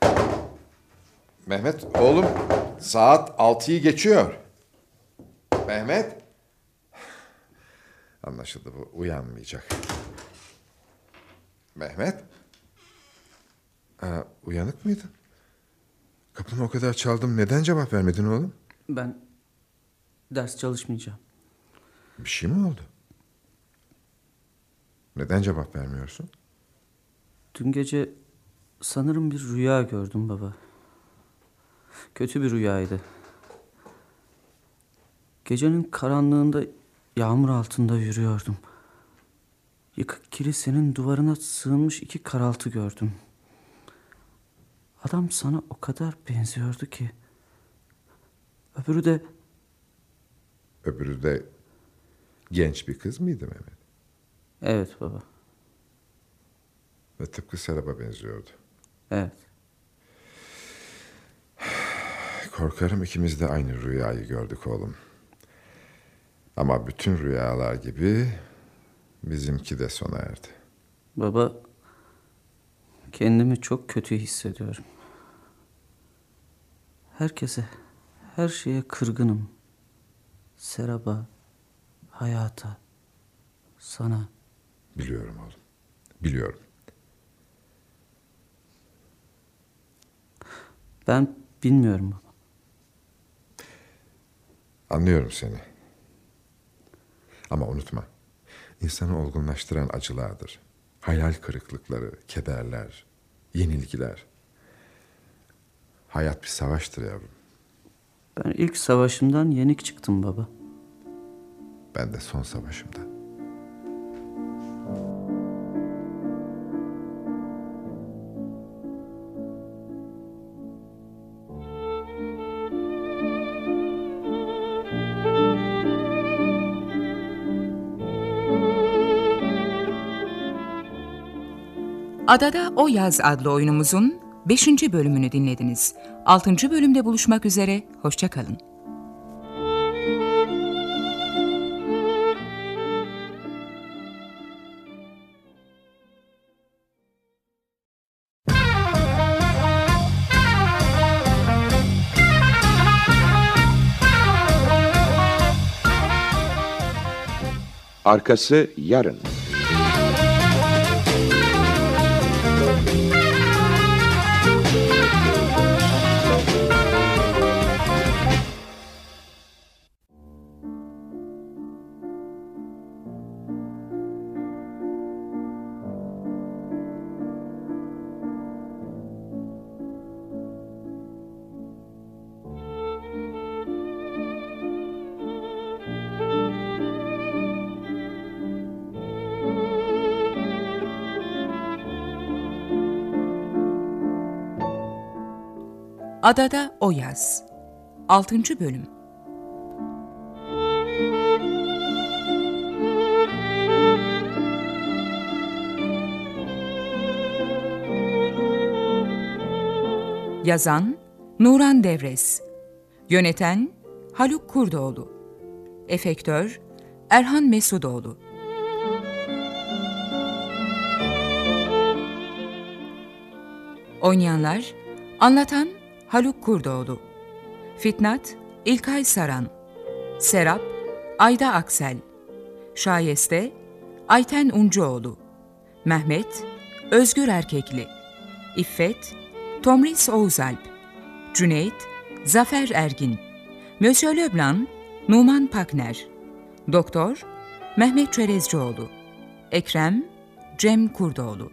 Mehmet oğlum, saat 6'yı geçiyor. Mehmet. Anlaşıldı, bu uyanmayacak. Mehmet. Uyanık mıydın? Kapını o kadar çaldım, neden cevap vermedin oğlum? Ben ders çalışmayacağım. Bir şey mi oldu? Neden cevap vermiyorsun? Dün gece sanırım bir rüya gördüm baba. Kötü bir rüyaydı. Gecenin karanlığında yağmur altında yürüyordum. Yıkık kilisenin duvarına sığınmış 2 karaltı gördüm. Adam sana o kadar benziyordu ki. Öbürü de genç bir kız mıydı Mehmet? Evet baba. Ve tıpkı Serap'a benziyordu. Evet. Korkarım ikimiz de aynı rüyayı gördük oğlum. Ama bütün rüyalar gibi bizimki de sona erdi. Baba, kendimi çok kötü hissediyorum. Herkese, her şeye kırgınım. Serap'a, hayata, sana. Biliyorum oğlum, biliyorum. Ben bilmiyorum baba. Anlıyorum seni. Ama unutma, insanı olgunlaştıran acılardır. Hayal kırıklıkları, kederler, yenilgiler. Hayat bir savaştır yavrum. Ben ilk savaşımdan yenik çıktım baba. Ben de son savaşımda. Adada O Yaz adlı oyunumuzun 5. bölümünü dinlediniz. 6. bölümde buluşmak üzere, hoşça kalın. Arkası yarın. Adada O Yaz 6. bölüm. Yazan Nuran Devres, yöneten Haluk Kurdoğlu, efektör Erhan Mesudoğlu. Oynayanlar: anlatan Haluk Kurdoğlu, Fitnat İlkay Saran, Serap Ayda Aksel, Şayeste Ayten Uncuoğlu, Mehmet Özgür Erkekli, İffet Tomris Oğuzalp, Cüneyt Zafer Ergin, Monsieur Leblanc Numan Pakner, Doktor Mehmet Çerezcioğlu, Ekrem Cem Kurdoğlu.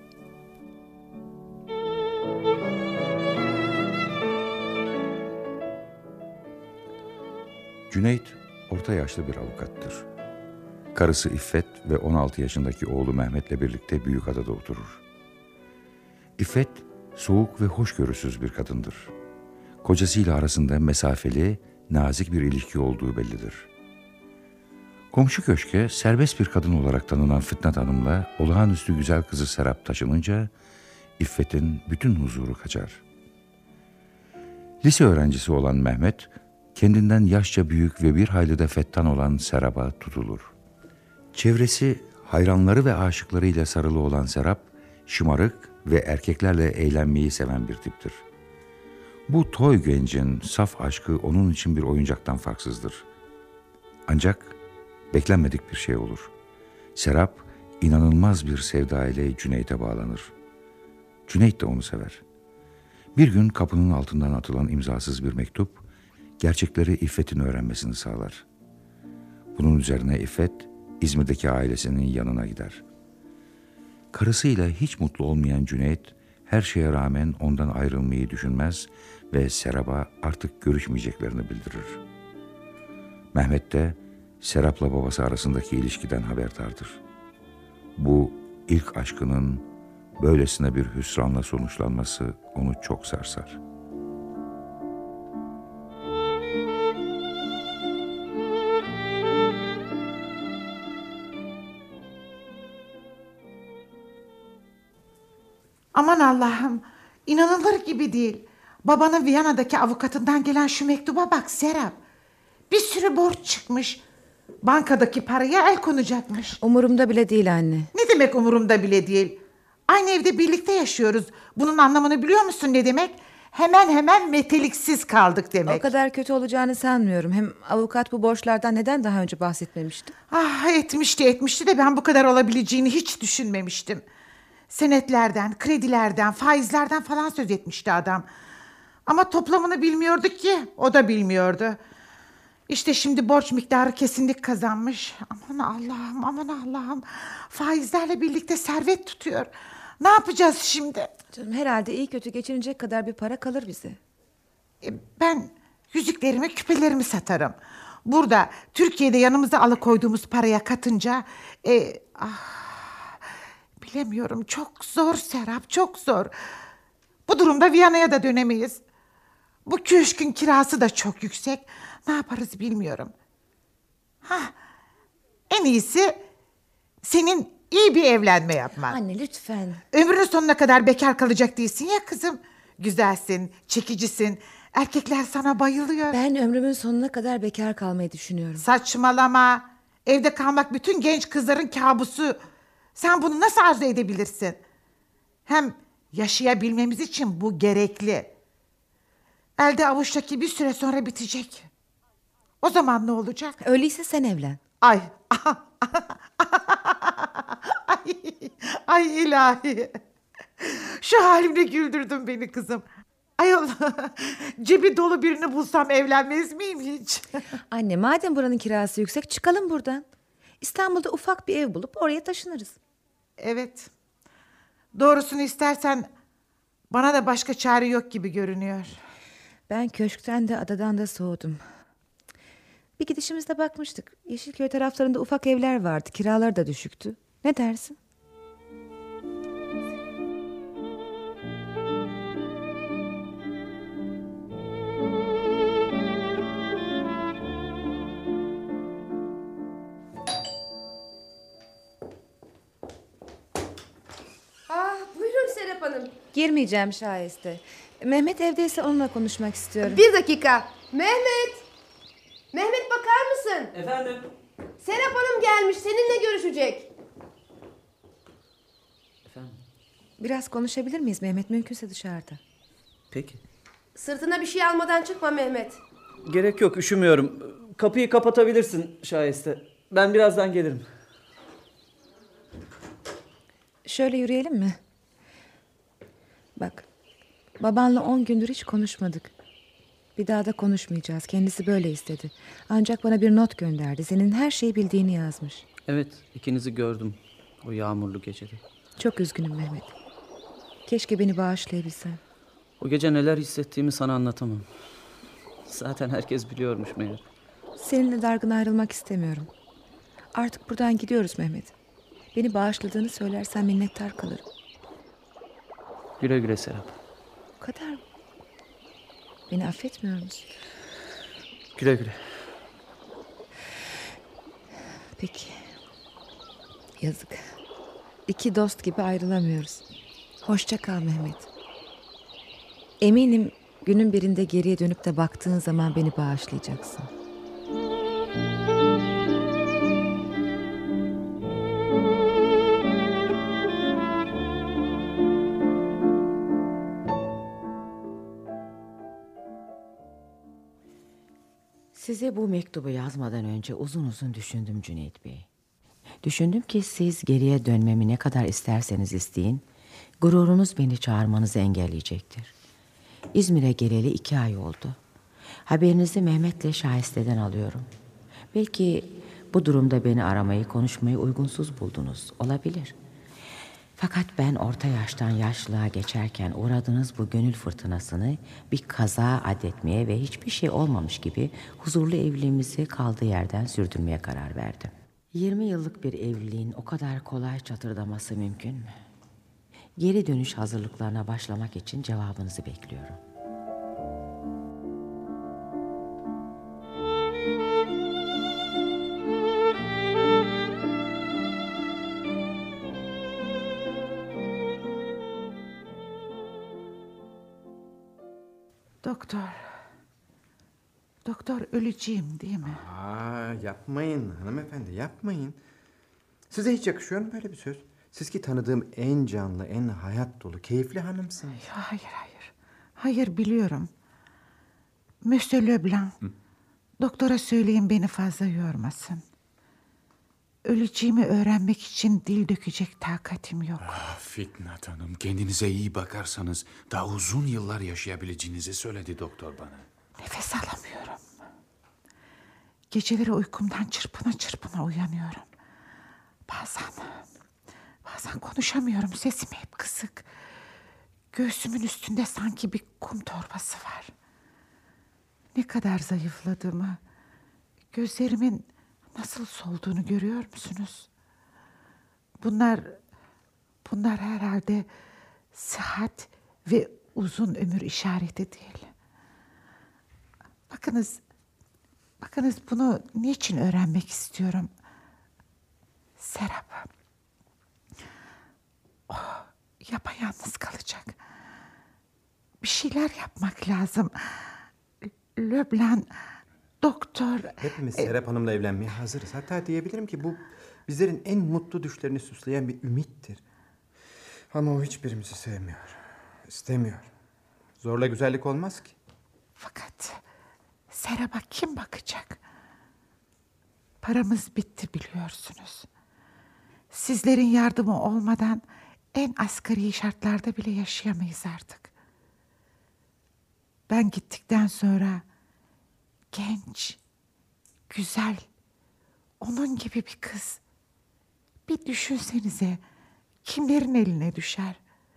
Cüneyt, orta yaşlı bir avukattır. Karısı İffet ve 16 yaşındaki oğlu Mehmet'le birlikte Büyükada'da oturur. İffet, soğuk ve hoşgörüsüz bir kadındır. Kocasıyla arasında mesafeli, nazik bir ilişki olduğu bellidir. Komşu köşke serbest bir kadın olarak tanınan Fitnat Hanım'la olağanüstü güzel kızı Serap taşınınca İffet'in bütün huzuru kaçar. Lise öğrencisi olan Mehmet, kendinden yaşça büyük ve bir hayli de fettan olan Serap'a tutulur. Çevresi, hayranları ve aşıklarıyla sarılı olan Serap, şımarık ve erkeklerle eğlenmeyi seven bir tiptir. Bu toy gencin saf aşkı onun için bir oyuncaktan farksızdır. Ancak beklenmedik bir şey olur. Serap, inanılmaz bir sevda ile Cüneyt'e bağlanır. Cüneyt de onu sever. Bir gün kapının altından atılan imzasız bir mektup, gerçekleri İffet'in öğrenmesini sağlar. Bunun üzerine İffet, İzmir'deki ailesinin yanına gider. Karısıyla hiç mutlu olmayan Cüneyt, her şeye rağmen ondan ayrılmayı düşünmez ve Serap'a artık görüşmeyeceklerini bildirir. Mehmet de Serap'la babası arasındaki ilişkiden haberdardır. Bu ilk aşkının böylesine bir hüsranla sonuçlanması onu çok sarsar. Aman Allah'ım, inanılır gibi değil. Babanın Viyana'daki avukatından gelen şu mektuba bak Serap. Bir sürü borç çıkmış. Bankadaki paraya el konacakmış. Umurumda bile değil anne. Ne demek umurumda bile değil? Aynı evde birlikte yaşıyoruz. Bunun anlamını biliyor musun ne demek? Hemen meteliksiz kaldık demek. O kadar kötü olacağını sanmıyorum. Hem avukat bu borçlardan neden daha önce bahsetmemişti? Ah, etmişti de ben bu kadar olabileceğini hiç düşünmemiştim. Senetlerden, kredilerden, faizlerden falan söz etmişti adam. Ama toplamını bilmiyorduk ki, o da bilmiyordu. İşte şimdi borç miktarı kesinlik kazanmış. Aman Allah'ım, aman Allah'ım. Faizlerle birlikte servet tutuyor. Ne yapacağız şimdi? Canım, herhalde iyi kötü geçinecek kadar bir para kalır bize. Ben yüzüklerimi, küpelerimi satarım. Burada Türkiye'de yanımıza alıkoyduğumuz paraya katınca... bilemiyorum, çok zor Serap, çok zor. Bu durumda Viyana'ya da dönemeyiz. Bu köşkün kirası da çok yüksek. Ne yaparız bilmiyorum. En iyisi senin iyi bir evlenme yapman. Anne lütfen. Ömrünün sonuna kadar bekar kalacak değilsin ya kızım. Güzelsin, çekicisin. Erkekler sana bayılıyor. Ben ömrümün sonuna kadar bekar kalmayı düşünüyorum. Saçmalama. Evde kalmak bütün genç kızların kabusu. Sen bunu nasıl arzu edebilirsin? Hem yaşayabilmemiz için bu gerekli. Elde avuçtaki bir süre sonra bitecek. O zaman ne olacak? Öyleyse sen evlen. Ay. Ay ilahi. Şu halimle güldürdün beni kızım. Ayol, cebi dolu birini bulsam evlenmez miyim hiç? Anne, madem buranın kirası yüksek, çıkalım buradan. İstanbul'da ufak bir ev bulup oraya taşınırız. Evet. Doğrusunu istersen bana da başka çare yok gibi görünüyor. Ben köşkten de adadan da soğudum. Bir gidişimizde bakmıştık. Yeşilköy taraflarında ufak evler vardı. Kiralar da düşüktü. Ne dersin? Buyurun Serap Hanım. Girmeyeceğim Şahiste. Mehmet evdeyse onunla konuşmak istiyorum. Bir dakika. Mehmet! Mehmet bakar mısın? Efendim? Serap Hanım gelmiş. Seninle görüşecek. Efendim? Biraz konuşabilir miyiz Mehmet? Mümkünse dışarıda. Peki. Sırtına bir şey almadan çıkma Mehmet. Gerek yok, üşümüyorum. Kapıyı kapatabilirsin Şahiste. Ben birazdan gelirim. Şöyle yürüyelim mi? Bak, babanla 10 gündür hiç konuşmadık. Bir daha da konuşmayacağız. Kendisi böyle istedi. Ancak bana bir not gönderdi. Senin her şeyi bildiğini yazmış. Evet, ikinizi gördüm o yağmurlu gecede. Çok üzgünüm Mehmet. Keşke beni bağışlayabilsen. O gece neler hissettiğimi sana anlatamam. Zaten herkes biliyormuş meğer. Seninle dargın ayrılmak istemiyorum. Artık buradan gidiyoruz Mehmet. Beni bağışladığını söylersen minnettar kalırım. Güle güle Serap. O kadar mı? Beni affetmiyor musun? Güle güle. Peki. Yazık. İki dost gibi ayrılamıyoruz. Hoşça kal Mehmet. Eminim günün birinde geriye dönüp de baktığın zaman beni bağışlayacaksın. Size bu mektubu yazmadan önce uzun uzun düşündüm Cüneyt Bey. Düşündüm ki siz geriye dönmemi ne kadar isterseniz isteyin, gururunuz beni çağırmanızı engelleyecektir. İzmir'e geleli 2 ay oldu. Haberinizi Mehmet'le Şahiste'den alıyorum. Belki bu durumda beni aramayı, konuşmayı uygunsuz buldunuz. Olabilir. Fakat ben orta yaştan yaşlılığa geçerken uğradığınız bu gönül fırtınasını bir kaza addetmeye ve hiçbir şey olmamış gibi huzurlu evliliğimizi kaldığı yerden sürdürmeye karar verdim. 20 yıllık bir evliliğin o kadar kolay çatırdaması mümkün mü? Geri dönüş hazırlıklarına başlamak için cevabınızı bekliyorum. Doktor öleceğim değil mi? Yapmayın hanımefendi, yapmayın. Size hiç yakışıyor mu böyle bir söz? Siz ki tanıdığım en canlı, en hayat dolu, keyifli hanımsınız. Hayır. Hayır, biliyorum. Monsieur Leblanc, doktora söyleyin beni fazla yormasın. Öleceğimi öğrenmek için dil dökecek takatim yok. Fitnat Hanım, kendinize iyi bakarsanız daha uzun yıllar yaşayabileceğinizi söyledi doktor bana. Nefes alamıyorum. Geceleri uykumdan çırpına çırpına uyanıyorum. Bazen konuşamıyorum. Sesim hep kısık. Göğsümün üstünde sanki bir kum torbası var. Ne kadar zayıfladığımı, gözlerimin nasıl solduğunu görüyor musunuz? Bunlar herhalde sıhhat ve uzun ömür işareti değil. Bakınız bunu niçin öğrenmek istiyorum? Serap. Yapayalnız kalacak. Bir şeyler yapmak lazım. Leblanc, doktor... Hepimiz Serap Hanım'la evlenmeye hazırız. Hatta diyebilirim ki bu bizlerin en mutlu düşlerini süsleyen bir ümittir. Ama o hiçbirimizi sevmiyor. İstemiyor. Zorla güzellik olmaz ki. Fakat Serap'a kim bakacak? Paramız bitti biliyorsunuz. Sizlerin yardımı olmadan en asgari şartlarda bile yaşayamayız artık. Ben gittikten sonra genç, güzel, onun gibi bir kız. Bir düşünsenize, kimlerin eline düşer?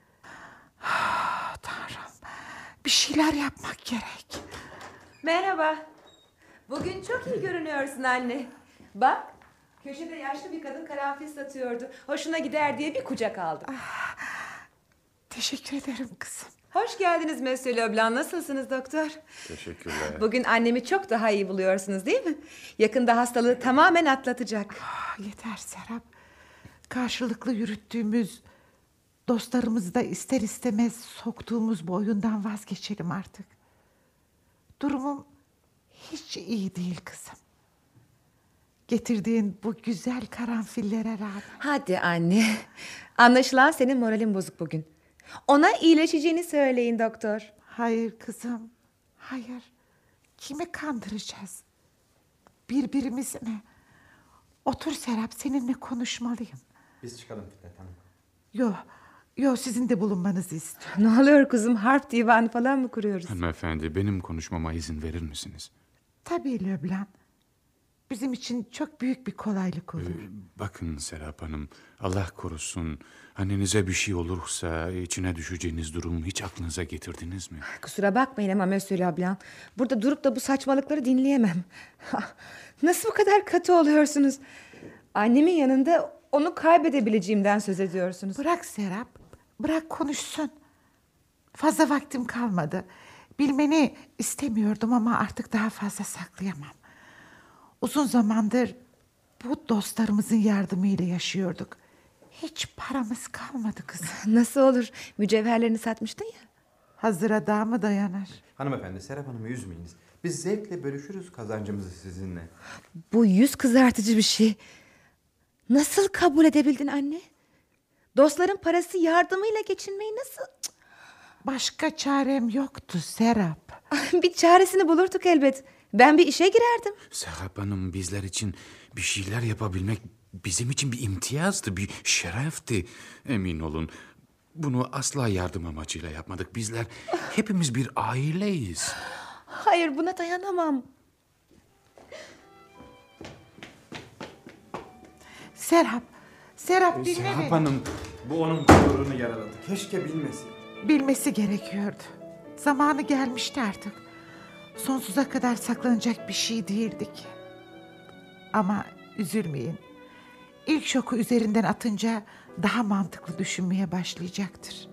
Tanrım, bir şeyler yapmak gerek. Merhaba. Bugün çok iyi görünüyorsun anne. Bak, köşede yaşlı bir kadın karanfil satıyordu. Hoşuna gider diye bir kucak aldım. Teşekkür ederim kızım. Hoş geldiniz Monsieur Leblanc. Nasılsınız doktor? Teşekkürler. Bugün annemi çok daha iyi buluyorsunuz değil mi? Yakında hastalığı tamamen atlatacak. Yeter Serap. Karşılıklı yürüttüğümüz, dostlarımızı da ister istemez soktuğumuz bu oyundan vazgeçelim artık. Durumum hiç iyi değil kızım. Getirdiğin bu güzel karanfillere rağmen. Hadi anne. Anlaşılan senin moralin bozuk bugün. Ona iyileşeceğini söyleyin doktor. Hayır kızım. Hayır. Kimi kandıracağız? Birbirimizi mi? Otur Serap, seninle konuşmalıyım. Biz çıkalım Fikret Hanım. Yok sizin de bulunmanızı istiyorum. Ne oluyor kızım? Harp divanı falan mı kuruyoruz? Hanımefendi, benim konuşmama izin verir misiniz? Tabii Leblanc. Bizim için çok büyük bir kolaylık olur. Bakın Serap Hanım, Allah korusun. Annenize bir şey olursa içine düşeceğiniz durumu hiç aklınıza getirdiniz mi? Kusura bakmayın ama Monsieur Leblanc. Burada durup da bu saçmalıkları dinleyemem. Nasıl bu kadar katı oluyorsunuz? Annemin yanında onu kaybedebileceğimden söz ediyorsunuz. Bırak Serap, bırak konuşsun. Fazla vaktim kalmadı. Bilmeni istemiyordum ama artık daha fazla saklayamam. Uzun zamandır bu dostlarımızın yardımıyla yaşıyorduk. Hiç paramız kalmadı kızım. Nasıl olur? Mücevherlerini satmıştın ya. Hazıra daha mı dayanır? Hanımefendi, Serap Hanım'ı üzmeyiniz. Biz zevkle bölüşürüz kazancımızı sizinle. Bu yüz kızartıcı bir şey. Nasıl kabul edebildin anne? Dostların parası yardımıyla geçinmeyi nasıl... Başka çarem yoktu Serap. Bir çaresini bulurduk elbet. Ben bir işe girerdim. Serap Hanım, bizler için bir şeyler yapabilmek bizim için bir imtiyazdı, bir şerefti. Emin olun, bunu asla yardım amacıyla yapmadık. Bizler hepimiz bir aileyiz. Hayır, buna dayanamam. Serap dinle Serap beni. Hanım, bu onun gururunu yaraladı. Keşke bilmesin. Bilmesi gerekiyordu. Zamanı gelmişti artık. Sonsuza kadar saklanacak bir şey değildi ki. Ama üzülmeyin. İlk şoku üzerinden atınca daha mantıklı düşünmeye başlayacaktır.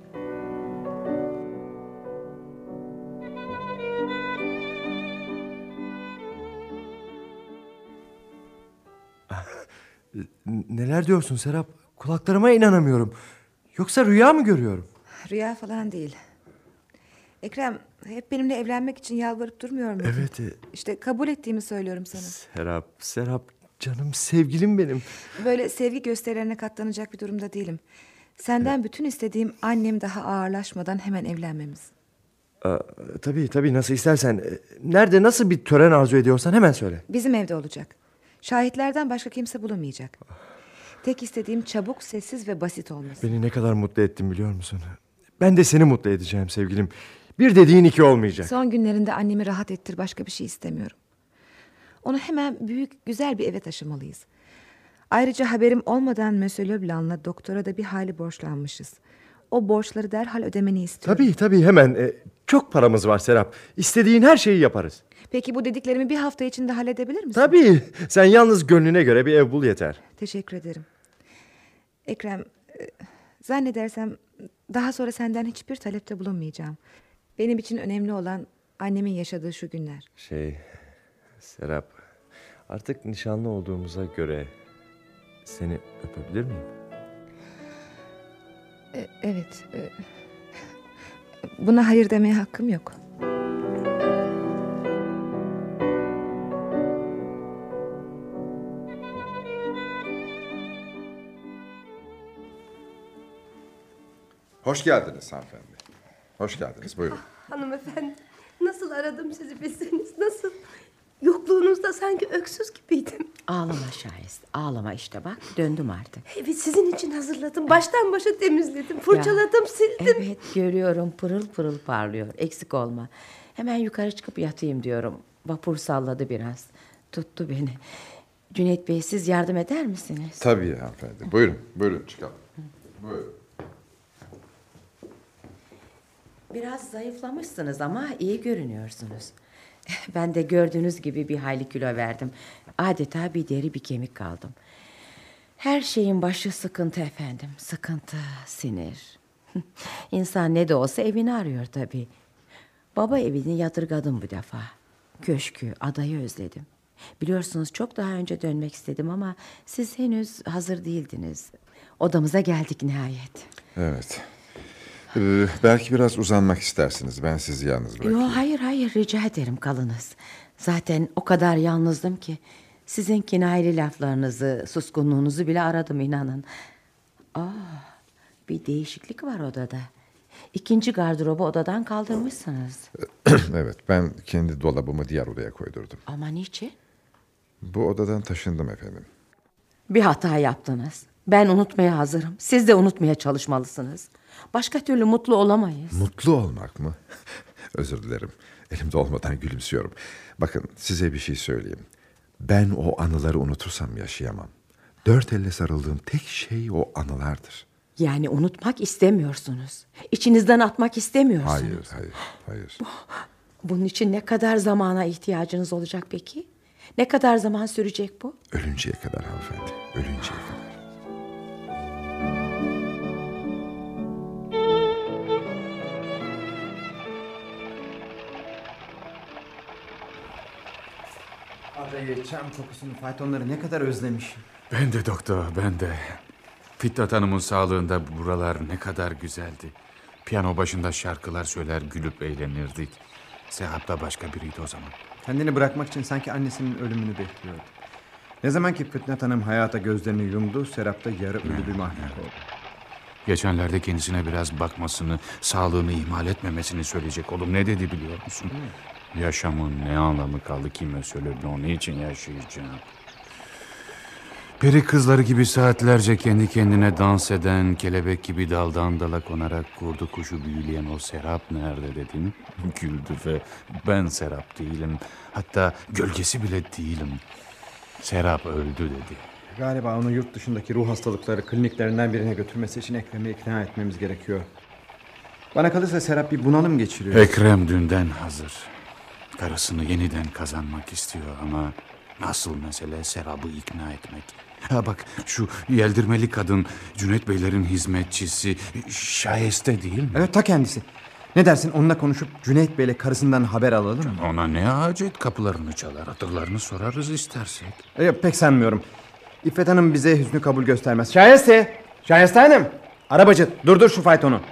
Neler diyorsun Serap? Kulaklarıma inanamıyorum. Yoksa rüya mı görüyorum? Rüya falan değil. Ekrem hep benimle evlenmek için yalvarıp durmuyor muydun? Evet. İşte kabul ettiğimi söylüyorum sana. Serap canım sevgilim benim. Böyle sevgi gösterilerine katlanacak bir durumda değilim. Senden bütün istediğim annem daha ağırlaşmadan hemen evlenmemiz. Tabii nasıl istersen. Nerede nasıl bir tören arzu ediyorsan hemen söyle. Bizim evde olacak. Şahitlerden başka kimse bulunmayacak. Tek istediğim çabuk, sessiz ve basit olması. Beni ne kadar mutlu ettin biliyor musun? Ben de seni mutlu edeceğim sevgilim. Bir dediğin iki olmayacak. Son günlerinde annemi rahat ettir, başka bir şey istemiyorum. Onu hemen büyük, güzel bir eve taşımalıyız. Ayrıca haberim olmadan Monsieur Leblanc'la doktora da bir hali borçlanmışız. O borçları derhal ödemeni istiyorum. Tabii hemen. Çok paramız var Serap. İstediğin her şeyi yaparız. Peki bu dediklerimi bir hafta içinde halledebilir misin? Tabii. Sen yalnız gönlüne göre bir ev bul yeter. Teşekkür ederim. Ekrem, zannedersem daha sonra senden hiçbir talepte bulunmayacağım. Benim için önemli olan annemin yaşadığı şu günler. Serap, artık nişanlı olduğumuza göre seni öpebilir miyim? Evet. Buna hayır demeye hakkım yok. Hoş geldiniz hanımefendi. Hoş geldiniz, buyurun. Hanımefendi, nasıl aradım sizi bilseniz, nasıl? Yokluğunuzda sanki öksüz gibiydim. Ağlama Şahist, ağlama işte bak döndüm artık. Evet, sizin için hazırladım. Baştan başa temizledim, fırçaladım, sildim. Evet görüyorum, pırıl pırıl parlıyor. Eksik olma. Hemen yukarı çıkıp yatayım diyorum. Vapur salladı biraz. Tuttu beni. Cüneyt Bey, siz yardım eder misiniz? Tabii hanımefendi. Buyurun çıkalım. Buyurun. Biraz zayıflamışsınız ama iyi görünüyorsunuz. Ben de gördüğünüz gibi bir hayli kilo verdim. Adeta bir deri bir kemik kaldım. Her şeyin başı sıkıntı efendim. Sıkıntı, sinir. İnsan ne de olsa evini arıyor tabii. Baba evini yadırgadım bu defa. Köşkü, adayı özledim. Biliyorsunuz çok daha önce dönmek istedim ama siz henüz hazır değildiniz. Odamıza geldik nihayet. Evet. Belki biraz uzanmak istersiniz. Ben sizi yalnız bırakayım. Yo, hayır rica ederim kalınız. Zaten o kadar yalnızdım ki sizin kinayeli laflarınızı, suskunluğunuzu bile aradım inanın. Bir değişiklik var odada. İkinci gardırobu odadan kaldırmışsınız. Evet, ben kendi dolabımı diğer odaya koydurdum. Ama niçin? Bu odadan taşındım efendim. Bir hata yaptınız. Ben unutmaya hazırım. Siz de unutmaya çalışmalısınız. Başka türlü mutlu olamayız. Mutlu olmak mı? Özür dilerim. Elimde olmadan gülümsüyorum. Bakın size bir şey söyleyeyim. Ben o anıları unutursam yaşayamam. Dört elle sarıldığım tek şey o anılardır. Yani unutmak istemiyorsunuz. İçinizden atmak istemiyorsunuz. Hayır. Bunun için ne kadar zamana ihtiyacınız olacak peki? Ne kadar zaman sürecek bu? Ölünceye kadar hanımefendi. Ölünceye kadar. Adayı, çam kokusunu, faytonları ne kadar özlemişim. Ben de doktor, ben de. Fitnat Hanım'ın sağlığında buralar ne kadar güzeldi. Piyano başında şarkılar söyler, gülüp eğlenirdik. Serap da başka biriydi o zaman. Kendini bırakmak için sanki annesinin ölümünü bekliyordu. Ne zaman ki Fitnat Hanım hayata gözlerini yumdu, Serap da yarı ölü bir mahluk oldu. Geçenlerde kendisine biraz bakmasını, sağlığını ihmal etmemesini söyleyecek oğlum. Ne dedi biliyor musun? Yaşamın ne anlamı kaldı ki Monsieur Leblanc? Niçin yaşayacağım? Peri kızları gibi saatlerce kendi kendine dans eden, kelebek gibi daldan dala konarak kurdu kuşu büyüleyen o Serap nerede dedim. Güldü ve ben Serap değilim. Hatta gölgesi bile değilim. Serap öldü dedi. Galiba onu yurt dışındaki ruh hastalıkları kliniklerinden birine götürmesi için Ekrem'i ikna etmemiz gerekiyor. Bana kalırsa Serap bir bunalım geçiriyor. Ekrem dünden hazır. Karısını yeniden kazanmak istiyor ama asıl mesele Serap'ı ikna etmek. Ha bak şu yeldirmeli kadın Cüneyt Beylerin hizmetçisi Şayeste değil mi? Evet, ta kendisi. Ne dersin, onunla konuşup Cüneyt Bey'le karısından haber alalım mı? Ona ne hacet, kapılarını çalar, hatırlarını sorarız istersek. Pek sanmıyorum. İffet Hanım bize hüsnü kabul göstermez. Şayeste! Şayeste Hanım! Arabacı, durdur şu faytonu.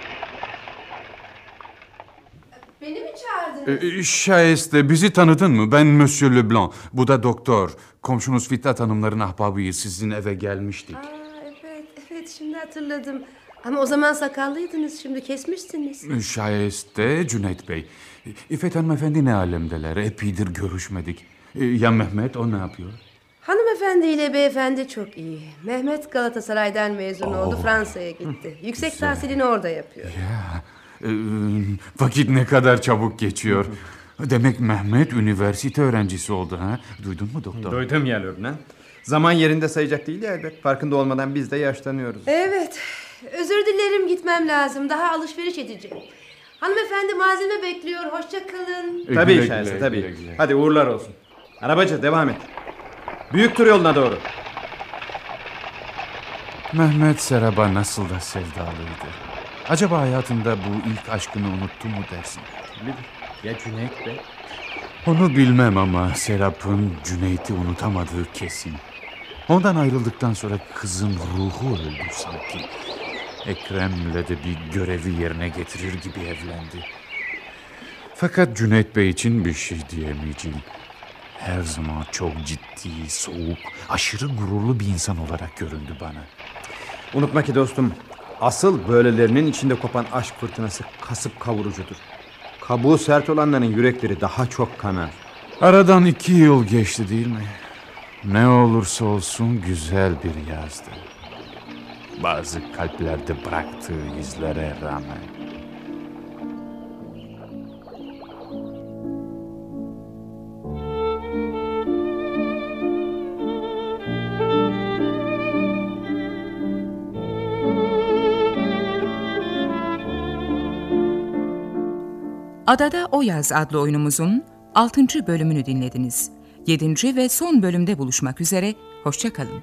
Beni mi çağırdınız? Şayeste, bizi tanıdın mı? Ben Monsieur Leblanc. Bu da doktor. Komşunuz Fitnat Hanımların ahbabıyız. Sizin eve gelmiştik. Evet, şimdi hatırladım. Ama o zaman sakallıydınız, şimdi kesmişsiniz. Şayeste Cüneyt Bey. İffet hanımefendi ne alemdeler? Epeydir görüşmedik. Ya Mehmet, o ne yapıyor? Hanımefendi ile beyefendi çok iyi. Mehmet Galatasaray'dan mezun oldu, Fransa'ya gitti. Yüksek tahsilini orada yapıyor. Vakit ne kadar çabuk geçiyor. Demek Mehmet üniversite öğrencisi oldu ha? Duydun mu doktor? Duydum ya Lübnan. Zaman yerinde sayacak değil ya elbet. Farkında olmadan biz de yaşlanıyoruz. Evet. Özür dilerim, gitmem lazım. Daha alışveriş edeceğim. Hanımefendi malzeme bekliyor. Hoşça kalın. Tabii Güle Şahise güle, tabii. güle güle. Hadi uğurlar olsun. Arabacı devam et. Büyük tur yoluna doğru. Mehmet Serap'a nasıl da sevdalıydı. Acaba hayatında bu ilk aşkını unuttu mu dersin? Ya Cüneyt Bey? Onu bilmem ama Serap'ın Cüneyt'i unutamadığı kesin. Ondan ayrıldıktan sonra kızın ruhu öldü sanki. Ekrem'le de bir görevi yerine getirir gibi evlendi. Fakat Cüneyt Bey için bir şey diyemeyeceğim. Her zaman çok ciddi, soğuk, aşırı gururlu bir insan olarak göründü bana. Unutma ki dostum, asıl böylelerinin içinde kopan aşk fırtınası kasıp kavurucudur. Kabuğu sert olanların yürekleri daha çok kanar. Aradan 2 yıl geçti değil mi? Ne olursa olsun güzel bir yazdı. Bazı kalplerde bıraktığı izlere rağmen. Adada O Yaz adlı oyunumuzun 6. bölümünü dinlediniz. 7. ve son bölümde buluşmak üzere, hoşça kalın.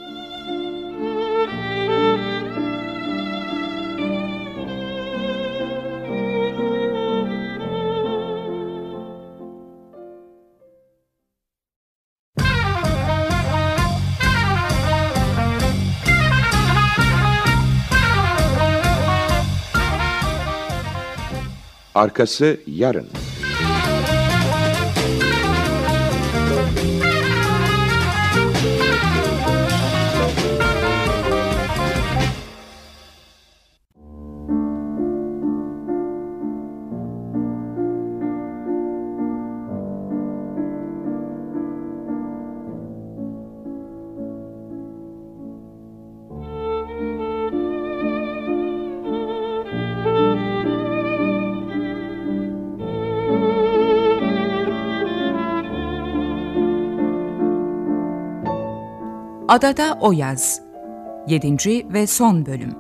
Arkası yarın. Adada O Yaz 7. ve son bölüm.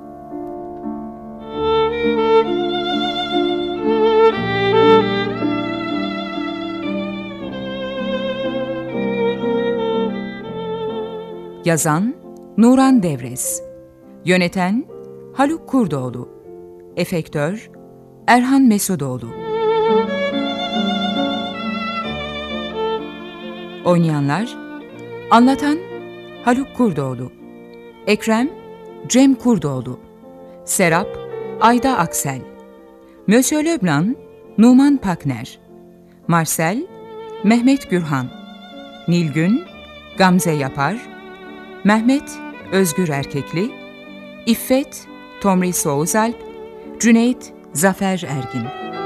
Yazan Nuran Devrez, yöneten Haluk Kurdoğlu, efektör Erhan Mesudoğlu. Oynayanlar: anlatan Haluk Kurdoğlu, Ekrem Cem Kurdoğlu, Serap Ayda Aksel, Monsieur Leblanc Numan Pakner, Marcel Mehmet Gürhan, Nilgün Gamze Yapar, Mehmet Özgür Erkekli, İffet Tomris Soğuzalp, Cüneyt Zafer Ergin.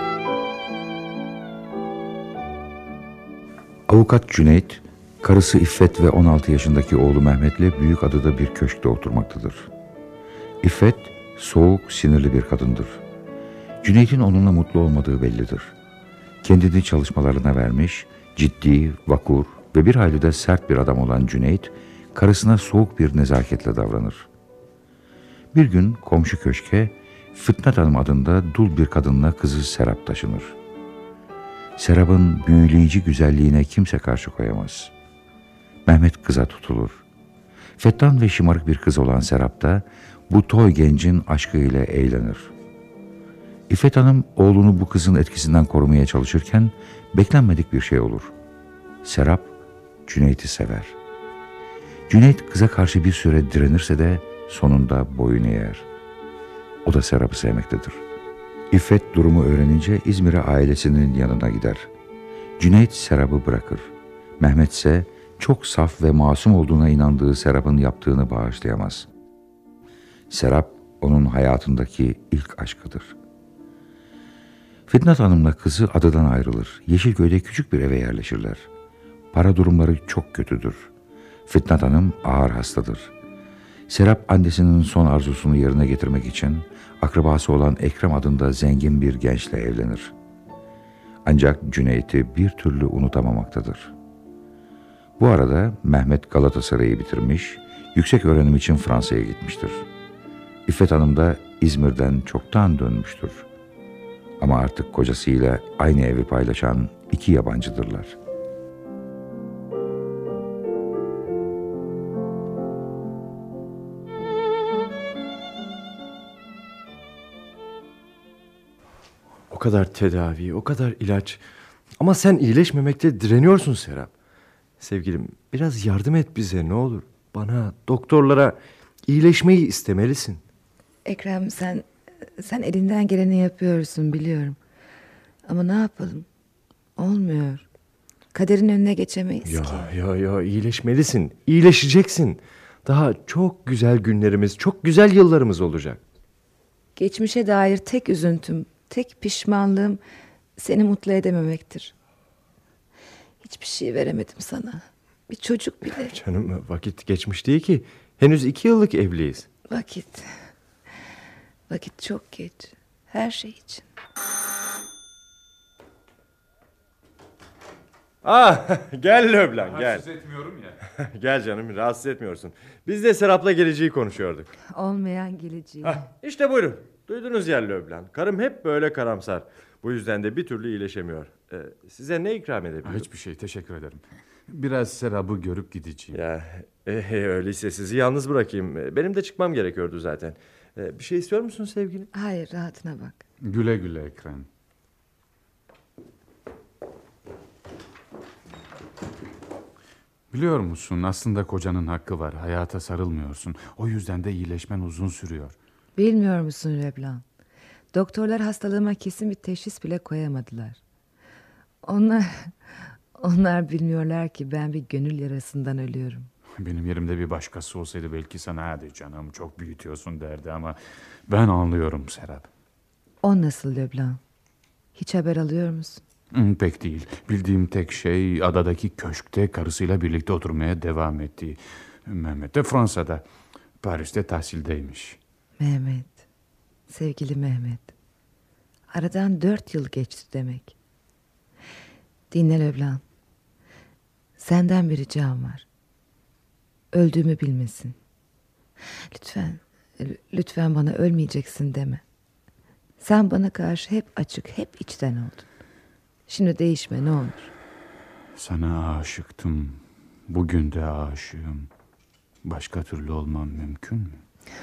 Avukat Cüneyt, karısı İffet ve 16 yaşındaki oğlu Mehmet'le Büyükada'da bir köşkte oturmaktadır. İffet, soğuk, sinirli bir kadındır. Cüneyt'in onunla mutlu olmadığı bellidir. Kendini çalışmalarına vermiş, ciddi, vakur ve bir hayli de sert bir adam olan Cüneyt, karısına soğuk bir nezaketle davranır. Bir gün komşu köşke, Fitnat Hanım adında dul bir kadınla kızı Serap taşınır. Serap'ın büyüleyici güzelliğine kimse karşı koyamaz. Mehmet kıza tutulur. Fettan ve şımarık bir kız olan Serap da bu toy gencin aşkıyla eğlenir. İffet Hanım oğlunu bu kızın etkisinden korumaya çalışırken beklenmedik bir şey olur. Serap Cüneyt'i sever. Cüneyt kıza karşı bir süre direnirse de sonunda boyun eğer. O da Serap'ı sevmektedir. İffet durumu öğrenince İzmir'e ailesinin yanına gider. Cüneyt Serap'ı bırakır. Mehmet ise çok saf ve masum olduğuna inandığı Serap'ın yaptığını bağışlayamaz. Serap onun hayatındaki ilk aşkıdır. Fitnat Hanım'la kızı adadan ayrılır. Yeşilköy'de küçük bir eve yerleşirler. Para durumları çok kötüdür. Fitnat Hanım ağır hastadır. Serap annesinin son arzusunu yerine getirmek için akrabası olan Ekrem adında zengin bir gençle evlenir. Ancak Cüneyt'i bir türlü unutamamaktadır. Bu arada Mehmet Galatasaray'ı bitirmiş, yüksek öğrenim için Fransa'ya gitmiştir. İffet Hanım da İzmir'den çoktan dönmüştür. Ama artık kocasıyla aynı evi paylaşan iki yabancıdırlar. O kadar tedavi, o kadar ilaç. Ama sen iyileşmemekte direniyorsun Serap. Sevgilim, biraz yardım et bize ne olur. Bana, doktorlara iyileşmeyi istemelisin. Ekrem, sen elinden geleni yapıyorsun biliyorum. Ama ne yapalım? Olmuyor. Kaderin önüne geçemeyiz ki. Ya iyileşmelisin. İyileşeceksin. Daha çok güzel günlerimiz, çok güzel yıllarımız olacak. Geçmişe dair tek üzüntüm, tek pişmanlığım seni mutlu edememektir. Hiçbir şey veremedim sana. Bir çocuk bile. Canım, vakit geçmiş değil ki. Henüz 2 yıllık evliyiz. Vakit çok geç. Her şey için. Gel Löblan, gel. Rahatsız etmiyorum ya. Gel canım, rahatsız etmiyorsun. Biz de Serap'la geleceği konuşuyorduk. Olmayan geleceği. İşte buyurun. Duydunuz ya Löblan. Karım hep böyle karamsar. Bu yüzden de bir türlü iyileşemiyor. Size ne ikram edebilirim? Hiçbir şey, teşekkür ederim. Biraz Serap'ı görüp gideceğim. Öyleyse sizi yalnız bırakayım. Benim de çıkmam gerekiyordu zaten. Bir şey istiyor musun sevgilim? Hayır, rahatına bak. Güle güle Ekrem. Biliyor musun, aslında kocanın hakkı var. Hayata sarılmıyorsun. O yüzden de iyileşmen uzun sürüyor. Bilmiyor musun Leblanc? Doktorlar hastalığıma kesin bir teşhis bile koyamadılar. Onlar bilmiyorlar ki ben bir gönül yarasından ölüyorum. Benim yerimde bir başkası olsaydı belki sana hadi canım çok büyütüyorsun derdi ama ben anlıyorum Serap. O nasıl Leblanc? Hiç haber alıyor musun? Pek değil. Bildiğim tek şey adadaki köşkte karısıyla birlikte oturmaya devam ettiği. Mehmet de Fransa'da. Paris'te tahsildeymiş. Mehmet. Sevgili Mehmet. Aradan 4 yıl geçti demek. Dinle Leblanc. Senden bir ricam var. Öldüğümü bilmesin. Lütfen bana ölmeyeceksin deme. Sen bana karşı hep açık, hep içten oldun. Şimdi değişme ne olur. Sana aşıktım. Bugün de aşığım. Başka türlü olmam mümkün mü?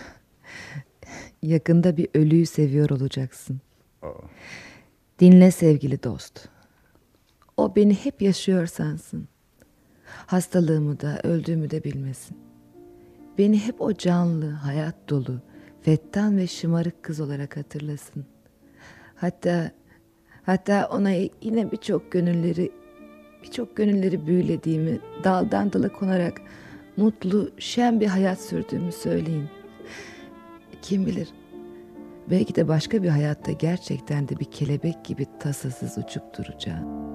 Yakında bir ölüyü seviyor olacaksın. Dinle sevgili dost. O beni hep yaşıyor sansın. Hastalığımı da öldüğümü de bilmesin. Beni hep o canlı, hayat dolu, fettan ve şımarık kız olarak hatırlasın. Hatta ona yine birçok gönülleri büyülediğimi, daldan dala konarak mutlu, şen bir hayat sürdüğümü söyleyin. Kim bilir, belki de başka bir hayatta gerçekten de bir kelebek gibi tasasız uçup duracağım.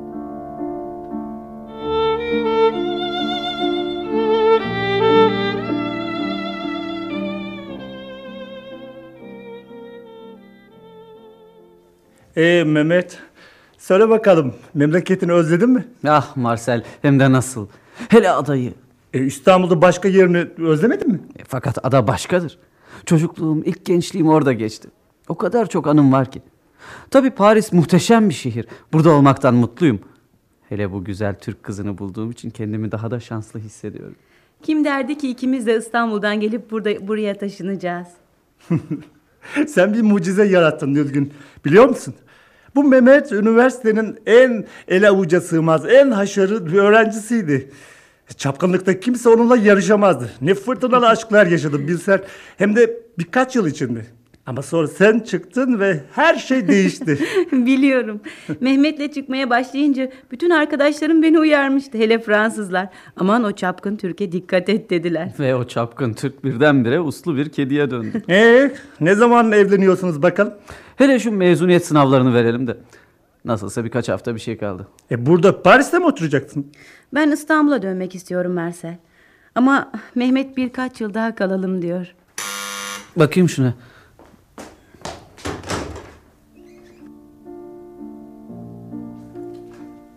Mehmet, söyle bakalım, memleketini özledin mi? Ah Marcel, hem de nasıl. Hele adayı. İstanbul'da başka yerini özlemedin mi? Fakat ada başkadır. Çocukluğum, ilk gençliğim orada geçti. O kadar çok anım var ki. Tabii Paris muhteşem bir şehir. Burada olmaktan mutluyum. Hele bu güzel Türk kızını bulduğum için kendimi daha da şanslı hissediyorum. Kim derdi ki ikimiz de İstanbul'dan gelip buraya taşınacağız? Sen bir mucize yarattın Nilgün. Biliyor musun? Bu Mehmet üniversitenin en ele avuca sığmaz, en haşarı bir öğrencisiydi. Çapkınlıkta kimse onunla yarışamazdı. Ne fırtınalı aşklar yaşadım bilsen. Hem de birkaç yıl içinde. Ama sonra sen çıktın ve her şey değişti. Biliyorum. Mehmet'le çıkmaya başlayınca bütün arkadaşlarım beni uyarmıştı. Hele Fransızlar. Aman o çapkın Türk'e dikkat et dediler. Ve o çapkın Türk birdenbire uslu bir kediye döndü. Ne zaman evleniyorsunuz bakalım? Hele şu mezuniyet sınavlarını verelim de. Nasılsa birkaç hafta bir şey kaldı. Burada Paris'te mi oturacaksın? Ben İstanbul'a dönmek istiyorum Marcel. Ama Mehmet birkaç yıl daha kalalım diyor. Bakayım şuna.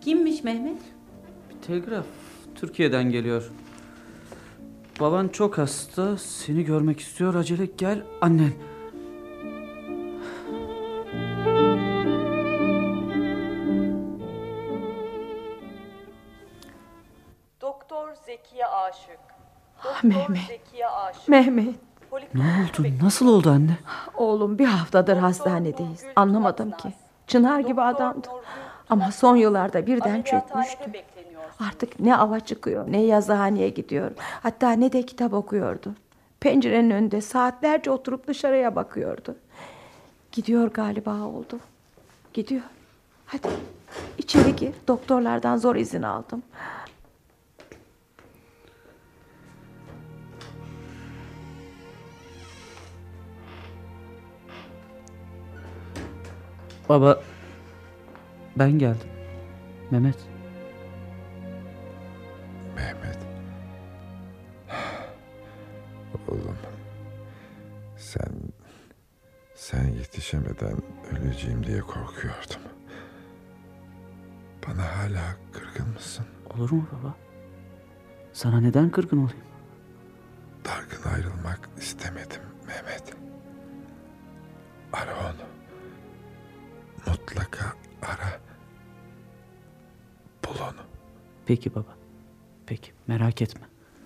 Kimmiş Mehmet? Bir telgraf Türkiye'den geliyor. Baban çok hasta, seni görmek istiyor, acele gel annen. Doktor Zekiye Aşık. Mehmet. Zekiye Aşık. Mehmet. Ne oldu? Nasıl oldu anne? Oğlum bir haftadır hastanedeyiz. Anlamadım ki. Çınar gibi adamdı. Ama son yıllarda birden çökmüştü. Artık ne ava çıkıyor, ne yazıhaneye gidiyor. Hatta ne de kitap okuyordu. Pencerenin önünde saatlerce oturup dışarıya bakıyordu. Gidiyor galiba oldu. Gidiyor. Hadi içeri gir. Doktorlardan zor izin aldım. Baba, ben geldim. Mehmet. Mehmet. Oğlum. Sen yetişemeden öleceğim diye korkuyordum. Bana hala kırgın mısın? Olur mu baba? Sana neden kırgın olayım? Dargın ayrılmak istemedim Mehmet. Ara onu. Mutlaka ara. Bul onu. Peki baba. Peki, merak etme.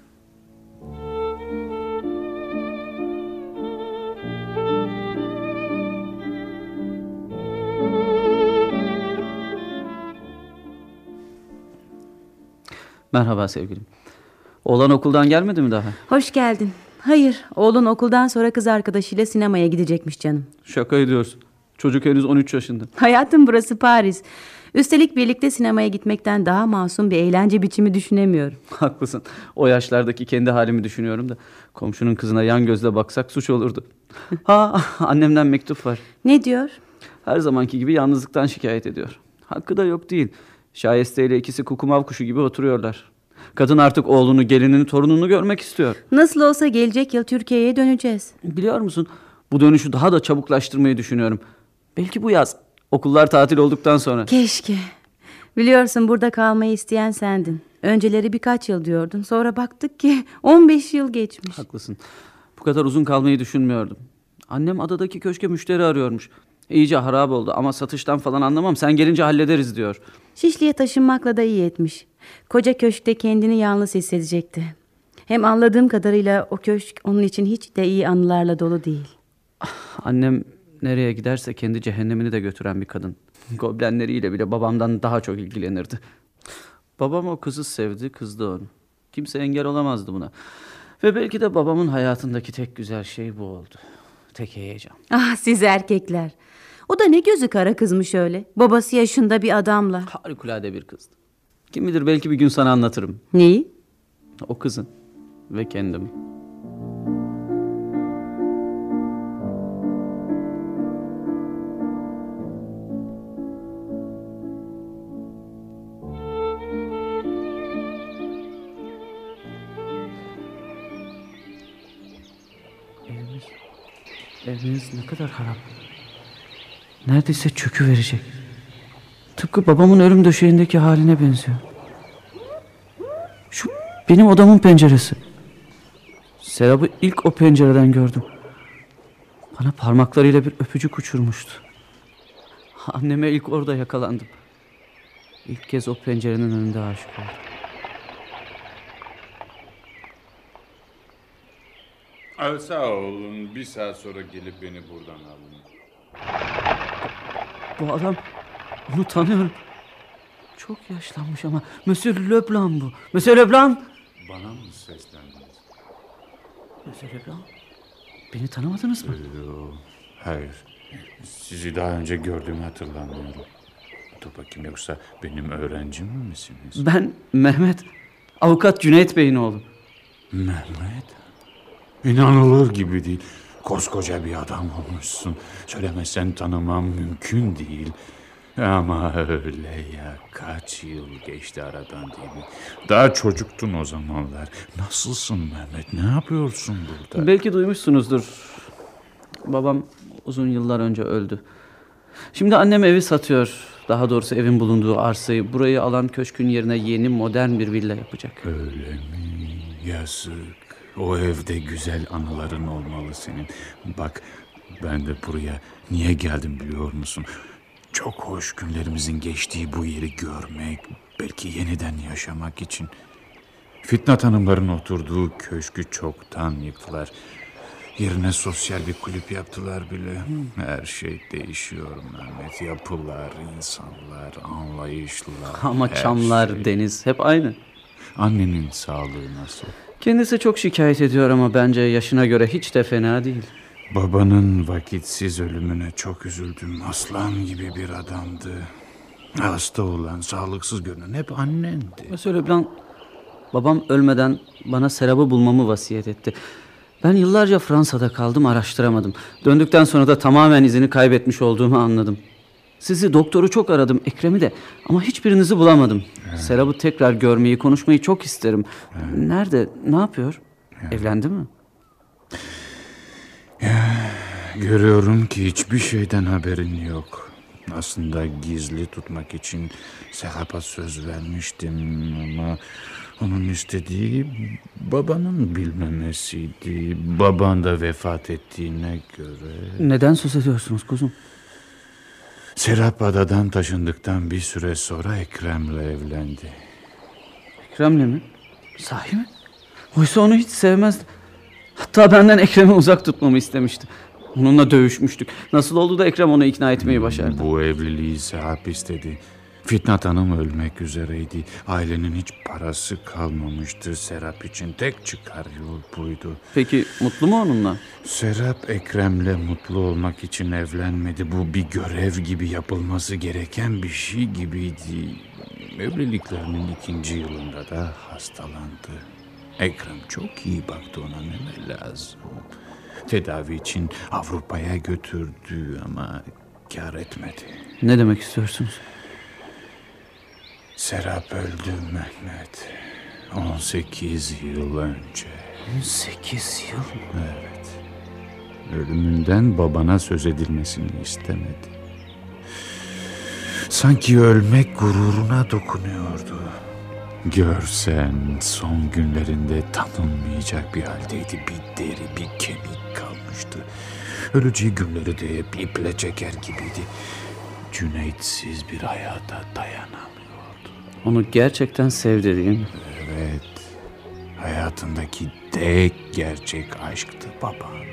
Merhaba sevgilim. Oğlan okuldan gelmedi mi daha? Hoş geldin. Hayır, oğlun okuldan sonra kız arkadaşıyla sinemaya gidecekmiş canım. Şaka ediyorsun. Çocuk henüz 13 yaşında. Hayatım, burası Paris. Üstelik birlikte sinemaya gitmekten daha masum bir eğlence biçimi düşünemiyorum. Haklısın. O yaşlardaki kendi halimi düşünüyorum da komşunun kızına yan gözle baksak suç olurdu. Ha, annemden mektup var. Ne diyor? Her zamanki gibi yalnızlıktan şikayet ediyor. Hakkı da yok değil. Şayeste ile ikisi kukumav kuşu gibi oturuyorlar. Kadın artık oğlunu, gelinini, torununu görmek istiyor. Nasıl olsa gelecek yıl Türkiye'ye döneceğiz. Biliyor musun? Bu dönüşü daha da çabuklaştırmayı düşünüyorum. Belki bu yaz. Okullar tatil olduktan sonra. Keşke. Biliyorsun, burada kalmayı isteyen sendin. Önceleri birkaç yıl diyordun. Sonra baktık ki 15 yıl geçmiş. Haklısın. Bu kadar uzun kalmayı düşünmüyordum. Annem adadaki köşke müşteri arıyormuş. İyice harap oldu ama satıştan falan anlamam. Sen gelince hallederiz diyor. Şişli'ye taşınmakla da iyi etmiş. Koca köşkte kendini yalnız hissedecekti. Hem anladığım kadarıyla o köşk onun için hiç de iyi anılarla dolu değil. Annem nereye giderse kendi cehennemini de götüren bir kadın. Goblenleriyle bile babamdan daha çok ilgilenirdi. Babam o kızı sevdi, kızdı onu. Kimse engel olamazdı buna. Ve belki de babamın hayatındaki tek güzel şey bu oldu. Tek heyecan. Ah, siz erkekler. O da ne gözü kara kızmış öyle. Babası yaşında bir adamla. Harikulade bir kızdı. Kim bilir, belki bir gün sana anlatırım. Neyi? O kızın ve kendimi. Evimiz ne kadar harap. Neredeyse çöküverecek. Tıpkı babamın ölüm döşeğindeki haline benziyor. Şu benim odamın penceresi. Serap'ı ilk o pencereden gördüm. Bana parmaklarıyla bir öpücük uçurmuştu. Anneme ilk orada yakalandım. İlk kez o pencerenin önünde aşık oldum. Sağ olun. Bir saat sonra gelip beni buradan alın. Bu adam, onu tanıyorum. Çok yaşlanmış ama. Monsieur Leblanc bu. Monsieur Leblanc. Bana mı seslendiniz? Monsieur Leblanc. Beni tanımadınız mı? Hayır. Sizi daha önce gördüğümü hatırlamıyorum. Dur bakayım, yoksa benim öğrencim misiniz? Ben Mehmet. Avukat Cüneyt Bey'in oğlu. Mehmet? İnanılır gibi değil. Koskoca bir adam olmuşsun. Söylemezsen tanımam mümkün değil. Ama öyle ya, kaç yıl geçti aradan değil mi? Daha çocuktun o zamanlar. Nasılsın Mehmet? Ne yapıyorsun burada? Belki duymuşsunuzdur. Babam uzun yıllar önce öldü. Şimdi annem evi satıyor. Daha doğrusu evin bulunduğu arsayı burayı alan köşkün yerine yeni modern bir villa yapacak. Öyle mi? Yazık. O evde güzel anıların olmalı senin. Bak, ben de buraya niye geldim biliyor musun? Çok hoş günlerimizin geçtiği bu yeri görmek, belki yeniden yaşamak için. Fitnat Hanımların oturduğu köşkü çoktan yıktılar. Yerine sosyal bir kulüp yaptılar bile. Her şey değişiyor Mehmet. Yapılar, insanlar, anlayışlar. Ama çamlar, deniz hep aynı. Annenin sağlığı nasıl? Kendisi çok şikayet ediyor ama bence yaşına göre hiç de fena değil. Babanın vakitsiz ölümüne çok üzüldüm. Aslan gibi bir adamdı. Hasta olan, sağlıksız görünen hep annendi. Monsieur Leblanc, babam ölmeden bana Serap'ı bulmamı vasiyet etti. Ben yıllarca Fransa'da kaldım, araştıramadım. Döndükten sonra da tamamen izini kaybetmiş olduğumu anladım. Sizi, doktoru çok aradım, Ekrem'i de, ama hiçbirinizi bulamadım. Serap'ı tekrar görmeyi, konuşmayı çok isterim. Nerede, ne yapıyor? Evlendi mi? Görüyorum ki hiçbir şeyden haberin yok. Aslında gizli tutmak için Serap'a söz vermiştim ama onun istediği babanın bilmemesiydi. Baban da vefat ettiğine göre... Neden söz ediyorsunuz kuzum? Serap adadan taşındıktan bir süre sonra Ekrem'le evlendi. Ekrem'le mi? Sahi mi? Oysa onu hiç sevmezdi. Hatta benden Ekrem'i uzak tutmamı istemişti. Onunla dövüşmüştük. Nasıl oldu da Ekrem onu ikna etmeyi başardı? Bu evliliği Serap istedi. Fitnat Hanım ölmek üzereydi. Ailenin hiç parası kalmamıştı. Serap için tek çıkar yol buydu. Peki mutlu mu onunla? Serap Ekrem'le mutlu olmak için evlenmedi. Bu bir görev gibi, yapılması gereken bir şey gibiydi. Evliliklerinin 2. yılında da hastalandı. Ekrem çok iyi baktı ona, ne lazım. Tedavi için Avrupa'ya götürdü ama kâr etmedi. Ne demek istiyorsunuz? Serap öldü Mehmet. 18 yıl önce. 18 yıl? Evet. Ölümünden babana söz edilmesini istemedi. Sanki ölmek gururuna dokunuyordu. Görsen son günlerinde tanınmayacak bir haldeydi. Bir deri, bir kemik kalmıştı. Öleceği günleri de hep iple çeker gibiydi. Cüneyt'siz bir hayata dayanamıyordu. Onu gerçekten sevdi değil mi? Evet. Hayatındaki tek gerçek aşktı baban.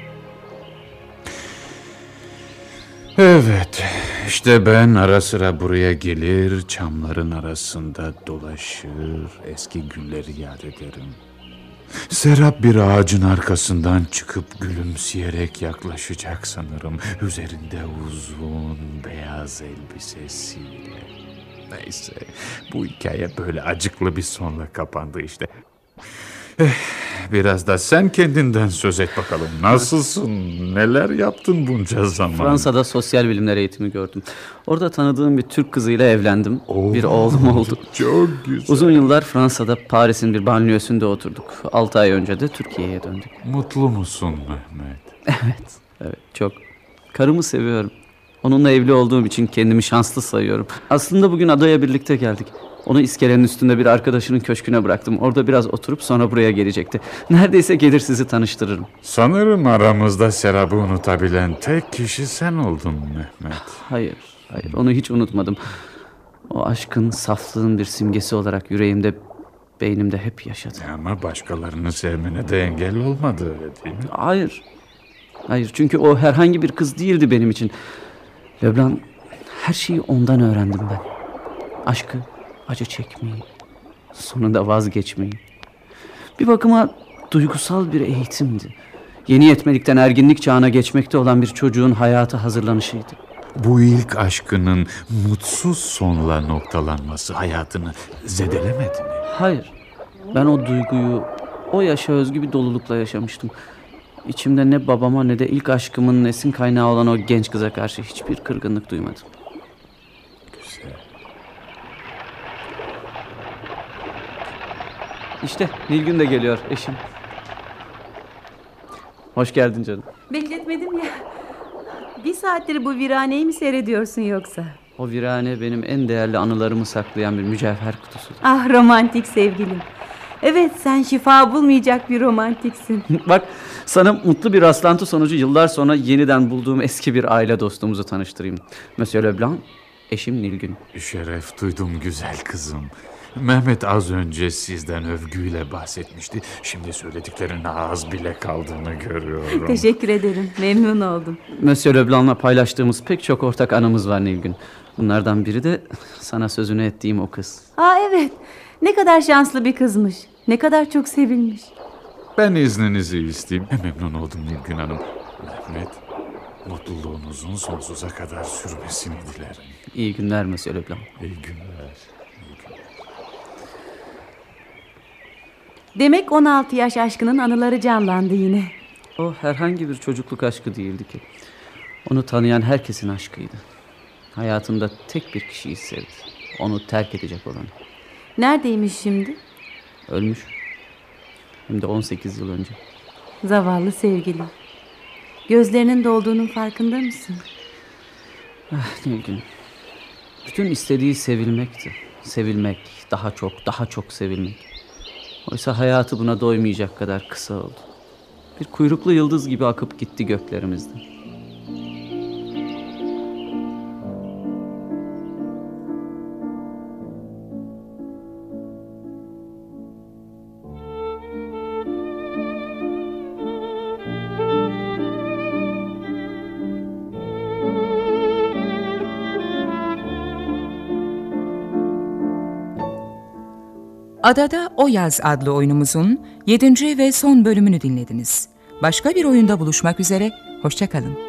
Evet, işte ben ara sıra buraya gelir, çamların arasında dolaşır, eski günleri yad ederim. Serap bir ağacın arkasından çıkıp gülümseyerek yaklaşacak sanırım. Üzerinde uzun beyaz elbisesiyle. Neyse, bu hikaye böyle acıklı bir sonla kapandı işte. Biraz da sen kendinden söz et bakalım. Nasılsın? Neler yaptın bunca zaman? Fransa'da sosyal bilimler eğitimi gördüm. Orada tanıdığım bir Türk kızıyla evlendim. Bir oğlum oldu. Çok güzel. Uzun yıllar Fransa'da, Paris'in bir banliyösünde oturduk. 6 ay önce de Türkiye'ye döndük. Mutlu musun Mehmet? Evet çok. Karımı seviyorum. Onunla evli olduğum için kendimi şanslı sayıyorum. Aslında bugün adaya birlikte geldik. Onu iskelenin üstünde bir arkadaşının köşküne bıraktım. Orada biraz oturup sonra buraya gelecekti. Neredeyse gelir sizi tanıştırırım. Sanırım aramızda Serap'ı unutabilen tek kişi sen oldun Mehmet. Hayır, onu hiç unutmadım. O aşkın, saflığın bir simgesi olarak yüreğimde, beynimde hep yaşadı. Ama başkalarını sevmene de engel olmadı, öyle değil mi? Hayır, çünkü o herhangi bir kız değildi benim için. Leblanc, her şeyi ondan öğrendim ben. Aşkı, acı çekmeyi, sonunda vazgeçmeyi. Bir bakıma duygusal bir eğitimdi. Yeni yetmelikten erginlik çağına geçmekte olan bir çocuğun hayata hazırlanışıydı. Bu ilk aşkının mutsuz sonla noktalanması hayatını zedelemedi mi? Hayır, ben o duyguyu o yaşa özgü bir dolulukla yaşamıştım. İçimde ne babama ne de ilk aşkımın esin kaynağı olan o genç kıza karşı hiçbir kırgınlık duymadım. Güzel. İşte Nilgün de geliyor, eşim. Hoş geldin canım. Bekletmedim ya. Bir saattir bu viraneyi mi seyrediyorsun yoksa? O virane benim en değerli anılarımı saklayan bir mücevher kutusudur. Ah romantik sevgilim. Evet, sen şifa bulmayacak bir romantiksin. Bak, sana mutlu bir rastlantı sonucu yıllar sonra yeniden bulduğum eski bir aile dostumuzu tanıştırayım. Monsieur Leblanc, eşim Nilgün. Şeref duydum güzel kızım. Mehmet az önce sizden övgüyle bahsetmişti. Şimdi söylediklerine az bile kaldığını görüyorum. Teşekkür ederim, memnun oldum. Monsieur Leblanc'la paylaştığımız pek çok ortak anımız var Nilgün. Bunlardan biri de sana sözünü ettiğim o kız. Aa evet, ne kadar şanslı bir kızmış. Ne kadar çok sevilmiş. Ben izninizi isteyeyim. Memnun oldum Nilgün Hanım. Mehmet, mutluluğunuzun sonsuza kadar sürmesini dilerim. İyi günler Monsieur Leblanc. İyi günler. Demek 16 yaş aşkının anıları canlandı yine. O herhangi bir çocukluk aşkı değildi ki. Onu tanıyan herkesin aşkıydı. Hayatında tek bir kişiyi sevdi. Onu terk edecek olan. Neredeymiş şimdi? Ölmüş. Hem de 18 yıl önce. Zavallı sevgilim. Gözlerinin dolduğunun farkında mısın? Ah Nilgün. Bütün istediği sevilmekti. Sevilmek, daha çok sevilmek. Oysa hayatı buna doymayacak kadar kısa oldu. Bir kuyruklu yıldız gibi akıp gitti göklerimizden. Adada O Yaz adlı oyunumuzun 7. ve son bölümünü dinlediniz. Başka bir oyunda buluşmak üzere, hoşça kalın.